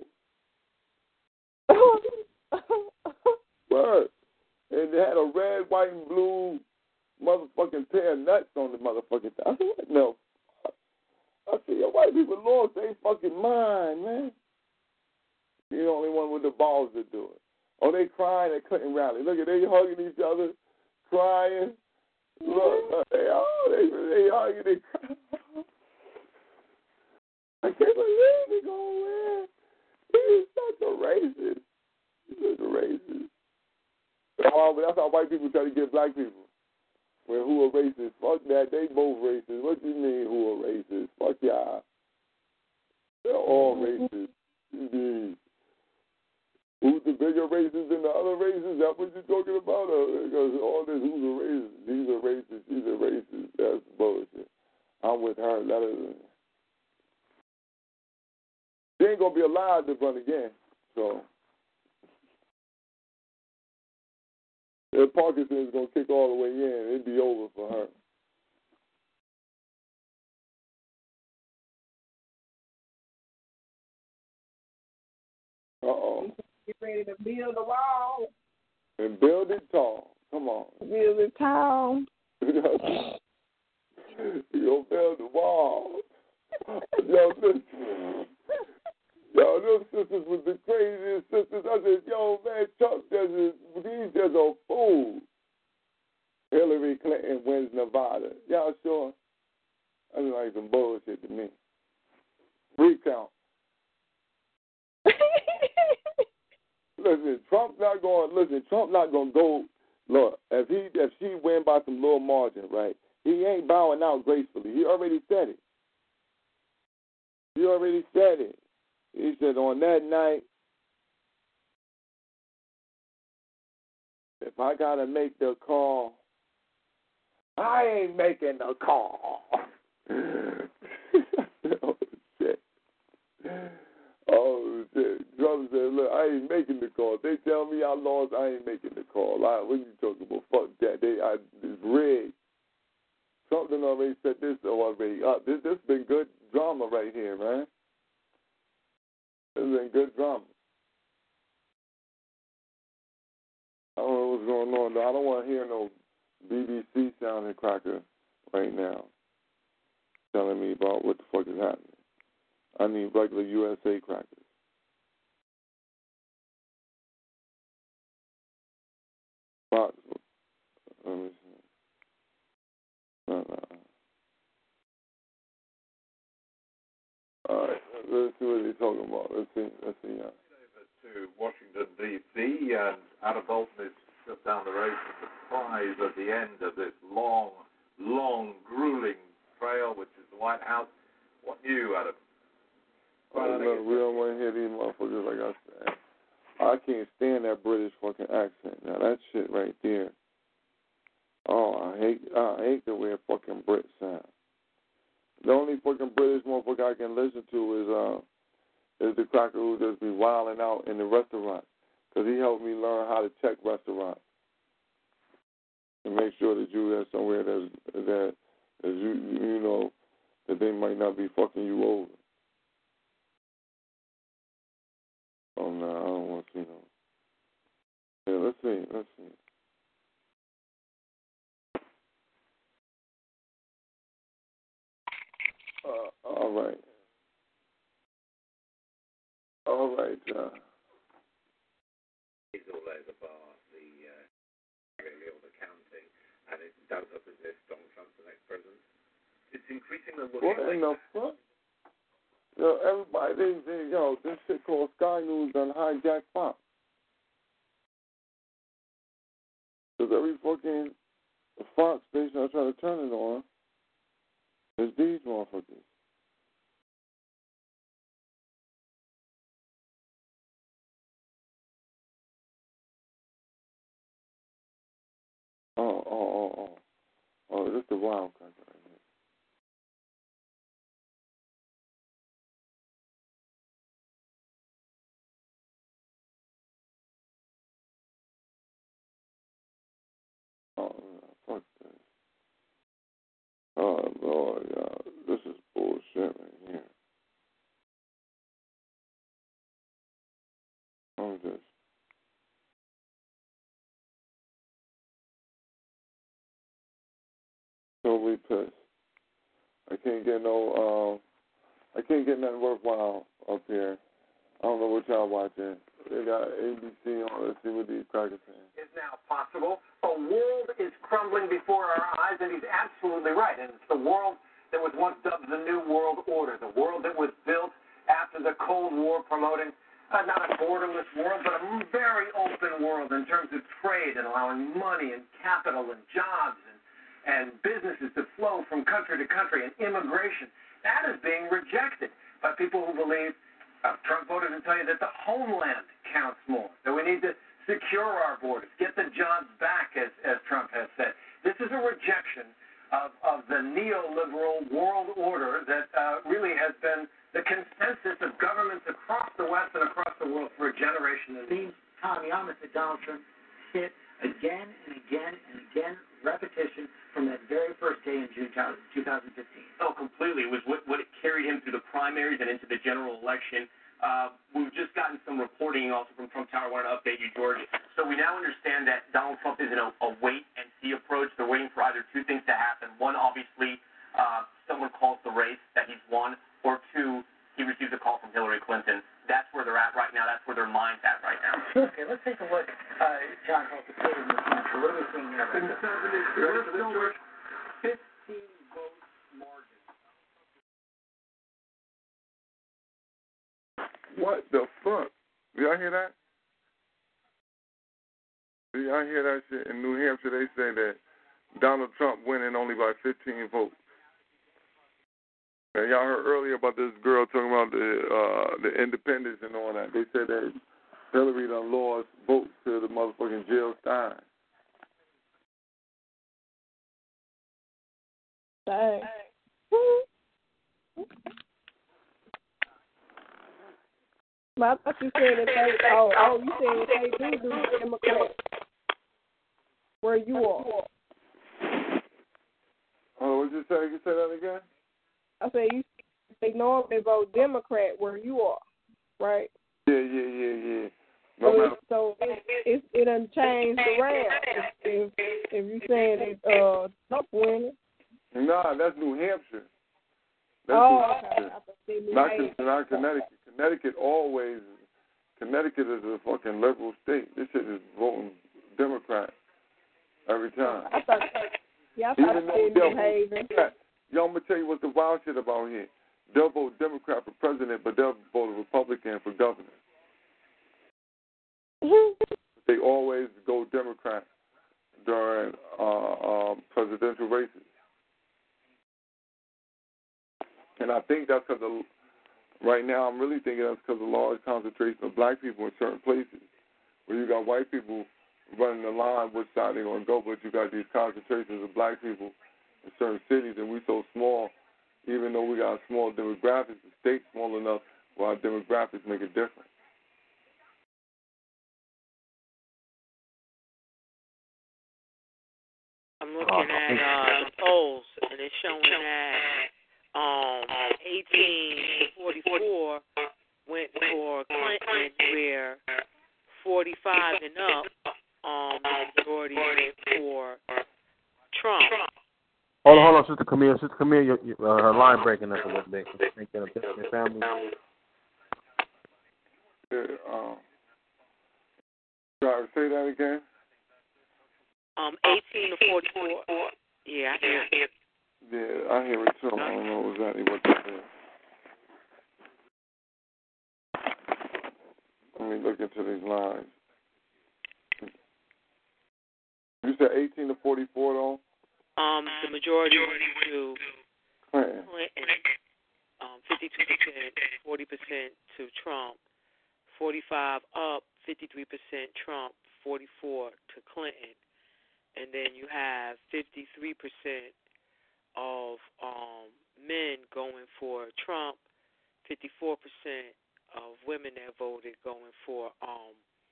Word. And they had a red, white, and blue motherfucking pair of nuts on the motherfucking thing. I said, what? No. I said, yo, white people lost their fucking mind, man. You're the only one with the balls to do it. Oh, they crying at Clinton rally. Look at they hugging each other, crying. Look, they oh, they they hugging, they crying. I can't believe he gonna win. He's such a racist. He's such a racist. That's how white people try to get black people. Well, who are racist? Fuck that. They both racist. What do you mean who are racist? Fuck y'all. They're all racist. Indeed. Who's the bigger racist than the other races? That's what you're talking about? Uh, because all this, who's a racist? These are racist. These are racist. That's bullshit. I'm with her. Let her. She ain't going to be allowed to run again. So, if Parkinson's going to kick all the way in, it'd be over for her. Uh-oh. Get ready to build a wall. And build it tall. Come on. Build it tall. You gonna build the wall. Yo, listen. Yo, those sisters was the craziest sisters. I said, yo, man, Chuck just is, he's just a fool. Hillary Clinton wins Nevada. Y'all sure? That's like some bullshit to me. Recount. Listen, Trump not going. Listen, Trump not going to go. Look, if he if she win by some little margin, right? He ain't bowing out gracefully. He already said it. He already said it. He said on that night, if I gotta make the call, I ain't making the call. Oh, shit. Oh, shit. Trump said, look, I ain't making the call. If they tell me I lost, I ain't making the call. I, what are you talking about? Fuck that. They, I, it's rigged. Trump done already set this already up. This this been good drama right here, man. This has been good drama. I don't know what's going on, though. I don't want to hear no B B C sounding cracker right now telling me about what the fuck is happening. I need regular U S A crackers. Fox. Let me see. No, no. All right, let's see what he's talking about. Let's see. Let's see. Yeah. To Washington, D C, and Adam Bolton is just down the road from the prize at the end of this long, long, grueling trail, which is the White House. What new, Adam? Well, oh, look, we don't want to hear these motherfuckers like I said. I can't stand that British fucking accent. Now, that shit right there. Oh, I hate I hate the way a fucking Brit sound. The only fucking British motherfucker I can listen to is uh is the cracker who just be wilding out in the restaurant, because he helped me learn how to check restaurants and make sure that you are somewhere that's, that that you you know that they might not be fucking you over. Oh no, I don't want to see no. Yeah, let's see, let's see. Uh, all right. All right. Uh, It's all over bar, the uh, really all the counting, and it does up as if Donald Trump's the next president. It's increasingly looking what like... in the fuck? Yo, everybody, they, they, yo, this shit called Sky News done hijacked Fox. Because every fucking Fox station I try to turn it on is these motherfuckers. Oh, oh, oh, oh. Oh, this is the wild card right here. Oh, fuck this. Oh, Lord, y'all. This is bullshit right here. I'm just... totally pissed. I can't get no, um, I can't get nothing worthwhile up here. I don't know what y'all watching. They got A B C on. Let's see what these crackers saying. Is now possible. A world is crumbling before our eyes, and he's absolutely right. And it's the world that was once dubbed the New World Order, the world that was built after the Cold War, promoting uh, not a borderless world, but a very open world in terms of trade and allowing money and capital and jobs and, and businesses to flow from country to country, and immigration. That is being rejected by people who believe, uh, Trump voters will tell you that the homeland counts more, that we need to secure our borders, get the jobs back, as, as Trump has said. This is a rejection of, of the neoliberal world order that uh, really has been the consensus of governments across the West and across the world for a generation. It seems Tommy-Thomas that Donald Trump hit again and again and again, repetition from that very first day in June two thousand fifteen. Oh, completely. It was what, what it carried him through the primaries and into the general election. Uh, we've just gotten some reporting also from Trump Tower. I wanted to update you, George. So we now understand that Donald Trump is in a, a wait-and-see approach. They're waiting for either two things to happen. One, obviously, uh, someone calls the race that he's won, or two, he receives a call from Hillary Clinton. That's where they're at right now. That's where their mind's at right now. Okay, let's take a look. Uh, John Holt, the state of New Hampshire. What are we seeing here? Right now? fifteen votes margin. What the fuck? Did y'all hear that? Did y'all hear that shit? In New Hampshire, they say that Donald Trump winning only by fifteen votes. And y'all heard earlier about this girl talking about the uh, the independence and all that. They said that Hillary done lost votes to the motherfucking Jill Stein. Dang. But I thought you said that they, oh, oh, you said that they do do Democrats where you are. Oh, what did you say? You say that again? I said you they normally vote Democrat where you are, right? Yeah, yeah, yeah, yeah. No so matter. It, so it, it it done changed around. If if, if you saying that uh Trump winning. Nah, that's New Hampshire. That's Oh, New okay. Hampshire. I thought they New Not, Hampshire. not Connecticut. Connecticut always. Connecticut is a fucking liberal state. This shit is voting Democrat every time. I thought. Yeah, I thought Even they though New Haven. Yo, I'm gonna tell you what's the wild shit about here. They'll vote Democrat for president, but they'll vote Republican for governor. They always go Democrat during uh, um, presidential races, and I think that's because right now I'm really thinking that's because of large concentration of black people in certain places, where you got white people running the line which side they're gonna go, but you got these concentrations of black people in certain cities, and we so small. Even though we got small demographics, the state's small enough where our demographics make a difference. I'm looking at uh, the polls, and it's showing that um, eighteen to forty-four went for Clinton, where forty-five and up, um, the majority went for Trump. Hold on, hold on, Sister Camille. Sister Camille, your, your, uh, her line breaking up a little bit. Think that your family. Yeah, um, sorry, say that again. Um, eighteen to forty-four. Yeah, I hear it. Yeah, I hear it too. I don't know exactly what that is. Let me look into these lines. You said eighteen to forty-four, though? Um, the majority went to Clinton. Clinton. Um, fifty-two percent, forty percent to Trump. forty-five up, fifty-three percent Trump, forty-four to Clinton. And then you have fifty-three percent of um, men going for Trump, fifty-four percent of women that voted going for um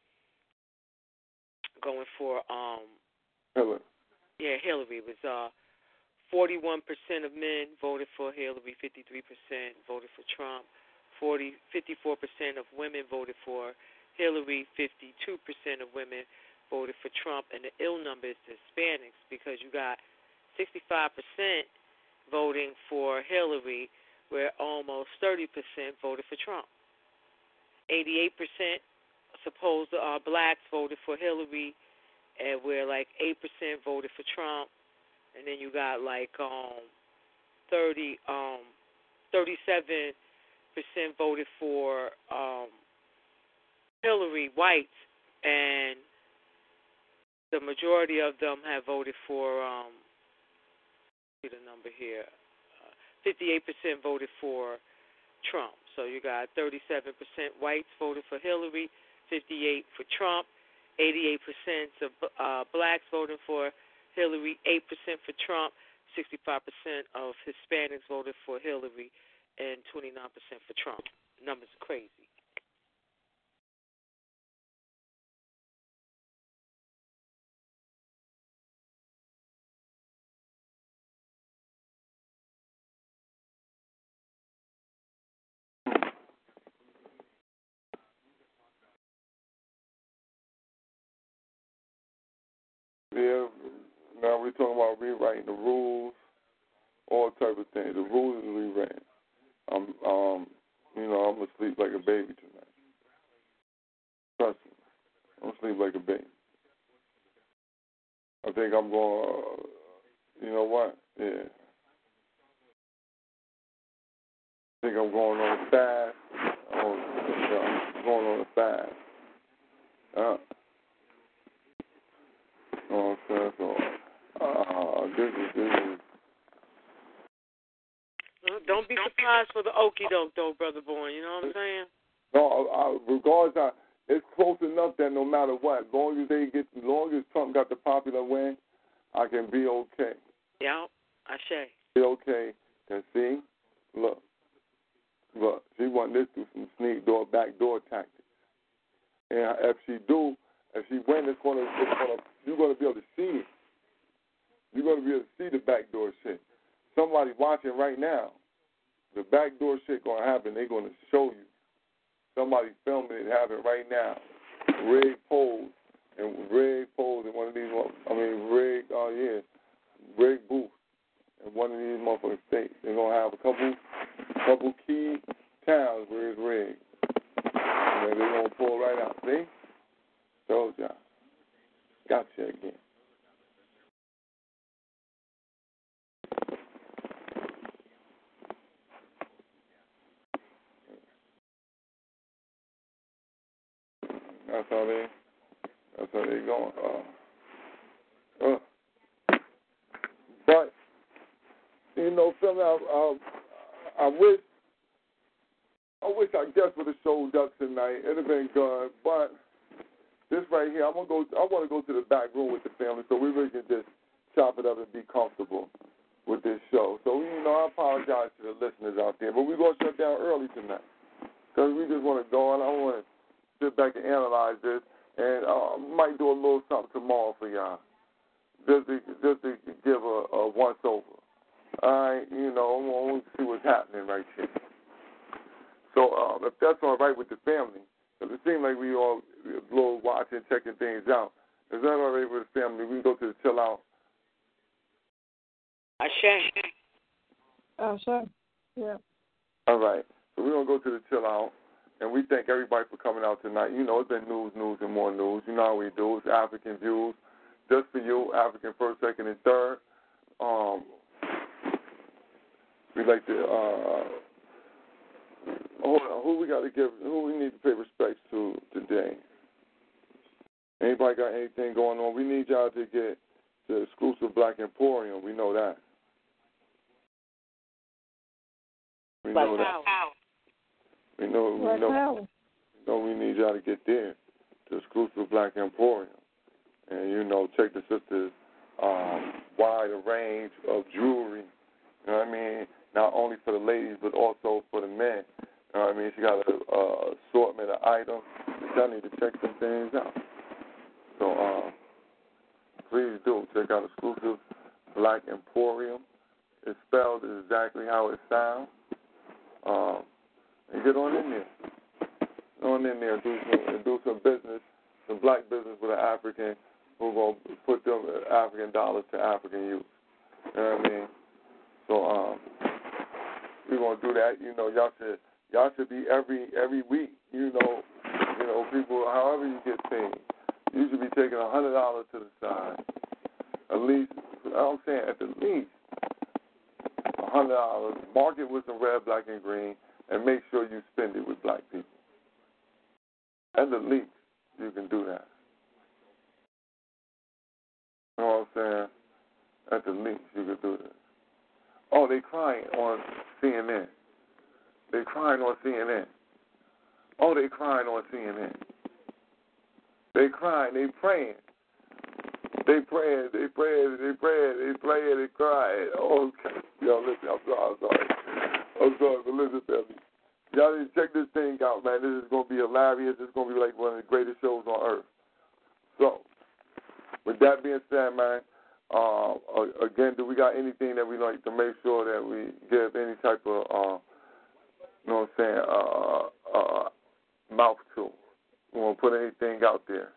going for um Hillary. Yeah, Hillary. It was uh forty-one percent of men voted for Hillary, fifty-three percent voted for Trump, forty fifty-four percent of women voted for Hillary, fifty-two percent of women voted for Trump, and the ill number is the Hispanics, because you got sixty-five percent voting for Hillary, where almost thirty percent voted for Trump. eighty-eight percent supposed uh, blacks voted for Hillary, and where like eight percent voted for Trump, and then you got like um thirty um thirty-seven percent voted for um Hillary, whites, and the majority of them have voted for um see the number here uh, fifty-eight percent voted for Trump. So you got thirty-seven percent whites voted for Hillary, fifty-eight for Trump, eighty-eight percent of uh, blacks voting for Hillary, eight percent for Trump, sixty-five percent of Hispanics voted for Hillary, and twenty-nine percent for Trump. Numbers are crazy. Yeah, now we're talking about rewriting the rules, all type of things. The rules is rewritten. I'm, um, you know, I'm gonna sleep like a baby tonight. Trust me, I'm gonna sleep like a baby. I think I'm going. Uh, you know what? Yeah. I think I'm going on a fast. Oh, I'm going on a fast. Uh, oh, so, so, uh, this is this is. Don't be surprised for the okie doke, though, Brother Bourne. You know what I'm saying? No, I, regardless, I, it's close enough that no matter what, as long as they get, as long as Trump got the popular win, I can be okay. Yeah, I say. She okay. And see, look, look, she want this through some sneak door, back door tactics. And if she do, if she win, it's gonna, it's gonna, you're gonna be able to see it. You're gonna be able to see the back door shit. Somebody watching right now, the back door shit gonna happen. They're gonna show you. Somebody filming it happen right now. Rig pose and rig pose in one of these. I mean, rig. Oh uh, yeah, rig booth in one of these motherfucking states. They're gonna have a couple, couple key towns where it's rigged. And they're gonna pull right out. See? Told y'all. Gotcha again. That's how they, that's how they going. Uh, uh. But, you know, Phil, I, I, I wish, I wish I guess would have showed up tonight. It'd have been good. But this right here, I'm gonna go. I want to go to the back room with the family so we really can just chop it up and be comfortable with this show. So, you know, I apologize to the listeners out there, but we're gonna shut down early tonight because we just want to go and I want to sit back and analyze this, and I uh, might do a little something tomorrow for y'all, just to, just to give a, a once over. All right, you know, I want to see what's happening right here. So um, if that's all right with the family, because it seems like we all a little watching, checking things out. Is that all right with the family? We can go to the chill out. I share. Oh, sure. Yeah. All right. So we're going to go to the chill out. And we thank everybody for coming out tonight. You know, it's been news, news, and more news. You know how we do. It's African Views. Just for you, African first, second, and third. Um, we like to, uh, hold on, who we got to give, who we need to pay respects to today? Anybody got anything going on? We need y'all to get the exclusive Black Emporium. We know that. We know that. We know, we know, we know we need y'all to get there, the exclusive Black Emporium. And, you know, check the sister's um, wide range of jewelry, you know what I mean, not only for the ladies but also for the men. You know what I mean? She got an uh, assortment of items. Y'all need to check some things out. So, um, please do. Check out exclusive Black Emporium. It's spelled exactly how it sounds. Um, And get on in there. Get on in there and do some, and do some business, some black business with an African who's going to put them African dollars to African youth. You know what I mean? So um, we're going to do that. You know, y'all should y'all should be every every week. You know, you know, people, however you get paid, you should be taking a hundred dollars to the side. At least, I'm saying at the least a hundred dollars. Mark it with some red, black, and green. And make sure you spend it with black people. At the least, you can do that. You know what I'm saying? At the least, you can do this. Oh, they crying on C N N. They crying on C N N. Oh, they crying on C N N. They crying. They praying. They praying. They praying. They praying. They praying. They crying. Oh, okay. Yo, listen, I'm sorry. I'm sorry. I'm sorry, but listen, family. Y'all need to check this thing out, man. This is going to be hilarious. This is going to be like one of the greatest shows on earth. So, with that being said, man, uh, again, do we got anything that we like to make sure that we give any type of, uh, you know what I'm saying, uh, uh, mouth to? We won't put anything out there.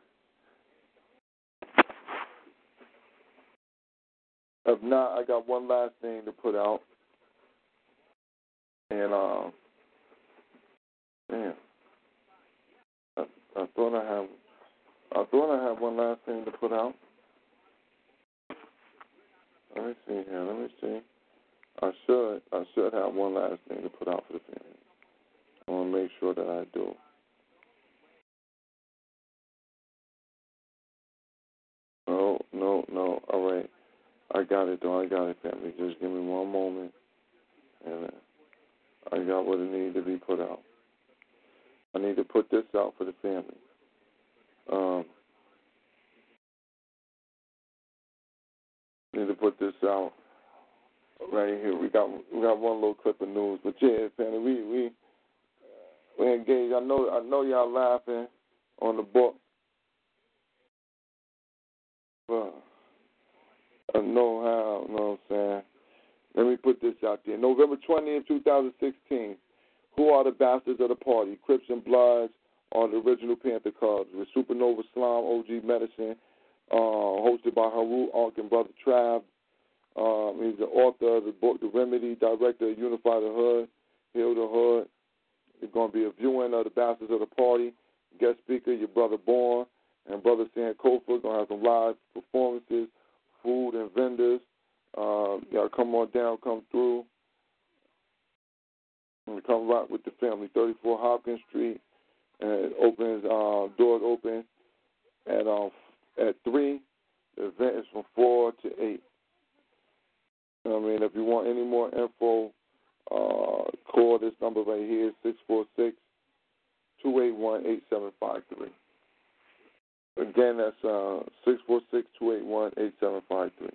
If not, I got one last thing to put out. And, um, man, I, I thought I had, I thought I had one last thing to put out. Let me see here. Let me see. I should, I should have one last thing to put out for the family. I want to make sure that I do. No, no, no. All right. I got it, though. I got it, family. Just give me one moment. And uh, I got what it needed to be put out. I need to put this out for the family. Um, need to put this out right here. We got we got one little clip of news, but yeah, family, we we we engaged. I know I know y'all laughing on the book, but I know how. You know what I'm saying? Let me put this out there. November twentieth, twenty sixteen. Who are the bastards of the party? Crips and Bloods are the original Panther Cubs. With Supernova Slime, O G Medicine, uh, hosted by Haru, Ark, and Brother Trav. Um, he's the author of the book, The Remedy, director of Unify the Hood, Heal the Hood. There's going to be a viewing of the Bastards of the Party. Guest speaker, your brother Born, and Brother Sankofa. Going to have some live performances, food and vendors. Uh, y'all come on down, come through. And come rock with the family. thirty-four Hopkins Street. And it opens, uh, doors open at um, at three. The event is from four to eight. You know what I mean? If you want any more info, uh, call this number right here, six four six, two eight one, eight seven five three. Again, that's uh, six four six, two eight one, eight seven five three.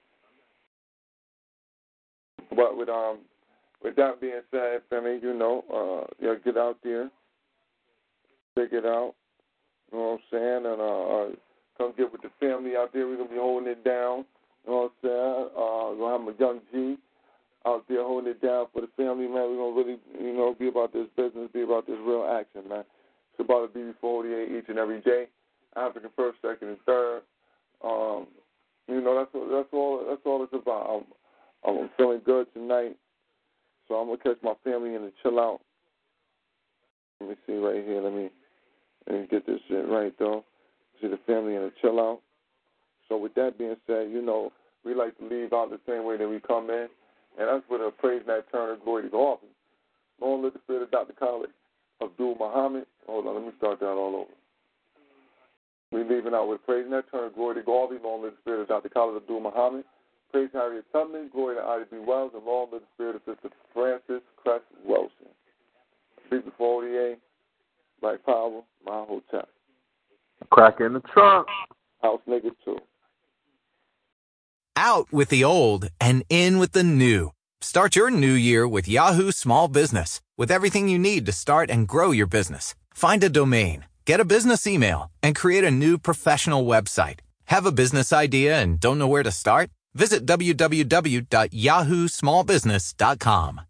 But with um, with that being said, family, you know, uh, yeah, get out there, check it out. You know what I'm saying? And uh, uh, come get with the family out there. We're gonna be holding it down. You know what I'm saying? Uh, we're gonna have a young G out there holding it down for the family, man. We're gonna really, you know, be about this business, be about this real action, man. It's about a B B forty-eight each and every day. African first, second, and third. Um, you know, that's what, that's all. That's all it's about. I'm, I'm feeling good tonight. So I'm going to catch my family in and chill out. Let me see right here. Let me, let me get this shit right, though. See the family in and chill out. So with that being said, you know, we like to leave out the same way that we come in. And that's with a praise Nat Turner, glory to God. Long live the spirit of Doctor Khalid Abdul Muhammad. Hold on, let me start that all over. We leaving out with praise Nat Turner, glory to God. Long live the spirit of Doctor Khalid Abdul Muhammad. Praise Harriet Tubman, glory to Ida B. Wells, and long live the spirit of Sister Frances Crest Wilson. B B forty-eight, Black Power, my hotel. Crack in the trunk. House niggas too. Out with the old and in with the new. Start your new year with Yahoo Small Business. With everything you need to start and grow your business. Find a domain, get a business email, and create a new professional website. Have a business idea and don't know where to start? Visit w w w dot yahoo small business dot com.